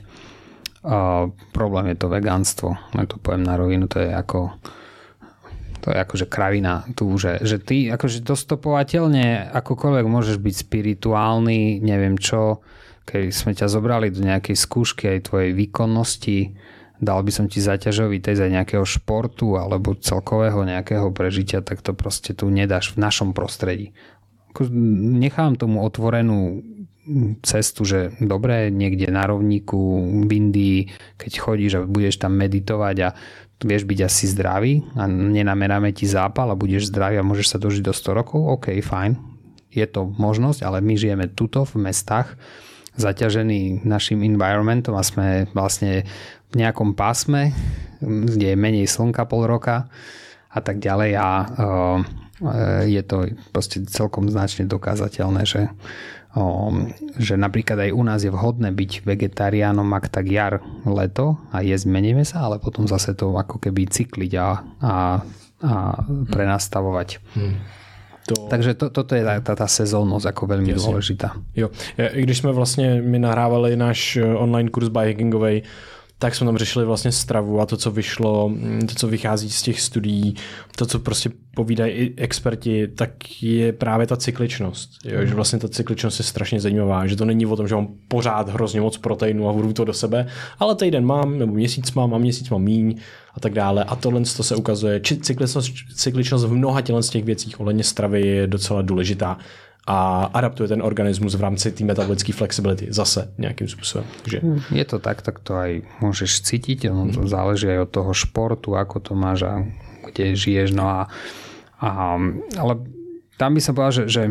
A problém je to vegánstvo. Ja to poviem na rovinu, to je ako to je akože kravina tu, že, že ty akože dostopovateľne akokoľvek môžeš byť spirituálny, neviem čo, keď sme ťa zobrali do nejakej skúšky aj tvojej výkonnosti, dal by som ti zaťažový test aj nejakého športu alebo celkového nejakého prežitia, tak to proste tu nedáš v našom prostredí. Nechám tomu otvorenú cestu, že dobre, niekde na rovníku v Indii, keď chodíš a budeš tam meditovať a vieš byť asi zdravý a nenameráme ti zápal a budeš zdravý a môžeš sa dožiť do sto rokov, OK, fajn, je to možnosť, ale my žijeme tuto v mestách zaťažení našim environmentom a sme vlastne v nejakom pásme, kde je menej slnka pol roka a tak ďalej a uh, je to proste celkom značne dokázateľné, že O, že napríklad aj u nás je vhodné byť vegetariánom, ak tak jar, leto a jesť menej mesa, ale potom zase to ako keby cykliť a, a, a prenastavovať. Hmm. To... Takže to, toto je tá, tá, tá sezónnosť ako veľmi Jasne. dôležitá. Jo. I když jsme vlastně my nahrávali náš online kurz biohackingovej, tak jsme tam řešili vlastně stravu a to, co vyšlo, to, co vychází z těch studií, to, co prostě povídají i experti, tak je právě ta cykličnost. Jo? Že vlastně ta cykličnost je strašně zajímavá, že to není o tom, že mám pořád hrozně moc proteinu a budu to do sebe, ale týden mám, nebo měsíc mám a měsíc mám míň a tak dále. A tohle to se ukazuje. Či cykličnost, cykličnost v mnoha tělen z těch věcích ohledně stravy je docela důležitá a adaptuje ten organismus v rámci té metabolické flexibility zase nějakým způsobem. Takže... Je to tak, tak to aj môžeš cítiť, ono to záleží aj od toho športu, ako to máš a kde žiješ. No a, a, ale tam by som povedal, že, že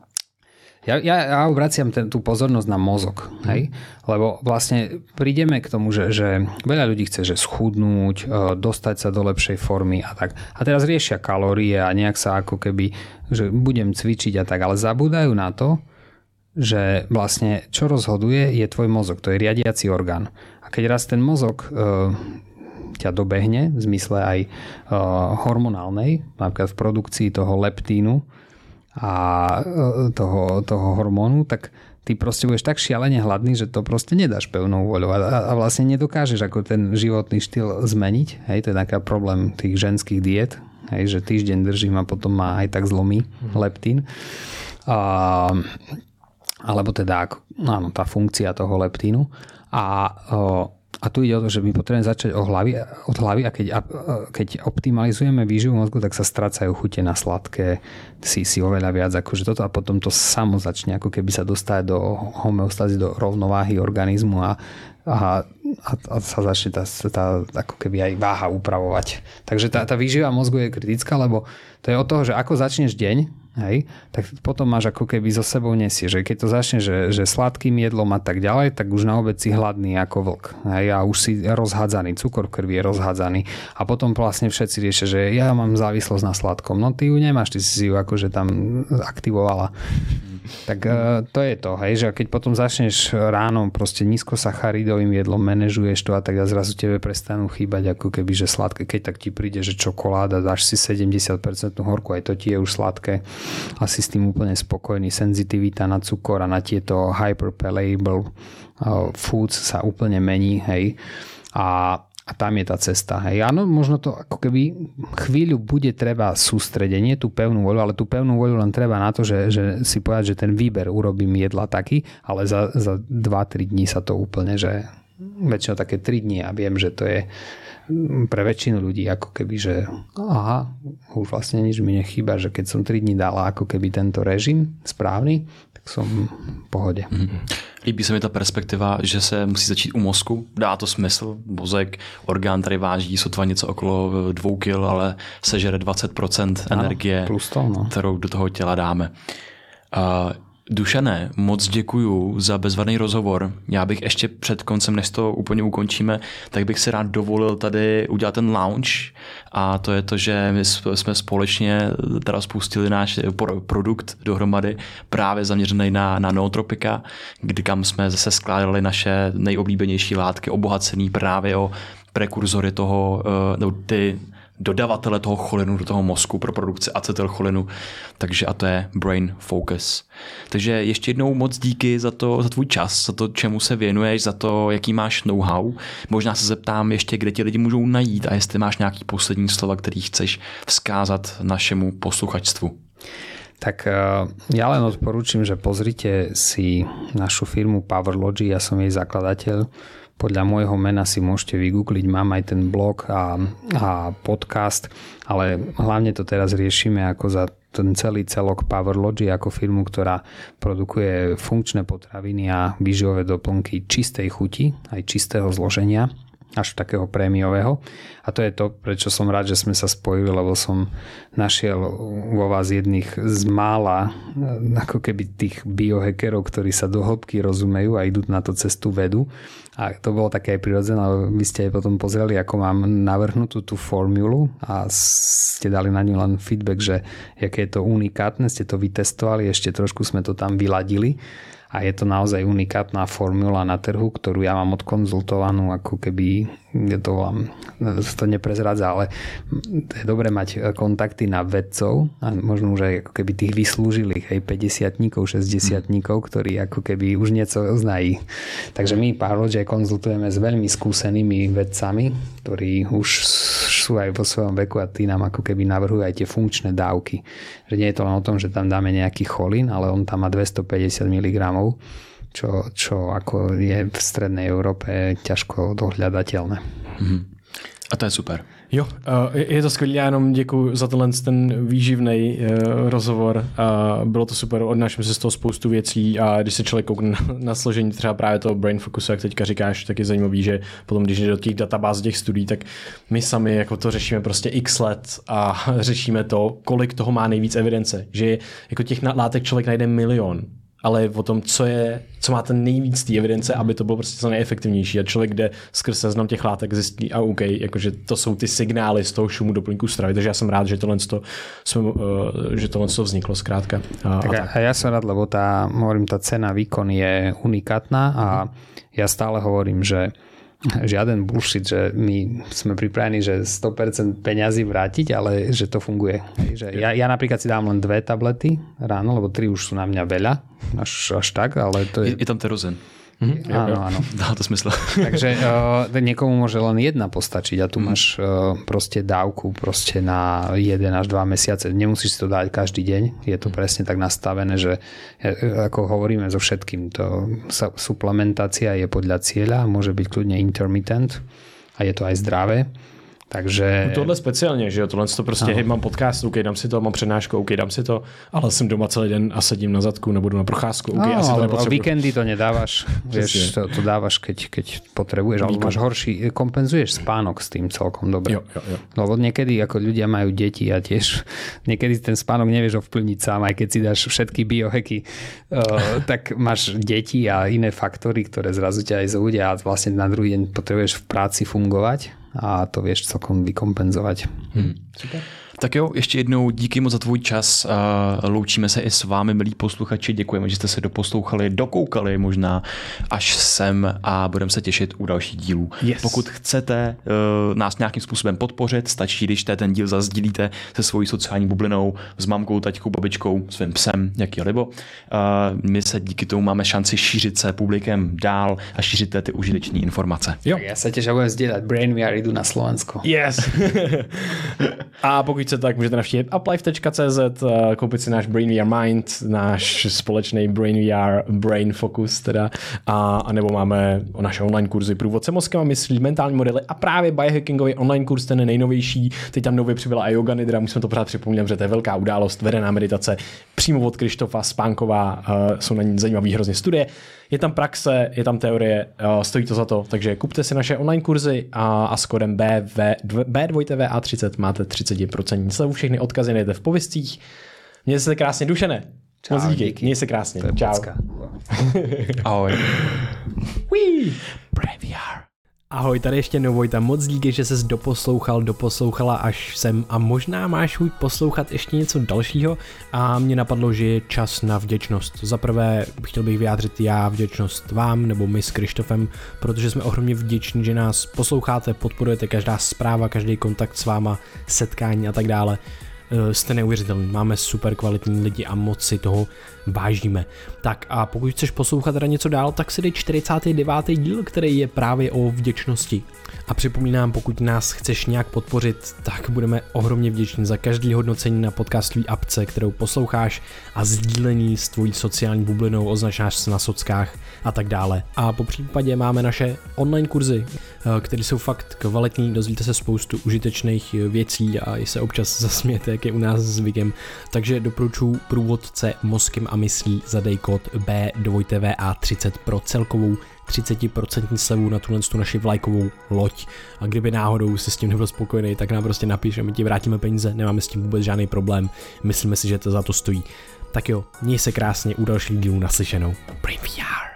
ja, ja, ja obraciam ten, tú pozornosť na mozog, hej? Lebo vlastne prídeme k tomu, že, že veľa ľudí chce, že schudnúť, dostať sa do lepšej formy a tak. A teraz riešia kalórie a nejak sa ako keby, že budem cvičiť a tak, ale zabúdajú na to, že vlastne čo rozhoduje je tvoj mozog, to je riadiaci orgán. A keď raz ten mozog e, ťa dobehne, v zmysle aj e, hormonálnej, napríklad v produkcii toho leptínu, a toho, toho hormónu, tak ty proste budeš tak šialene hladný, že to proste nedáš pevnou voľou a, a vlastne nedokážeš ako ten životný štýl zmeniť. Hej, to je taký problém tých ženských diet, hej, že týždeň držím a potom ma aj tak zlomí leptín. A, alebo teda áno, tá funkcia toho leptínu. A o, A tu ide o to, že my potrebujeme začať od hlavy, od hlavy a keď, a, keď optimalizujeme výživu mozgu, tak sa strácajú chute na sladké, si, si oveľa viac akože toto a potom to samo začne ako keby sa dostať do homeostázy, do rovnováhy organizmu a, a, a, a sa začne tá, tá ako keby aj váha upravovať. Takže tá, tá výživa mozgu je kritická, lebo to je od toho, že ako začneš deň, hej, tak potom máš ako keby so sebou nesie, že keď to začne, že, že sladkým jedlom a tak ďalej, tak už na obed si hladný ako vlk, hej, a už si rozhádzaný, cukor v krvi je rozhádzaný a potom vlastne všetci riešia, že ja mám závislosť na sladkom, no ty ju nemáš, ty si ju akože tam aktivovala. Tak to je to, hej, že keď potom začneš ráno proste nízkosacharidovým jedlom, manažuješ to a tak a zrazu tebe prestanú chýbať ako keby, že sladké, keď tak ti príde, že čokoláda, dáš si sedemdesiat percent horku, aj to ti je už sladké a si s tým úplne spokojný. Senzitivita na cukor a na tieto hyperpalatable foods sa úplne mení, hej, a A tam je tá cesta. Hej. Áno, možno to ako keby chvíľu bude treba sústredenie, tú pevnú voľu, ale tú pevnú voľu len treba na to, že, že si povedať, že ten výber urobím jedla taký, ale za, za dva tri dní sa to úplne, že väčšinou také tri dní a viem, že to je pre väčšinu ľudí ako keby, že aha, už vlastne nič mi nechýba, že keď som tri dní dala ako keby tento režim správny, tak som v pohode. Mm-hmm. Líbí se mi ta perspektiva, že se musí začít u mozku. Dá to smysl. Mozek, orgán tady váží sotva něco okolo dvou kil, ale sežere dvacet procent energie, plus to, no. kterou do toho těla dáme. Uh, Dušané, moc děkuju za bezvadný rozhovor. Já bych ještě před koncem, než to úplně ukončíme, tak bych si rád dovolil tady udělat ten launch a to je to, že my jsme společně teda spustili náš produkt dohromady právě zaměřený na, na nootropika, kdy kam jsme zase skládali naše nejoblíbenější látky obohacený právě o prekurzory toho, no, ty dodavatele toho cholinu do toho mozku pro produkci acetylcholinu. Takže a to je Brain Focus. Takže ještě jednou moc díky za to, za tvůj čas, za to, čemu se věnuješ, za to, jaký máš know-how. Možná se zeptám ještě, kde ti lidi můžou najít a jestli máš nějaký poslední slova, který chceš vzkázat našemu posluchačstvu. Tak ja len odporúčam, že pozrite si našu firmu PowerLogy, ja som jej zakladateľ. Podľa môjho mena si môžete vygoogliť, mám aj ten blog a, a podcast, ale hlavne to teraz riešime ako za ten celý celok PowerLogy ako firmu, ktorá produkuje funkčné potraviny a výživové doplnky čistej chuti, aj čistého zloženia, až takého prémiového. A to je to, prečo som rád, že sme sa spojili, lebo som našiel vo vás jedných z mála ako keby tých biohackerov, ktorí sa do hĺbky rozumejú a idú na to cestu vedu. A to bolo také aj prirodzené, ale vy ste aj potom pozreli, ako mám navrhnutú tú formulu a ste dali na ňu len feedback, že aké je to unikátne, ste to vytestovali, ešte trošku sme to tam vyladili. a je to naozaj unikátna formula na trhu, ktorú ja mám odkonzultovanú, ako keby to vám to neprezradza, ale je dobré mať kontakty na vedcov a možno už aj ako keby tých vyslúžilých, aj päťdesiatníkov, šesťdesiatníkov, ktorí ako keby už niečo znají. Takže my Powerlogic konzultujeme s veľmi skúsenými vedcami, ktorí už sú aj vo svojom veku a tí nám ako keby navrhujú aj tie funkčné dávky. Že nie je to len o tom, že tam dáme nejaký cholín, ale on tam má dvestopäťdesiat miligramov, čo, čo ako je v strednej Európe ťažko dohľadateľné. Mm-hmm. A to je super. Jo, je to skvělé, já jenom děkuji za tenhle ten výživný rozhovor. Bylo to super, odnáším se z toho spoustu věcí a když se člověk koukne na složení třeba právě toho brain focusu, jak teďka říkáš, tak je zajímavý, že potom, když jde do těch databáz, těch studií, tak my sami jako to řešíme prostě x let a řešíme to, kolik toho má nejvíc evidence, že jako těch látek člověk najde milion, ale o tom, co je, co má ten nejvíc té evidence, aby to bylo prostě co nejefektivnější. A člověk jde skrz seznam těch látek zjistí, a OK, jakože to jsou ty signály z toho šumu doplňku stravy. Takže já jsem rád, že tohle, to, uh, že tohle to vzniklo zkrátka. A, tak a, tak. a ja som rád, lebo tá, hovorím, tá cena výkon je unikátna a ja stále hovorím, že žiaden bullshit, že my sme pripravení, že sto percent peňazí vrátiť, ale že to funguje. Že ja, ja napríklad si dám len dve tablety ráno, lebo tri už sú na mňa veľa, až, až tak, ale to je... Je, je tam terozen. Mm-hmm. Áno, áno. Dá to smysl. Takže uh, niekomu môže len jedna postačiť a tu mm. máš uh, proste dávku proste na jeden až dva mesiace. Nemusíš si to dať každý deň. Je to presne tak nastavené, že uh, ako hovoríme so všetkým, to suplementácia je podľa cieľa, môže byť kľudne intermittent a je to aj zdravé. Takže... No tohle speciálně, že jo, tohle to prostě, hej, mám podcast, OK, dám si to, mám přednášku, OK, dám si to, ale jsem doma celý den a sedím na zadku, nebo jdu na procházku, OK, no, asi to nepotřebuji. Víkendy to nedávaš, vieš, to, to dávaš, keď, keď potrebuješ, alebo máš horší, kompenzuješ spánok s tým celkom dobre. Jo, jo, jo. Lebo niekedy, ako ľudia majú deti a tiež niekedy ten spánok nevieš ovplyvniť sám, aj keď si dáš všetky biohacky, uh, tak máš deti a iné faktory, ktoré zrazu ťa aj zúdia a vlastne na druhý deň potrebuješ v práci fungovať a to vieš celkom vykompenzovat. Hmm. Super. Tak jo, ještě jednou díky moc za tvůj čas. Loučíme se i s vámi, milí posluchači. Děkujeme, že jste se doposlouchali, dokoukali možná až sem a budeme se těšit u dalších dílů. Yes. Pokud chcete uh, nás nějakým způsobem podpořit, stačí, když ten díl zazdílíte se svojí sociální bublinou, s mamkou, taťkou, babičkou, svým psem, jaký libo. Uh, my se díky tomu máme šanci šířit se publikem dál a šířit ty užitečné informace. Jo. Tak já se těž budem sdílet. BrainVR jdu na Slovensko. Yes. A pokud chcete, tak můžete navštívit uplife tečka cé zet, koupit si náš BrainVR Mind, náš společný BrainVR Brain Focus teda, a, a nebo máme naše online kurzy průvodce mozkem a myslí, mentální modely a právě biohackingový online kurz, ten nejnovější. Teď tam nově přibyla i yoga nidra, musíme to pořád připomínat, že to je velká událost, vedená meditace přímo od Krištofa Spánková, uh, jsou na ní zajímavé hrozně studie. Je tam praxe, je tam teorie, uh, stojí to za to, takže kupte si naše online kurzy a, a s kodem B dva V A třicet máte třicet procent slevu, všechny odkazy najdete v pověstích. Mějte se krásně, Dušene. Čau, Moc díky. díky. Měj se krásně. Čau. Ahoj. Wee. BrainVR. Ahoj, tady ještě Novojta, moc díky, že ses doposlouchal, doposlouchala až sem a možná máš chuť poslouchat ještě něco dalšího a mě napadlo, že je čas na vděčnost. Za prvé chtěl bych vyjádřit já vděčnost vám nebo my s Krištofem, protože jsme ohromně vděční, že nás posloucháte, podporujete každá zpráva, každý kontakt s váma, setkání a tak dále. Jste neuvěřitelný, máme super kvalitní lidi a moc si toho vážíme. Tak a pokud chceš poslouchat teda něco dál, tak si dej čtyřicátý devátý díl, který je právě o vděčnosti. A připomínám, pokud nás chceš nějak podpořit, tak budeme ohromně vděční za každý hodnocení na podcastové apce, kterou posloucháš a sdílení s tvojí sociální bublinou, označ nás na sockách a tak dále. A po případě máme naše online kurzy, které jsou fakt kvalitní, dozvíte se spoustu užitečných věcí a i se občas zasmějete, jak je u nás zvykem. Takže doporučuji průvodce mozkem a myslí, zadej kód B dva V A třicet pro celkovou třicet procent slevu na tuhle naši vlajkovou loď. A kdyby náhodou si s tím nebyl spokojený, tak nám prostě napiš a my ti vrátíme peníze, nemáme s tím vůbec žádný problém, myslíme si, že to za to stojí. Tak jo, měj se krásně, u dalších dílů naslyšenou. BrainVR.